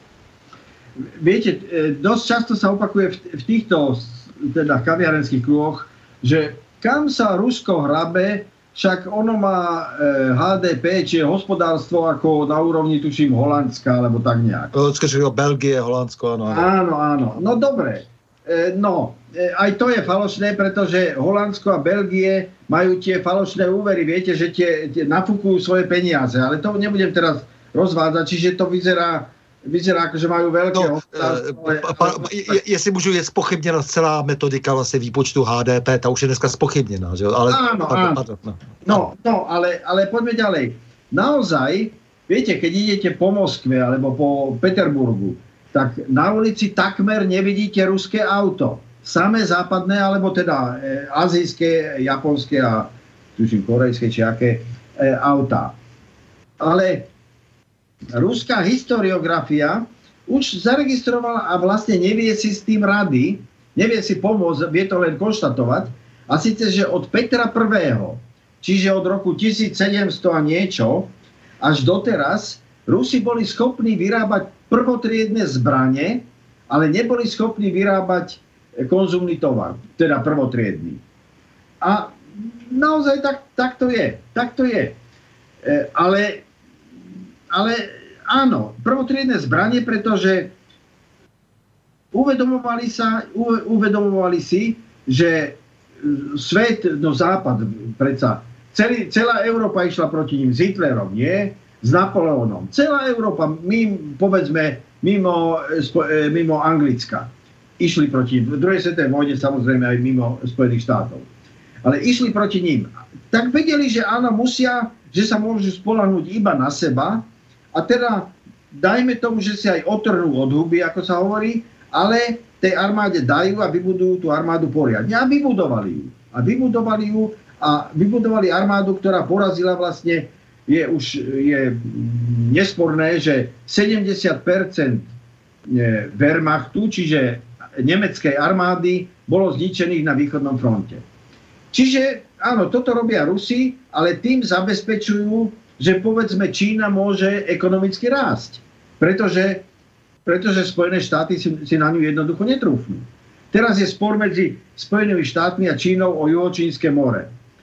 Viete, dosť často sa opakuje v, v týchto teda kaviarenských kruhoch, že kam sa Rusko hrabe, však ono má e, há dé pé, či je hospodárstvo ako na úrovni, tuším, Holandska, alebo tak nejak. Belgie, Holandsko, áno. Áno, áno. No dobre. E, no, e, aj to je falošné, pretože Holandsko a Belgie majú tie falošné úvery. Viete, že tie, tie nafúkujú svoje peniaze, ale to nebudem teraz rozvádzať, čiže to vyzerá Vyzerá, že mají velké no, ale, pa, ale, je, jestli můžu, je spochybněna celá metodika vlastně výpočtu há dé pé, ta už je dneska spochybněná, že jo? Ale, áno, pardon, áno. Pardon, no. no, no ale, ale poďme ďalej. Naozaj, viete, keď idete po Moskve alebo po Peterburgu, tak na ulici takmer nevidíte ruské auto. Samé západné, alebo teda e, azijské, japonské a tuším korejské či aké e, autá. Ale ruská historiografia už zaregistrovala a vlastne nevie si s tým rady, nevie si pomôcť, vie to len konštatovať. A síce, že od Petra prvého, čiže od roku tisícsedemsto a niečo, až doteraz, Rusi boli schopní vyrábať prvotriedne zbrane, ale neboli schopní vyrábať konzumný tovar, teda prvotriedny. A naozaj tak, tak to je. Tak to je. E, ale Ale áno, prvotriedne zbranie, pretože uvedomovali, sa, uvedomovali si, že svet, no západ, predsa, celý, celá Európa išla proti ním s Hitlerom, nie? S Napoleónom. Celá Európa, mimo, povedzme, mimo, mimo Anglicka, išli proti ním. V druhej svetovej vojne samozrejme aj mimo Spojených štátov. Ale išli proti ním. Tak vedeli, že áno, musia, že sa môžu spoľahnúť iba na seba. A teda dajme tomu, že si aj otrhnú od huby, ako sa hovorí, ale tej armáde dajú a vybudujú tú armádu poriadne. A vybudovali ju. A vybudovali ju a vybudovali armádu, ktorá porazila vlastne, je už je nesporné, že sedemdesiat percent Wehrmachtu, čiže nemeckej armády, bolo zničených na východnom fronte. Čiže áno, toto robia Rusi, ale tým zabezpečujú, že povedzme Čína môže ekonomicky rásť. Pretože, pretože Spojené štáty si, si na ňu jednoducho netrúfnú. Teraz je spor medzi Spojenými štátmi a Čínou o Juhočínske more.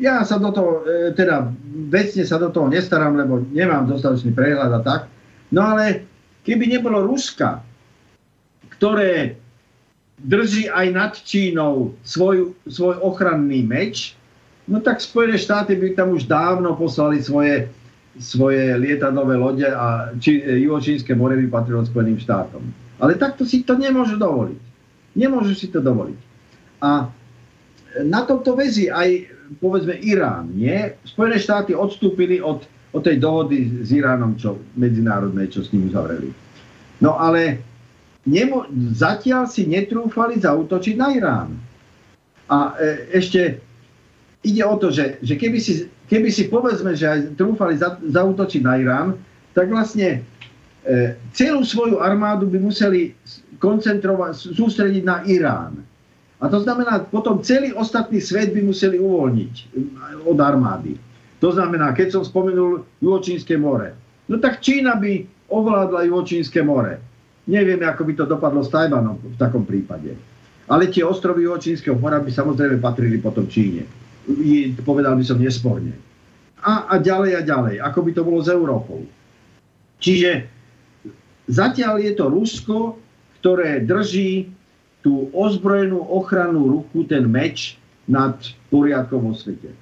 ja sa do toho, teda vecne sa do toho nestarám, lebo nemám dostatočný prehľad a tak. No ale keby nebolo Ruska, ktoré drží aj nad Čínou svoj, svoj ochranný meč, no tak Spojené štáty by tam už dávno poslali svoje, svoje lietadlové lode a či, juhočínske more by patrilo Spojeným štátom. Ale takto si to nemôžu dovoliť. Nemôžu si to dovoliť. A na tomto väzí aj, povedzme, Irán, nie? Spojené štáty odstúpili od, od tej dohody s Iránom, čo medzinárodné, čo s ním uzavreli. No ale nemo, zatiaľ si netrúfali zaútočiť na Irán. A e, ešte ide o to, že, že keby, si, keby si povedzme, že aj trúfali za, zaútočiť na Irán, tak vlastne e, celú svoju armádu by museli koncentrovať, sústrediť na Irán. A to znamená, potom celý ostatný svet by museli uvoľniť od armády. To znamená, keď som spomenul Juhočínske more, no tak Čína by ovládla Juhočínske more. Nevieme, ako by to dopadlo s Tajvanom v takom prípade. Ale tie ostrovy Juhočínskeho mora by samozrejme patrili potom Číne. Povedal by som nesporne. A, a ďalej a ďalej, ako by to bolo s Európou. Čiže zatiaľ je to Rusko, ktoré drží tú ozbrojenú ochrannú ruku, ten meč nad poriadkom vo svete.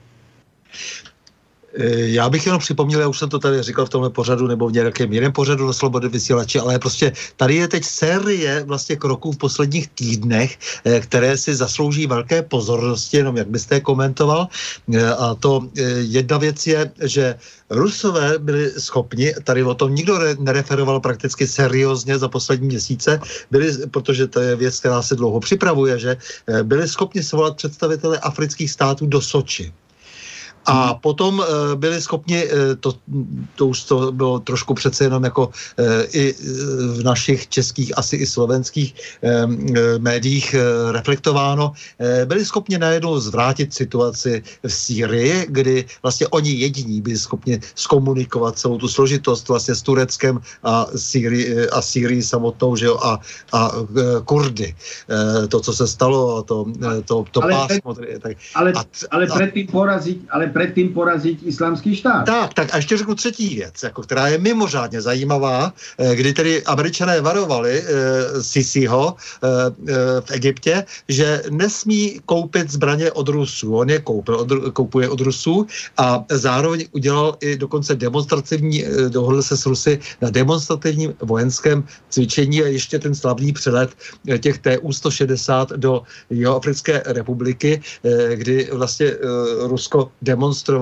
Já bych jenom připomněl, já už jsem to tady říkal v tomhle pořadu nebo v nějakém jiném pořadu na Slobodné vysílači, ale prostě tady je teď série vlastně kroků v posledních týdnech, které si zaslouží velké pozornosti, jenom jak byste je komentoval. A to jedna věc je, že Rusové byli schopni, tady o tom nikdo nereferoval prakticky seriózně za poslední měsíce, byli, protože to je věc, která se dlouho připravuje, že byli schopni svolat představitele afrických států do Soči. A potom e, byli schopni, e, to, to už to bylo trošku přece jenom jako e, i v našich českých, asi i slovenských e, e, médiích e, reflektováno, e, byli schopni najednou zvrátit situaci v Sýrii, kdy vlastně oni jediní byli schopni zkomunikovat celou tu složitost vlastně s Tureckem a Sýrii, a Sýrii samotnou, že jo, a, a e, Kurdy. E, to, co se stalo, a to, to, to ale pásmo. Pre, tak, ale, a, ale predtým poraziť, ale predtým poraziť islamský štát. Tak, tak a ještě řeknu třetí věc, jako, která je mimořádně zajímavá, kdy tedy Američané varovali e, Sisiho e, e, v Egyptě, že nesmí koupit zbraně od Rusů. On je koupil, od, koupuje od Rusů a zároveň udělal i dokonce demonstrativní, e, dohodl se s Rusy na demonstrativním vojenském cvičení a ještě ten slavný přelet těch T U sto šedesát do Jihoafrické republiky, e, kdy vlastně e, Rusko demonstrovalo,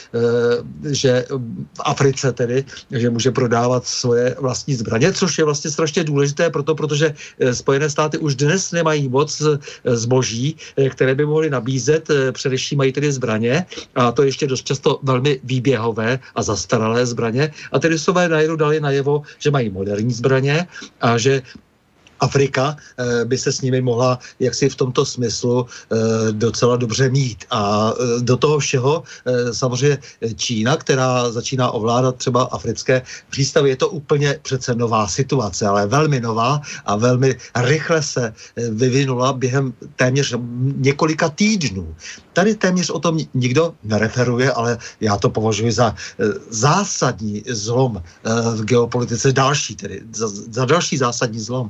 že v Africe tedy, že může prodávat svoje vlastní zbraně, což je vlastně strašně důležité proto, protože Spojené státy už dnes nemají moc zboží, které by mohly nabízet, především mají tedy zbraně a to ještě dost často velmi výběhové a zastaralé zbraně a tedy Rusové najednou dali najevo, že mají moderní zbraně a že Afrika e, by se s nimi mohla jaksi v tomto smyslu e, docela dobře mít. A e, do toho všeho e, samozřejmě Čína, která začíná ovládat třeba africké přístavy, je to úplně přece nová situace, ale velmi nová a velmi rychle se vyvinula během téměř několika týdnů. Tady téměř o tom nikdo nereferuje, ale já to považuji za e, zásadní zlom e, v geopolitice, další tedy, za, za další zásadní zlom.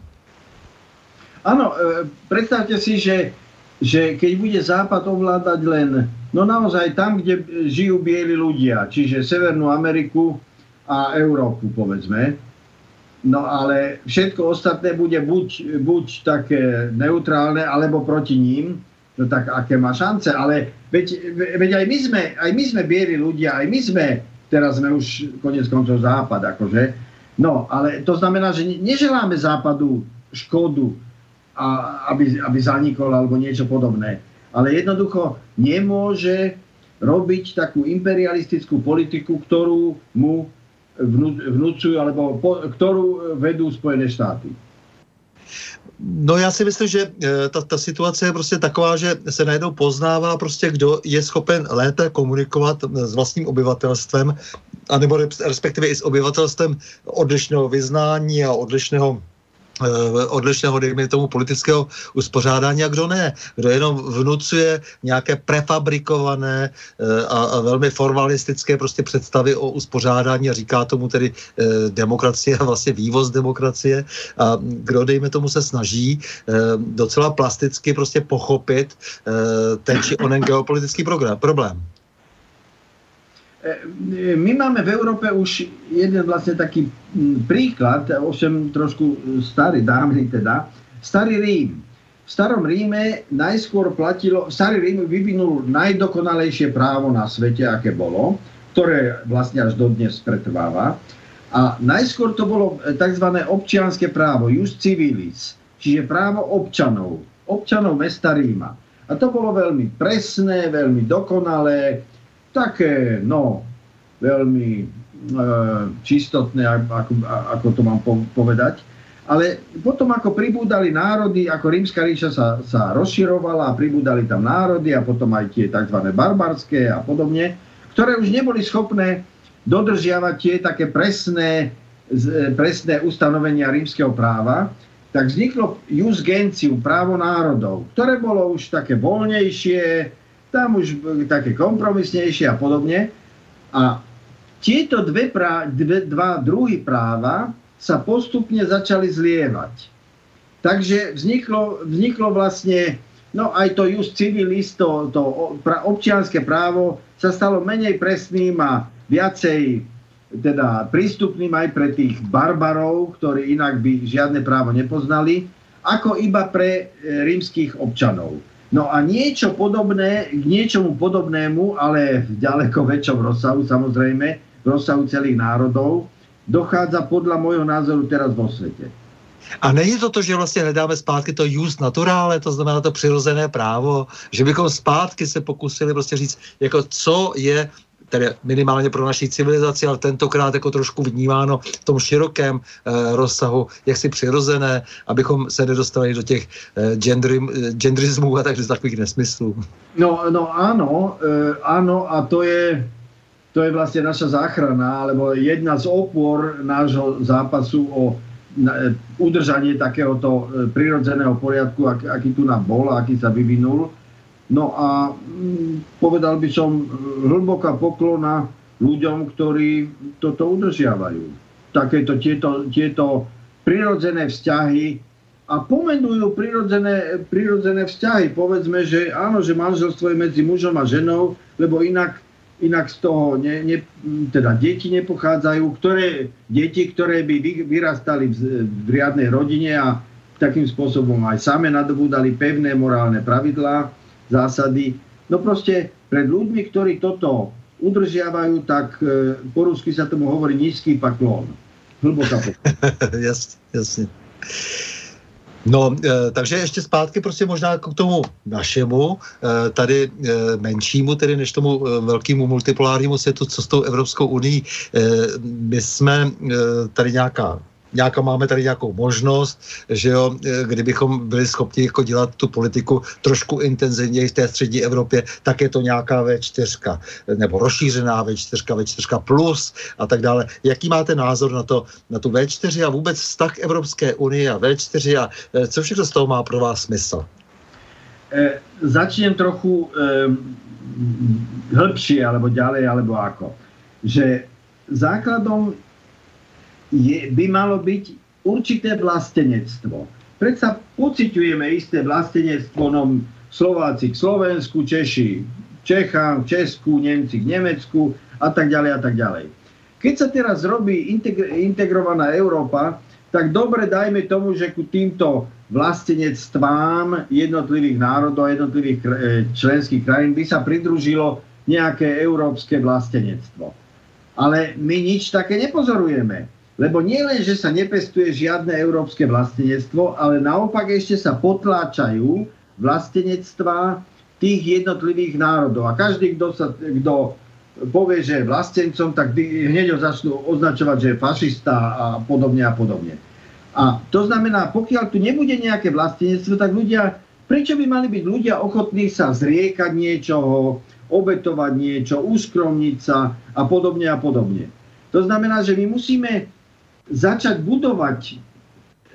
Áno, e, predstavte si, že, že keď bude Západ ovládať len, no naozaj tam, kde žijú bieli ľudia, čiže Severnú Ameriku a Európu, povedzme, no ale všetko ostatné bude buď, buď také neutrálne, alebo proti ním, no tak aké má šance, ale veď, veď aj, my sme, aj my sme bieli ľudia, aj my sme, teraz sme už koniec koncov Západ, akože, no ale to znamená, že neželáme Západu škodu, a aby, aby zanikol alebo niečo podobné. Ale jednoducho nemôže robiť takú imperialistickú politiku, ktorú mu vnúcujú, alebo po, ktorú vedú Spojené štáty. No já si myslím, že ta, ta situace je prostě taková, že se najednou poznává prostě, kdo je schopen lépe komunikovat s vlastním obyvatelstvem, anebo respektive i s obyvatelstvem odlišného vyznání a odlišného odlišného, dejme tomu, politického uspořádání a kdo ne. Kdo jenom vnucuje nějaké prefabrikované a, a velmi formalistické prostě představy o uspořádání a říká tomu tedy eh, demokracie a vlastně vývoz demokracie a kdo, dejme tomu, se snaží eh, docela plasticky prostě pochopit eh, ten či onen geopolitický program, problém. My máme v Európe už jeden vlastne taký príklad, ovšem trošku starý, dávny teda, Starý Rím. V Starom Ríme najskôr platilo, Starý Rím vyvinul najdokonalejšie právo na svete, aké bolo, ktoré vlastne až dodnes pretrváva. A najskôr to bolo tzv. Občianske právo, jus civilis, čiže právo občanov, občanov mesta Ríma. A to bolo veľmi presné, veľmi dokonalé, také, no, veľmi e, čistotné, ako, ako to mám povedať. Ale potom, ako pribúdali národy, ako Rímska ríša sa, sa rozširovala a pribúdali tam národy a potom aj tie tzv. Barbarské a podobne, ktoré už neboli schopné dodržiavať tie také presné, presné ustanovenia rímskeho práva, tak vzniklo jus gentium, právo národov, ktoré bolo už také voľnejšie, tam už také kompromisnejšie a podobne. A tieto dve prá- dve, dva druhy práva sa postupne začali zlievať. Takže vzniklo, vzniklo vlastne, no aj to jus civilis, to, to občianske právo sa stalo menej presným a viacej teda prístupným aj pre tých barbarov, ktorí inak by žiadne právo nepoznali, ako iba pre rímskych občanov. No a niečo podobné, k niečomu podobnému, ale v ďaleko väčšom rozsahu, samozrejme, v rozsahu celých národov, dochádza podľa môjho názoru teraz vo svete. A není to to, že vlastně hledáme zpátky to jus naturale, to znamená to přirozené právo, že bychom zpátky se pokusili prostě říct, jako co je tedy minimálně pro naší civilizaci, ale tentokrát jako trošku vnímáno v tom širokém eh, rozsahu, jaksi přirozené, abychom se nedostali do těch eh, gendry, gendrismů a tak, takových nesmyslů. No, no áno, e, áno a to je, to je vlastne naša záchrana, alebo jedna z opor nášho zápasu o na, e, udržanie takéhoto e, prirodzeného poriadku, ak, aký tu nám bol, aký sa vyvinul. No a mm, povedal by som hlboká poklona ľuďom, ktorí toto udržiavajú. Takéto tieto, tieto prirodzené vzťahy a pomenujú prirodzené, prirodzené vzťahy. Povedzme, že áno, že manželstvo je medzi mužom a ženou, lebo inak, inak z toho ne, ne, teda deti nepochádzajú, ktoré, deti, ktoré by vyrastali v, v riadnej rodine a takým spôsobom aj same nadobúdali pevné morálne pravidlá, zásady. No proste pred ľuďmi, ktorí toto udržiavajú, tak e, po rusky sa tomu hovorí nízky paklón. Hlboká poklona. Jasne, jasne. No, e, takže ještě zpátky prostě možná k tomu našemu, e, tady e, menšímu, tedy než tomu e, velkému multipolárnímu světu, co s tou Evropskou unii. E, my jsme e, tady nějaká Nějaká máme tady nějakou možnost, že jo, kdybychom byli schopni jako dělat tu politiku trošku intenzivněji v té střední Evropě, tak je to nějaká vé čtyři, nebo rozšířená vé čtyři, vé čtyři plus a tak dále. Jaký máte názor na to, na tu vé čtyři a vůbec vztah Evropské unie a vé čtyři a co všechno z toho má pro vás smysl? E, začnem trochu e, hĺbšie, alebo ďalej, alebo ako. Že základom Je, by malo byť určité vlastenectvo. Predsa pociťujeme isté vlastenectvo, no Slováci k Slovensku, Češi Čechám, Česku, Nemci k Nemecku a tak ďalej a tak ďalej. Keď sa teraz robí integr- integrovaná Európa, tak dobre dajme tomu, že ku týmto vlastenectvám jednotlivých národov a jednotlivých e, členských krajín by sa pridružilo nejaké európske vlastenectvo. Ale my nič také nepozorujeme. Lebo nie len, že sa nepestuje žiadne európske vlastenectvo, ale naopak ešte sa potláčajú vlastenectvá tých jednotlivých národov. A každý, kto, sa, kto povie, že je vlastencom, tak hneď ho začnú označovať, že je fašista a podobne a podobne. A to znamená, pokiaľ tu nebude nejaké vlastenectvo, tak ľudia, prečo by mali byť ľudia ochotní sa zriekať niečoho, obetovať niečo, uskromniť sa a podobne a podobne. To znamená, že my musíme začať budovať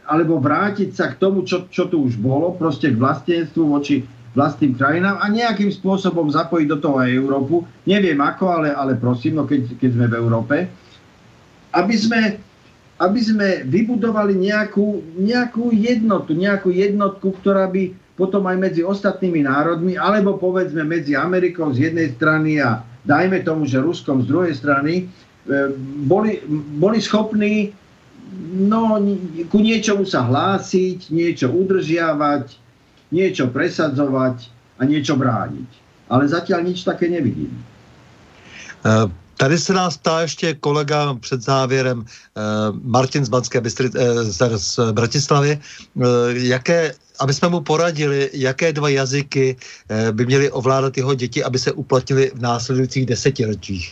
alebo vrátiť sa k tomu, čo, čo tu už bolo, proste k vlastenstvu voči vlastným krajinám a nejakým spôsobom zapojiť do toho aj Európu. Neviem ako, ale, ale prosím, no keď, keď sme v Európe. Aby sme, aby sme vybudovali nejakú, nejakú jednotu, nejakú jednotku, ktorá by potom aj medzi ostatnými národmi, alebo povedzme medzi Amerikou z jednej strany a dajme tomu, že Ruskom z druhej strany, boli, boli schopní no, ku niečomu sa hlásiť, niečo udržiavať, niečo presadzovať a niečo brániť. Ale zatiaľ nič také nevidím. Uh... Tady se nás ptá ještě kolega před závěrem, eh, Martin z Banské Bystry, eh, z, z Bratislavy, eh, jaké, aby jsme mu poradili, jaké dva jazyky eh, by měly ovládat jeho děti, aby se uplatnili v následujících desetiletích.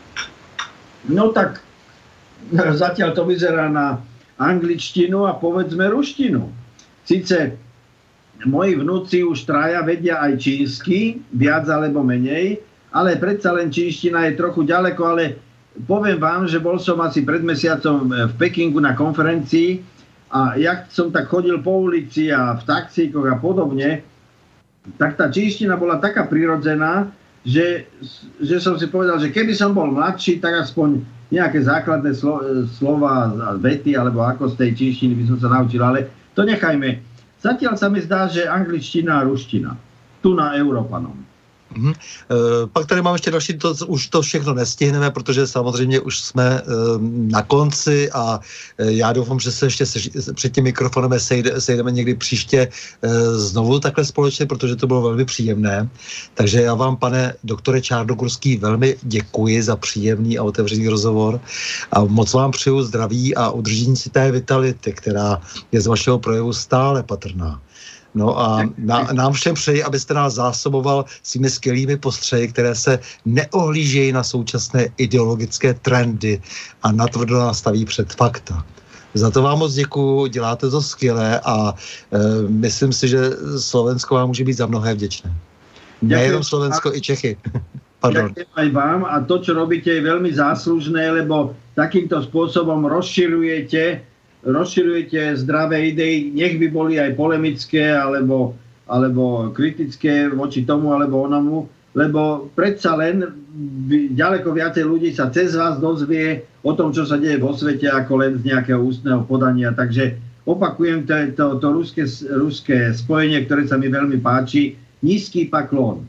No tak zatiaľ to vyzerá na angličtinu a povedzme ruštinu. Sice moji vnúci už traja vedia aj čínsky, viac alebo menej, ale predsa len čínština je trochu ďaleko, ale poviem vám, že bol som asi pred mesiacom v Pekingu na konferencii a jak som tak chodil po ulici a v taxíkoch a podobne, tak tá čínština bola taká prirodzená, že, že som si povedal, že keby som bol mladší, tak aspoň nejaké základné slo, slova a vety, alebo ako z tej čínštiny by som sa naučil, ale to nechajme. Zatiaľ sa mi zdá, že angličtina a ruština. Tu na Európanom. Mm-hmm. E, pak tady mám ještě další, to, už to všechno nestihneme, protože samozřejmě už jsme e, na konci a e, já doufám, že se ještě se, před tím mikrofonem sejde, sejdeme někdy příště e, znovu takhle společně, protože to bylo velmi příjemné. Takže já vám, pane doktore Čárnogorský, velmi děkuji za příjemný a otevřený rozhovor a moc vám přeju zdraví a udržení si té vitality, která je z vašeho projevu stále patrná. No a na, nám všem přeji, abyste nás zásoboval svými skvělými postřehy, které se neohlížejí na současné ideologické trendy a natvrdo nastaví před fakta. Za to vám moc děkuju, děláte to skvěle a e, myslím si, že Slovensko vám může být za mnohé vděčné. Nejenom Slovensko, i Čechy. Pardon. Ďakujem aj vám a to, čo robíte, je veľmi záslužné, lebo takýmto spôsobom rozširujete rozširujete zdravé idei, nech by boli aj polemické alebo, alebo kritické voči tomu alebo onomu, lebo predsa len ďaleko viacej ľudí sa cez vás dozvie o tom, čo sa deje vo svete, ako len z nejakého ústneho podania. Takže opakujem to, to, to ruské, ruské spojenie, ktoré sa mi veľmi páči. Nízky paklon.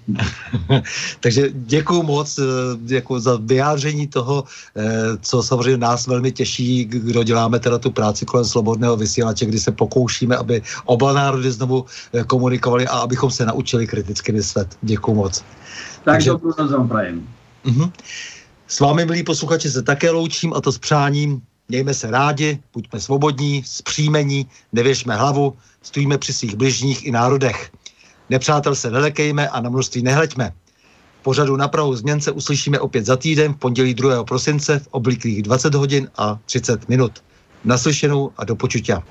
Takže děkuju moc děkuju za vyjádření toho, co samozřejmě nás velmi těší, kdo děláme teda tu práci kolem slobodného vysílače, kdy se pokoušíme, aby oba národy znovu komunikovali a abychom se naučili kriticky myslet. Děkuju moc. Tak Takže... dobrou noc vám prajem. Uh-huh. S vámi, milí posluchači, se také loučím a to s přáním. Mějme se rádi, buďme svobodní, zpříjmení, nevěšme hlavu, stojíme při svých bližních i národech. Nepřátel se nelekejme a na množství nehleďme. V pořadu Na prahu změn se uslyšíme opět za týden v pondělí druhého prosince v obvyklých dvacet hodin a třicet minut. Naslyšenou a do počutia.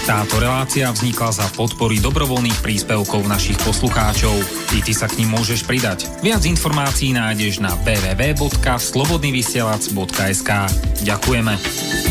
Táto relácia vznikla za podpory dobrovoľných príspevkov našich poslucháčov. I ty sa k nim môžeš pridať. Viac informácií nájdeš na w w w bodka slobodnyvysielac bodka es ka. Ďakujeme.